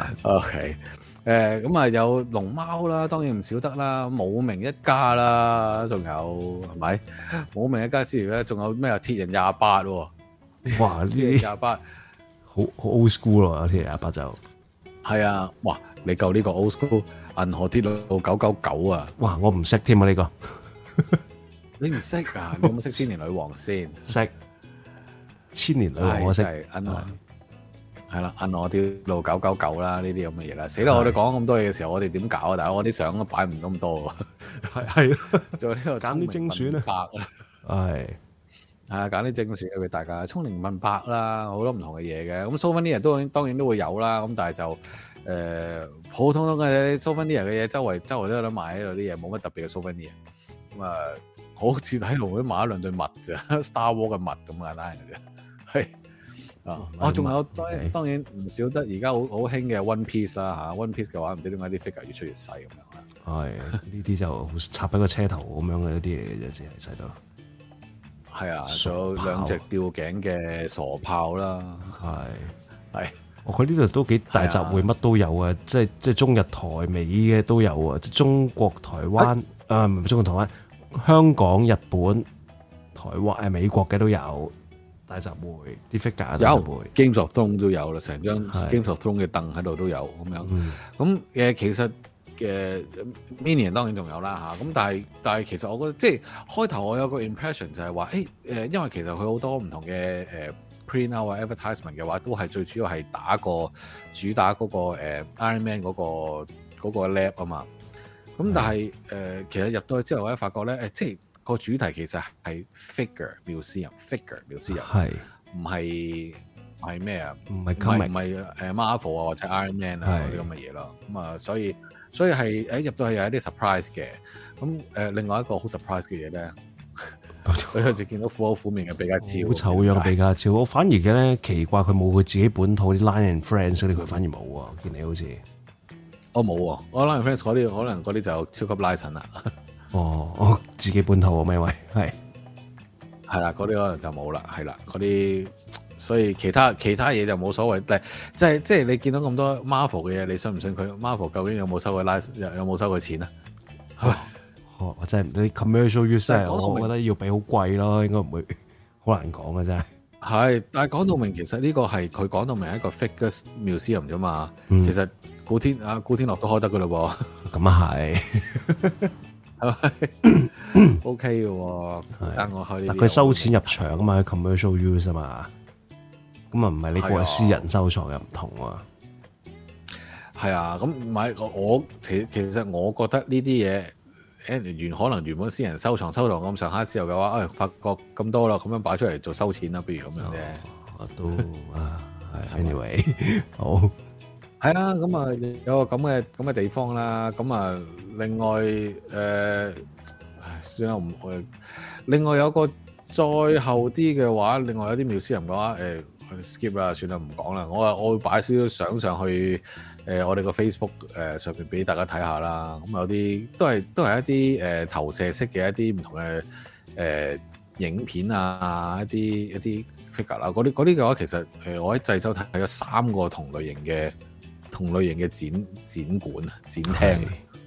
OK，誒咁啊有龍貓啦，當然唔少得啦，武明一家啦，仲有係咪？武明一家之餘咧，仲有咩啊？鐵人廿八喎，哇呢啲廿八。好好 old school 咯，鐵人廿八就係啊！哇，你夠呢個 old school 銀河鐵路九九九啊！哇，我唔識添啊呢個，你唔識啊？你有冇識千年女王先？識千年女王我識，銀河係啦，銀河鐵路九九九啦，呢啲咁嘅嘢啦。死啦！我哋講咁多嘢嘅時候，我哋點搞啊？大佬，我啲相都擺唔到咁多，係係，仲有呢個揀啲精選啊，係。係啊，揀啲正選俾大家，聰明問白啦，好多唔同嘅嘢嘅。咁 Souvenir 都當然都會有啦。咁但係就誒、呃、普通通嘅 Souvenir 嘅嘢，周圍周圍都有得買喺度啲嘢，冇乜特別嘅 Souvenir。咁啊，好似喺度都買咗兩對襪啫，Star Wars 嘅襪咁簡單嘅啫。係啊，我仲有當然當然唔少得而家好好興嘅 One Piece 啦嚇，One Piece 嘅話唔知點解啲 figure 越出越細咁樣啦。係呢啲就插喺個車頭咁樣嘅一啲嘢嘅啫，只係細到。係啊，仲有兩隻吊頸嘅傻炮啦，係係，我佢呢度都幾大集會，乜都有啊，即係即係中日台美嘅都有啊，即係中國台灣啊，唔係中國台灣，香港、日本、台灣誒美國嘅都有大集會，啲 figure 大集會有 Games of Thrones 都有啦，成張 Games of Thrones 嘅凳喺度都有咁樣，咁、嗯、誒其實。嘅 Minion 當然仲有啦嚇，咁但係但係其實我覺得即係開頭我有個 impression 就係話誒誒，因為其實佢好多唔同嘅誒 print out 啊 advertisement 嘅話，都係最主要係打個主打嗰、那個、呃、Iron Man 嗰、那個嗰、那個 lab 啊嘛。咁但係誒、呃、其實入到去之後咧，發覺咧誒即係個主題其實係 figure 繆斯人 figure 繆斯人，係唔係係咩啊？唔係唔係誒 Marvel 啊或者 Iron Man 啊嗰啲咁嘅嘢咯。咁啊所以。所以係誒入到去有一啲 surprise 嘅，咁誒、呃、另外一個好 surprise 嘅嘢咧，佢有時見到苦口苦面嘅比卡超，好醜樣嘅比卡超，我反而嘅咧奇怪佢冇佢自己本土啲 Lion and Friends 嗰啲，佢反而冇喎，見你好似，我冇喎，我 Lion and Friends 嗰啲可能嗰啲就超級拉神啦。哦，我自己本土啊，咩位係係啦，嗰啲可能就冇啦，係啦，嗰啲。所以其他其他嘢就冇所謂，但係即係即係你見到咁多 Marvel 嘅嘢，你信唔信佢 Marvel 究竟有冇收佢拉有冇收佢錢啊？哦，我真係你 commercial use，我我覺得要俾好貴咯，應該唔會好難講嘅真係。 係，但係講到明，其實呢個係佢講到明係一個 figure museum 啫嘛。 嗯、 其實古天啊，古天樂都開得噶嘞噃。 咁啊係， 係咪？OK 嘅喎，爭我開呢啲。 佢收錢入場啊嘛，commercial use 啊嘛。咁啊，唔係你個係私人收藏又唔同喎。 係啊，咁唔係我其其實我覺得呢啲嘢。誒原可能原本私人收藏收藏咁上下之後嘅話，誒、哎、發覺咁多啦，咁樣擺出嚟做收錢啦，不如咁樣啫、 哦。都啊，anyway，好係啊，咁啊有個咁嘅咁嘅地方啦，咁啊另外誒、呃，算啦，唔誒，另外有個再後啲嘅話，另外有啲廟私人嘅話，誒、呃、skip 啦，算啦，唔講啦，我啊我會擺少少相上去。誒、呃，我哋個 Facebook 誒、呃、上面俾大家睇下啦，咁有啲都係都係一啲誒、呃、投射式嘅一啲唔同嘅誒、呃、影片啊，一啲一啲 figure 啦，嗰啲嗰啲嘅話，其實誒、呃、我喺濟州睇咗三個同類型嘅同類型嘅展展館展廳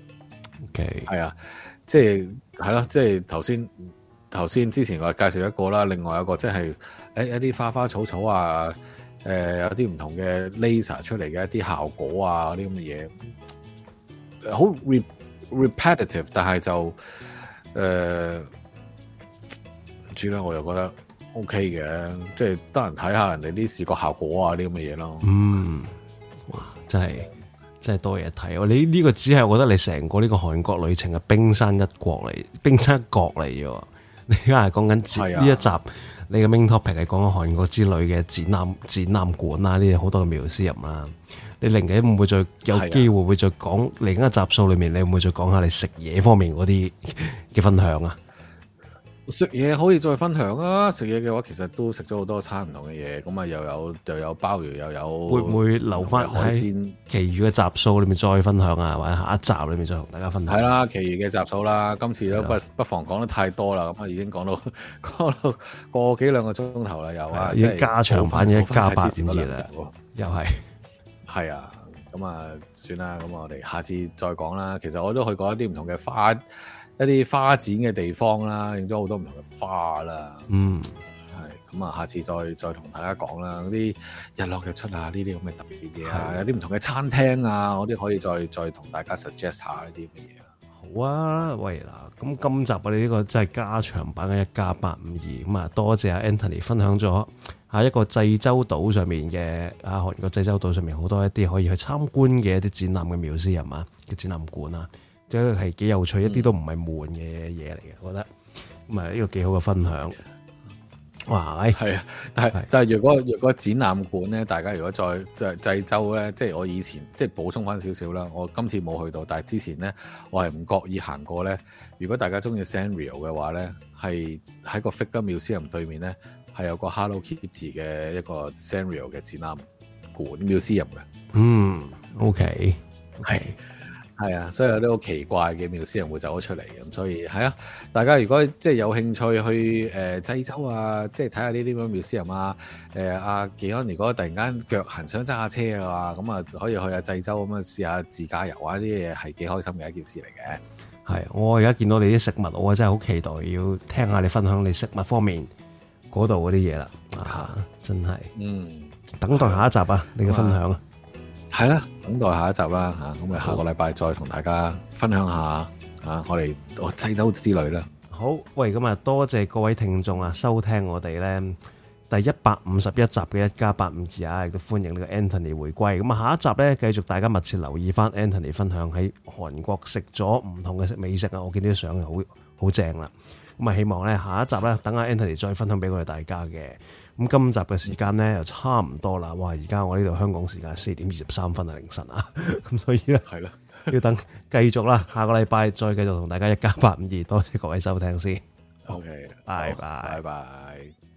，OK，係啊，即係係咯，即係頭先頭先之前我介紹一個啦，另外一個即係誒一啲花花草草啊。誒、呃、有啲唔同嘅 laser 出嚟嘅一啲效果啊，啲咁嘅嘢，好 re repetitive， 但係就誒唔知啦，我又覺得 OK 嘅，即係得人睇下人哋啲視覺效果啊，啲咁嘅嘢咯。嗯，哇，真係真係多嘢睇。你呢個只係我覺得你成個呢個韓國旅程嘅冰山一角嚟，冰山一角嚟嘅。你而家係講緊呢一集。你嘅 main topic 係講緊韓國之旅嘅展覽展覽館啦，呢啲好多嘅museum啦。你另外會唔會再有機會會再講另一個集數裏面，你會唔會再講下你食嘢方面嗰啲嘅分享啊？食嘢可以再分享啊！食嘢嘅話，其實都食咗好多餐唔同嘅嘢，咁啊又有又有鮑魚，又有會唔會留翻海鮮？其餘嘅集數裏面再分享啊，或者下一集裏面再同大家分享。係啦，其餘嘅集數啦，今次都不不妨講得太多啦，咁啊已經講到講到個幾兩個鐘頭啦，又啊，已經加長版嘅一加八五二啦，又係係啊，咁啊算啦，咁我哋下次再講啦。其實我都去過一啲唔同嘅花。一啲花展嘅地方啦，影咗好多唔同嘅花啦。嗯，係咁啊，下次再再同大家講啦。嗰啲日落日出啊，呢啲咁嘅特別嘢啊，有啲唔同嘅餐廳啊，嗰啲可以再再同大家 suggest 下呢啲乜嘢啦。好啊，喂嗱，咁今集我哋呢個真係加長版嘅一加八五二，咁啊多謝阿 Anthony 分享咗喺一個濟州島上面嘅啊韓國濟州島上面好多一啲可以去參觀嘅一啲展覽嘅museum啊嘅展覽館啊。即係幾有趣，一啲都唔係悶嘅嘢嚟嘅，我覺得咁啊呢個幾好嘅分享。哇，係啊，但係但係如果如果展覽館咧，大家如果再再濟州咧，即係我以前即係補充翻少少啦，我今次冇去到，但係之前咧我係唔覺意行過咧。如果大家中意 Sanrio 嘅話咧，係喺個 Figure Museum 對面咧係有個 Hello Kitty 嘅一個 Sanrio 嘅展覽館 Museum 嘅。嗯 ，OK，係、okay。係啊，所以有啲好奇怪嘅museum會走咗出嚟，咁所以係啊，大家如果即係有興趣去誒濟州啊，即係睇下呢啲咁嘅museum啊，誒阿技安如果突然間腳痕想揸下車嘅話，咁啊可以去下濟州咁啊試下自駕遊啊，呢啲嘢係幾開心嘅一件事嚟嘅。係，我而家見到你啲食物，我真係好期待要聽下你分享你食物方面嗰度嗰啲嘢啦。啊，真係，嗯，等待下一集啊，你嘅分享啊。係啦，等待下一集啦嚇，咁啊下個禮拜再同大家分享下啊，我哋我濟州之旅啦。好，喂，咁啊多謝各位聽眾啊收聽我哋咧第一百五十一集嘅一加八五二啊，亦都歡迎呢個 Anthony 回歸。咁啊下一集咧繼續大家密切留意翻 Anthony 分享喺韓國食咗唔同嘅美食啊，我見啲相好好正啦。咁啊希望咧下一集咧等阿 Anthony 再分享俾我哋大家嘅。咁今集嘅時間咧又差唔多啦，哇！而家我呢度香港時間四點二十三分啊，凌晨啊，咁所以咧係啦，要等繼續啦，下個禮拜再繼續同大家一加八五二，多謝各位收聽先。OK，拜拜，拜拜。